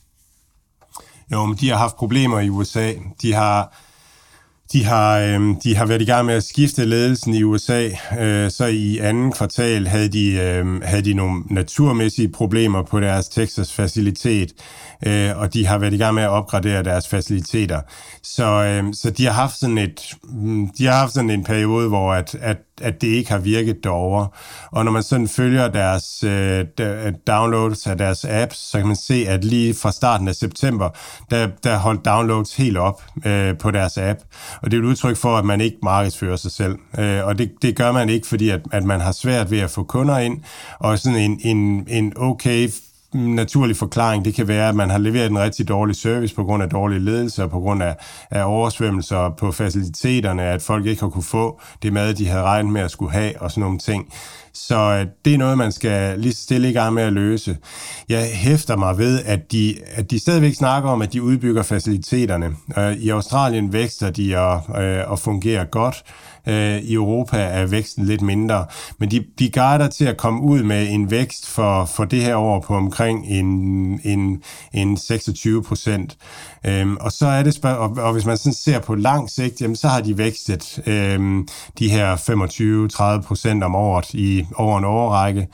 Jo, men de har haft problemer i U S A. De har, de har, øh, de har været i gang med at skifte ledelsen i U S A. Øh, så i anden kvartal havde de, øh, havde de nogle naturmæssige problemer på deres Texas-facilitet, øh, og de har været i gang med at opgradere deres faciliteter. Så, øh, så de har haft sådan et, de har haft sådan en periode, hvor at, at at det ikke har virket derovre. Og når man sådan følger deres øh, downloads af deres apps, så kan man se, at lige fra starten af september, der, der holdt downloads helt op øh, på deres app. Og det er et udtryk for, at man ikke markedsfører sig selv. Øh, og det, det gør man ikke, fordi at, at man har svært ved at få kunder ind, og sådan en, en, en okay naturlig forklaring, det kan være, at man har leveret en rigtig dårlig service på grund af dårlig ledelse og på grund af, af oversvømmelser på faciliteterne, at folk ikke har kunne få det mad, de havde regnet med at skulle have og sådan nogle ting. Så det er noget, man skal lige stille i gang med at løse. Jeg hæfter mig ved, at de, at de stadigvæk snakker om, at de udbygger faciliteterne. I Australien vækster de og, og fungerer godt. I Europa er væksten lidt mindre, men de, de guider til at komme ud med en vækst for, for det her år på omkring en, en, en seksogtyve procent. Øhm, og så er det spørg- og, og hvis man sådan ser på lang sigt, jamen, så har de vækstet øhm, de her femogtyve til tredive procent om året i over en årrække.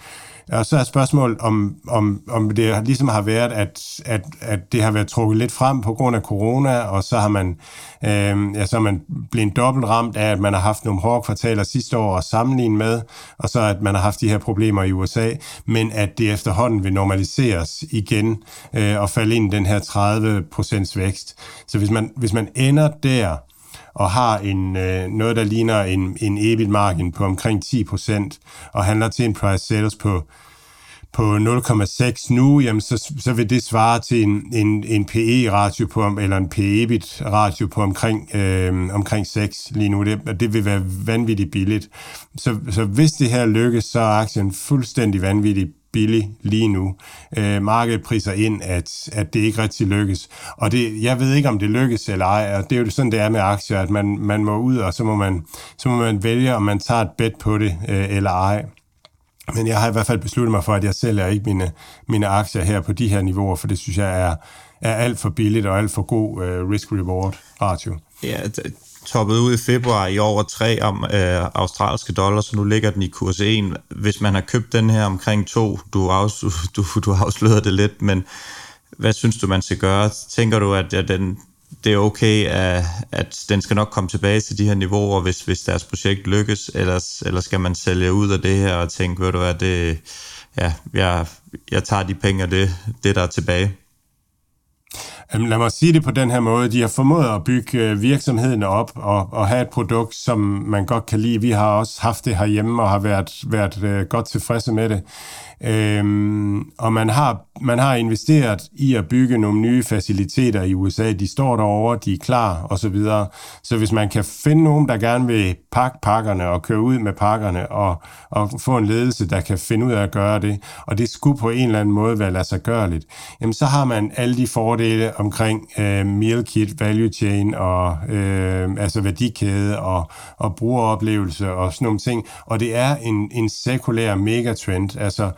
Og så er spørgsmålet, om, om, om det ligesom har været, at, at, at det har været trukket lidt frem på grund af corona, og så har man, øh, ja, så er man blevet dobbelt ramt af, at man har haft nogle hårde kvartaler sidste år at sammenligne med, og så at man har haft de her problemer i U S A, men at det efterhånden vil normaliseres igen øh, og falde ind i den her tredive procent vækst. Så hvis man, hvis man ender der, og har en, øh, noget, der ligner en, en E B I T-margin på omkring ti procent, og handler til en price sales på, på nul komma seks nu, jamen så, så vil det svare til en, en, en P E-ratio på, eller en P E B I T-ratio på omkring, øh, omkring seks lige nu. Det, det vil være vanvittigt billigt. Så, så hvis det her lykkes, så er aktien fuldstændig vanvittigt billig lige nu. Øh, markedet priser ind, at, at det ikke rigtig lykkes. Og det, jeg ved ikke, om det lykkes eller ej, og det er jo sådan, det er med aktier, at man, man må ud, og så må man, så må man vælge, om man tager et bet på det øh, eller ej. Men jeg har i hvert fald besluttet mig for, at jeg sælger ikke mine, mine aktier her på de her niveauer, for det synes jeg er, er alt for billigt og alt for god øh, risk-reward-ratio. Ja, det toppede ud i februar i over tre om øh, australske dollar, så nu ligger den i kurs en. Hvis man har købt den her omkring to, du, afs, du, du afslører det lidt, men hvad synes du, man skal gøre? Tænker du, at, at den, det er okay, at, at den skal nok komme tilbage til de her niveauer, hvis, hvis deres projekt lykkes, eller, eller skal man sælge ud af det her og tænke, ved du hvad, det, ja, jeg, jeg tager de penge og det, det, der er tilbage? Lad mig sige det på den her måde. De har formået at bygge virksomheden op og, og have et produkt, som man godt kan lide. Vi har også haft det herhjemme og har været, været øh, godt tilfredse med det. Øhm, og man har, man har investeret i at bygge nogle nye faciliteter i U S A. De står derovre, de er klar og så videre. Så hvis man kan finde nogen, der gerne vil pakke pakkerne og køre ud med pakkerne og, og få en ledelse, der kan finde ud af at gøre det, og det skulle på en eller anden måde være lade sig gørligt, jamen så har man alle de fordele omkring øh, meal kit, value chain og øh, altså værdikæde og, og brugeroplevelse og sådan nogle ting. Og det er en, en sekulær megatrend. Altså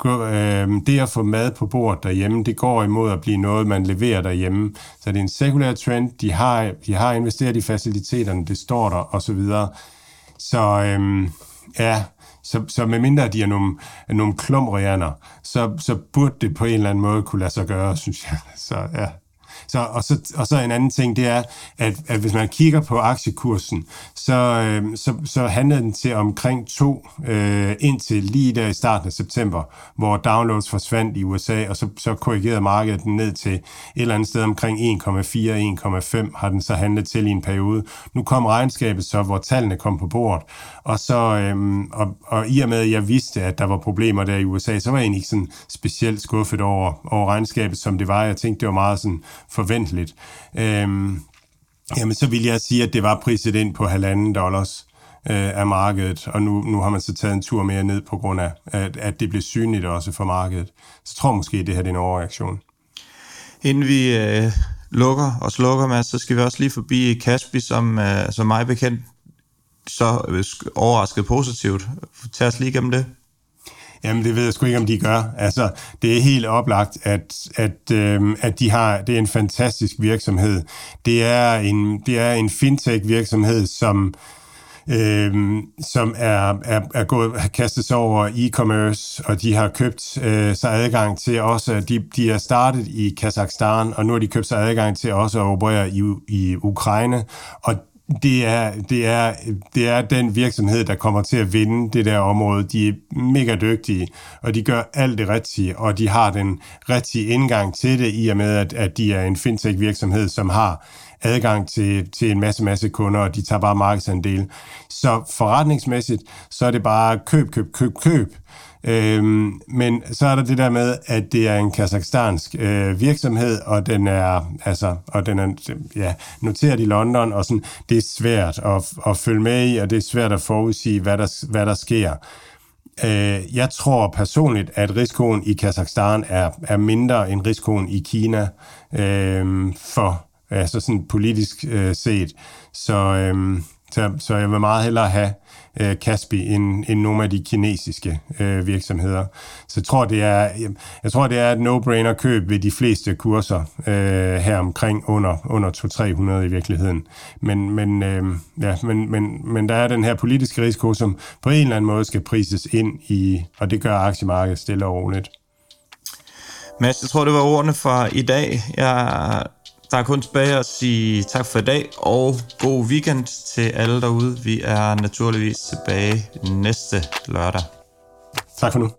det at få mad på bordet derhjemme, det går imod at blive noget, man leverer derhjemme. Så det er en sekulær trend. De har, de har investeret i faciliteterne, det står der, og så videre. Så øhm, ja, så, så medmindre de er nogle, nogle klumrianer, så, så burde det på en eller anden måde kunne lade sig gøre, synes jeg. Så ja. Så, og, så, og så en anden ting, det er, at, at hvis man kigger på aktiekursen, så, øh, så, så handlede den til omkring to øh, indtil lige der i starten af september, hvor downloads forsvandt i U S A, og så, så korrigerede markedet den ned til et eller andet sted omkring en komma fire til en komma fem har den så handlet til i en periode. Nu kom regnskabet så, hvor tallene kom på bordet, og, så, øh, og, og i og med, at jeg vidste, at der var problemer der i U S A, så var jeg egentlig ikke sådan specielt skuffet over, over regnskabet, som det var. Jeg tænkte, det var meget sådan forventeligt. Øhm, jamen, så vil jeg sige, at det var priset ind på halvanden dollars øh, af markedet, og nu, nu har man så taget en tur mere ned på grund af, at, at det blev synligt også for markedet. Så tror måske, at det her er en overreaktion. Inden vi øh, lukker og slukker, Mads, så skal vi også lige forbi Kaspi, som, øh, som mig bekendt, så øh, overrasket positivt. Tag os lige gennem det. Jamen, det ved jeg sgu ikke, om de gør. Altså, det er helt oplagt, at, at, øh, at de har, det er en fantastisk virksomhed. Det er en, det er en fintech-virksomhed, som, øh, som er, er, er gået, har kastet sig over e-commerce, og de har købt øh, sig adgang til også, de, de er startet i Kazakhstan, og nu har de købt sig adgang til også at operere i, i Ukraine, og Det er, det, er, det er den virksomhed, der kommer til at vinde det der område. De er mega dygtige, og de gør alt det rigtige, og de har den rigtige indgang til det, i og med, at, at de er en fintech-virksomhed, som har adgang til, til en masse, masse kunder, og de tager bare markedsandel. Så forretningsmæssigt, så er det bare køb, køb, køb, køb. Øhm, men så er der det der med, at det er en kazakhstansk øh, virksomhed, og den er altså, og den er ja, noteret i London, og sådan, det er svært at, at følge med i, og det er svært at forudsige, hvad der, hvad der sker. Øh, jeg tror personligt, at risikoen i Kazakhstan er, er mindre end risikoen i Kina, øh, for altså sådan politisk øh, set. Så, øh, så, så jeg vil meget hellere have øh, Kaspi end, end nogle af de kinesiske øh, virksomheder. Så jeg tror, det er, jeg tror, det er et no-brainer køb ved de fleste kurser øh, her omkring under, under to til tre hundrede i virkeligheden. Men, men, øh, ja, men, men, men der er den her politiske risiko, som på en eller anden måde skal prises ind i, og det gør aktiemarkedet stille og roligt. Mads, jeg tror, det var ordene for i dag. Jeg, der er kun tilbage at sige tak for i dag, og god weekend til alle derude. Vi er naturligvis tilbage næste lørdag. Tak for nu.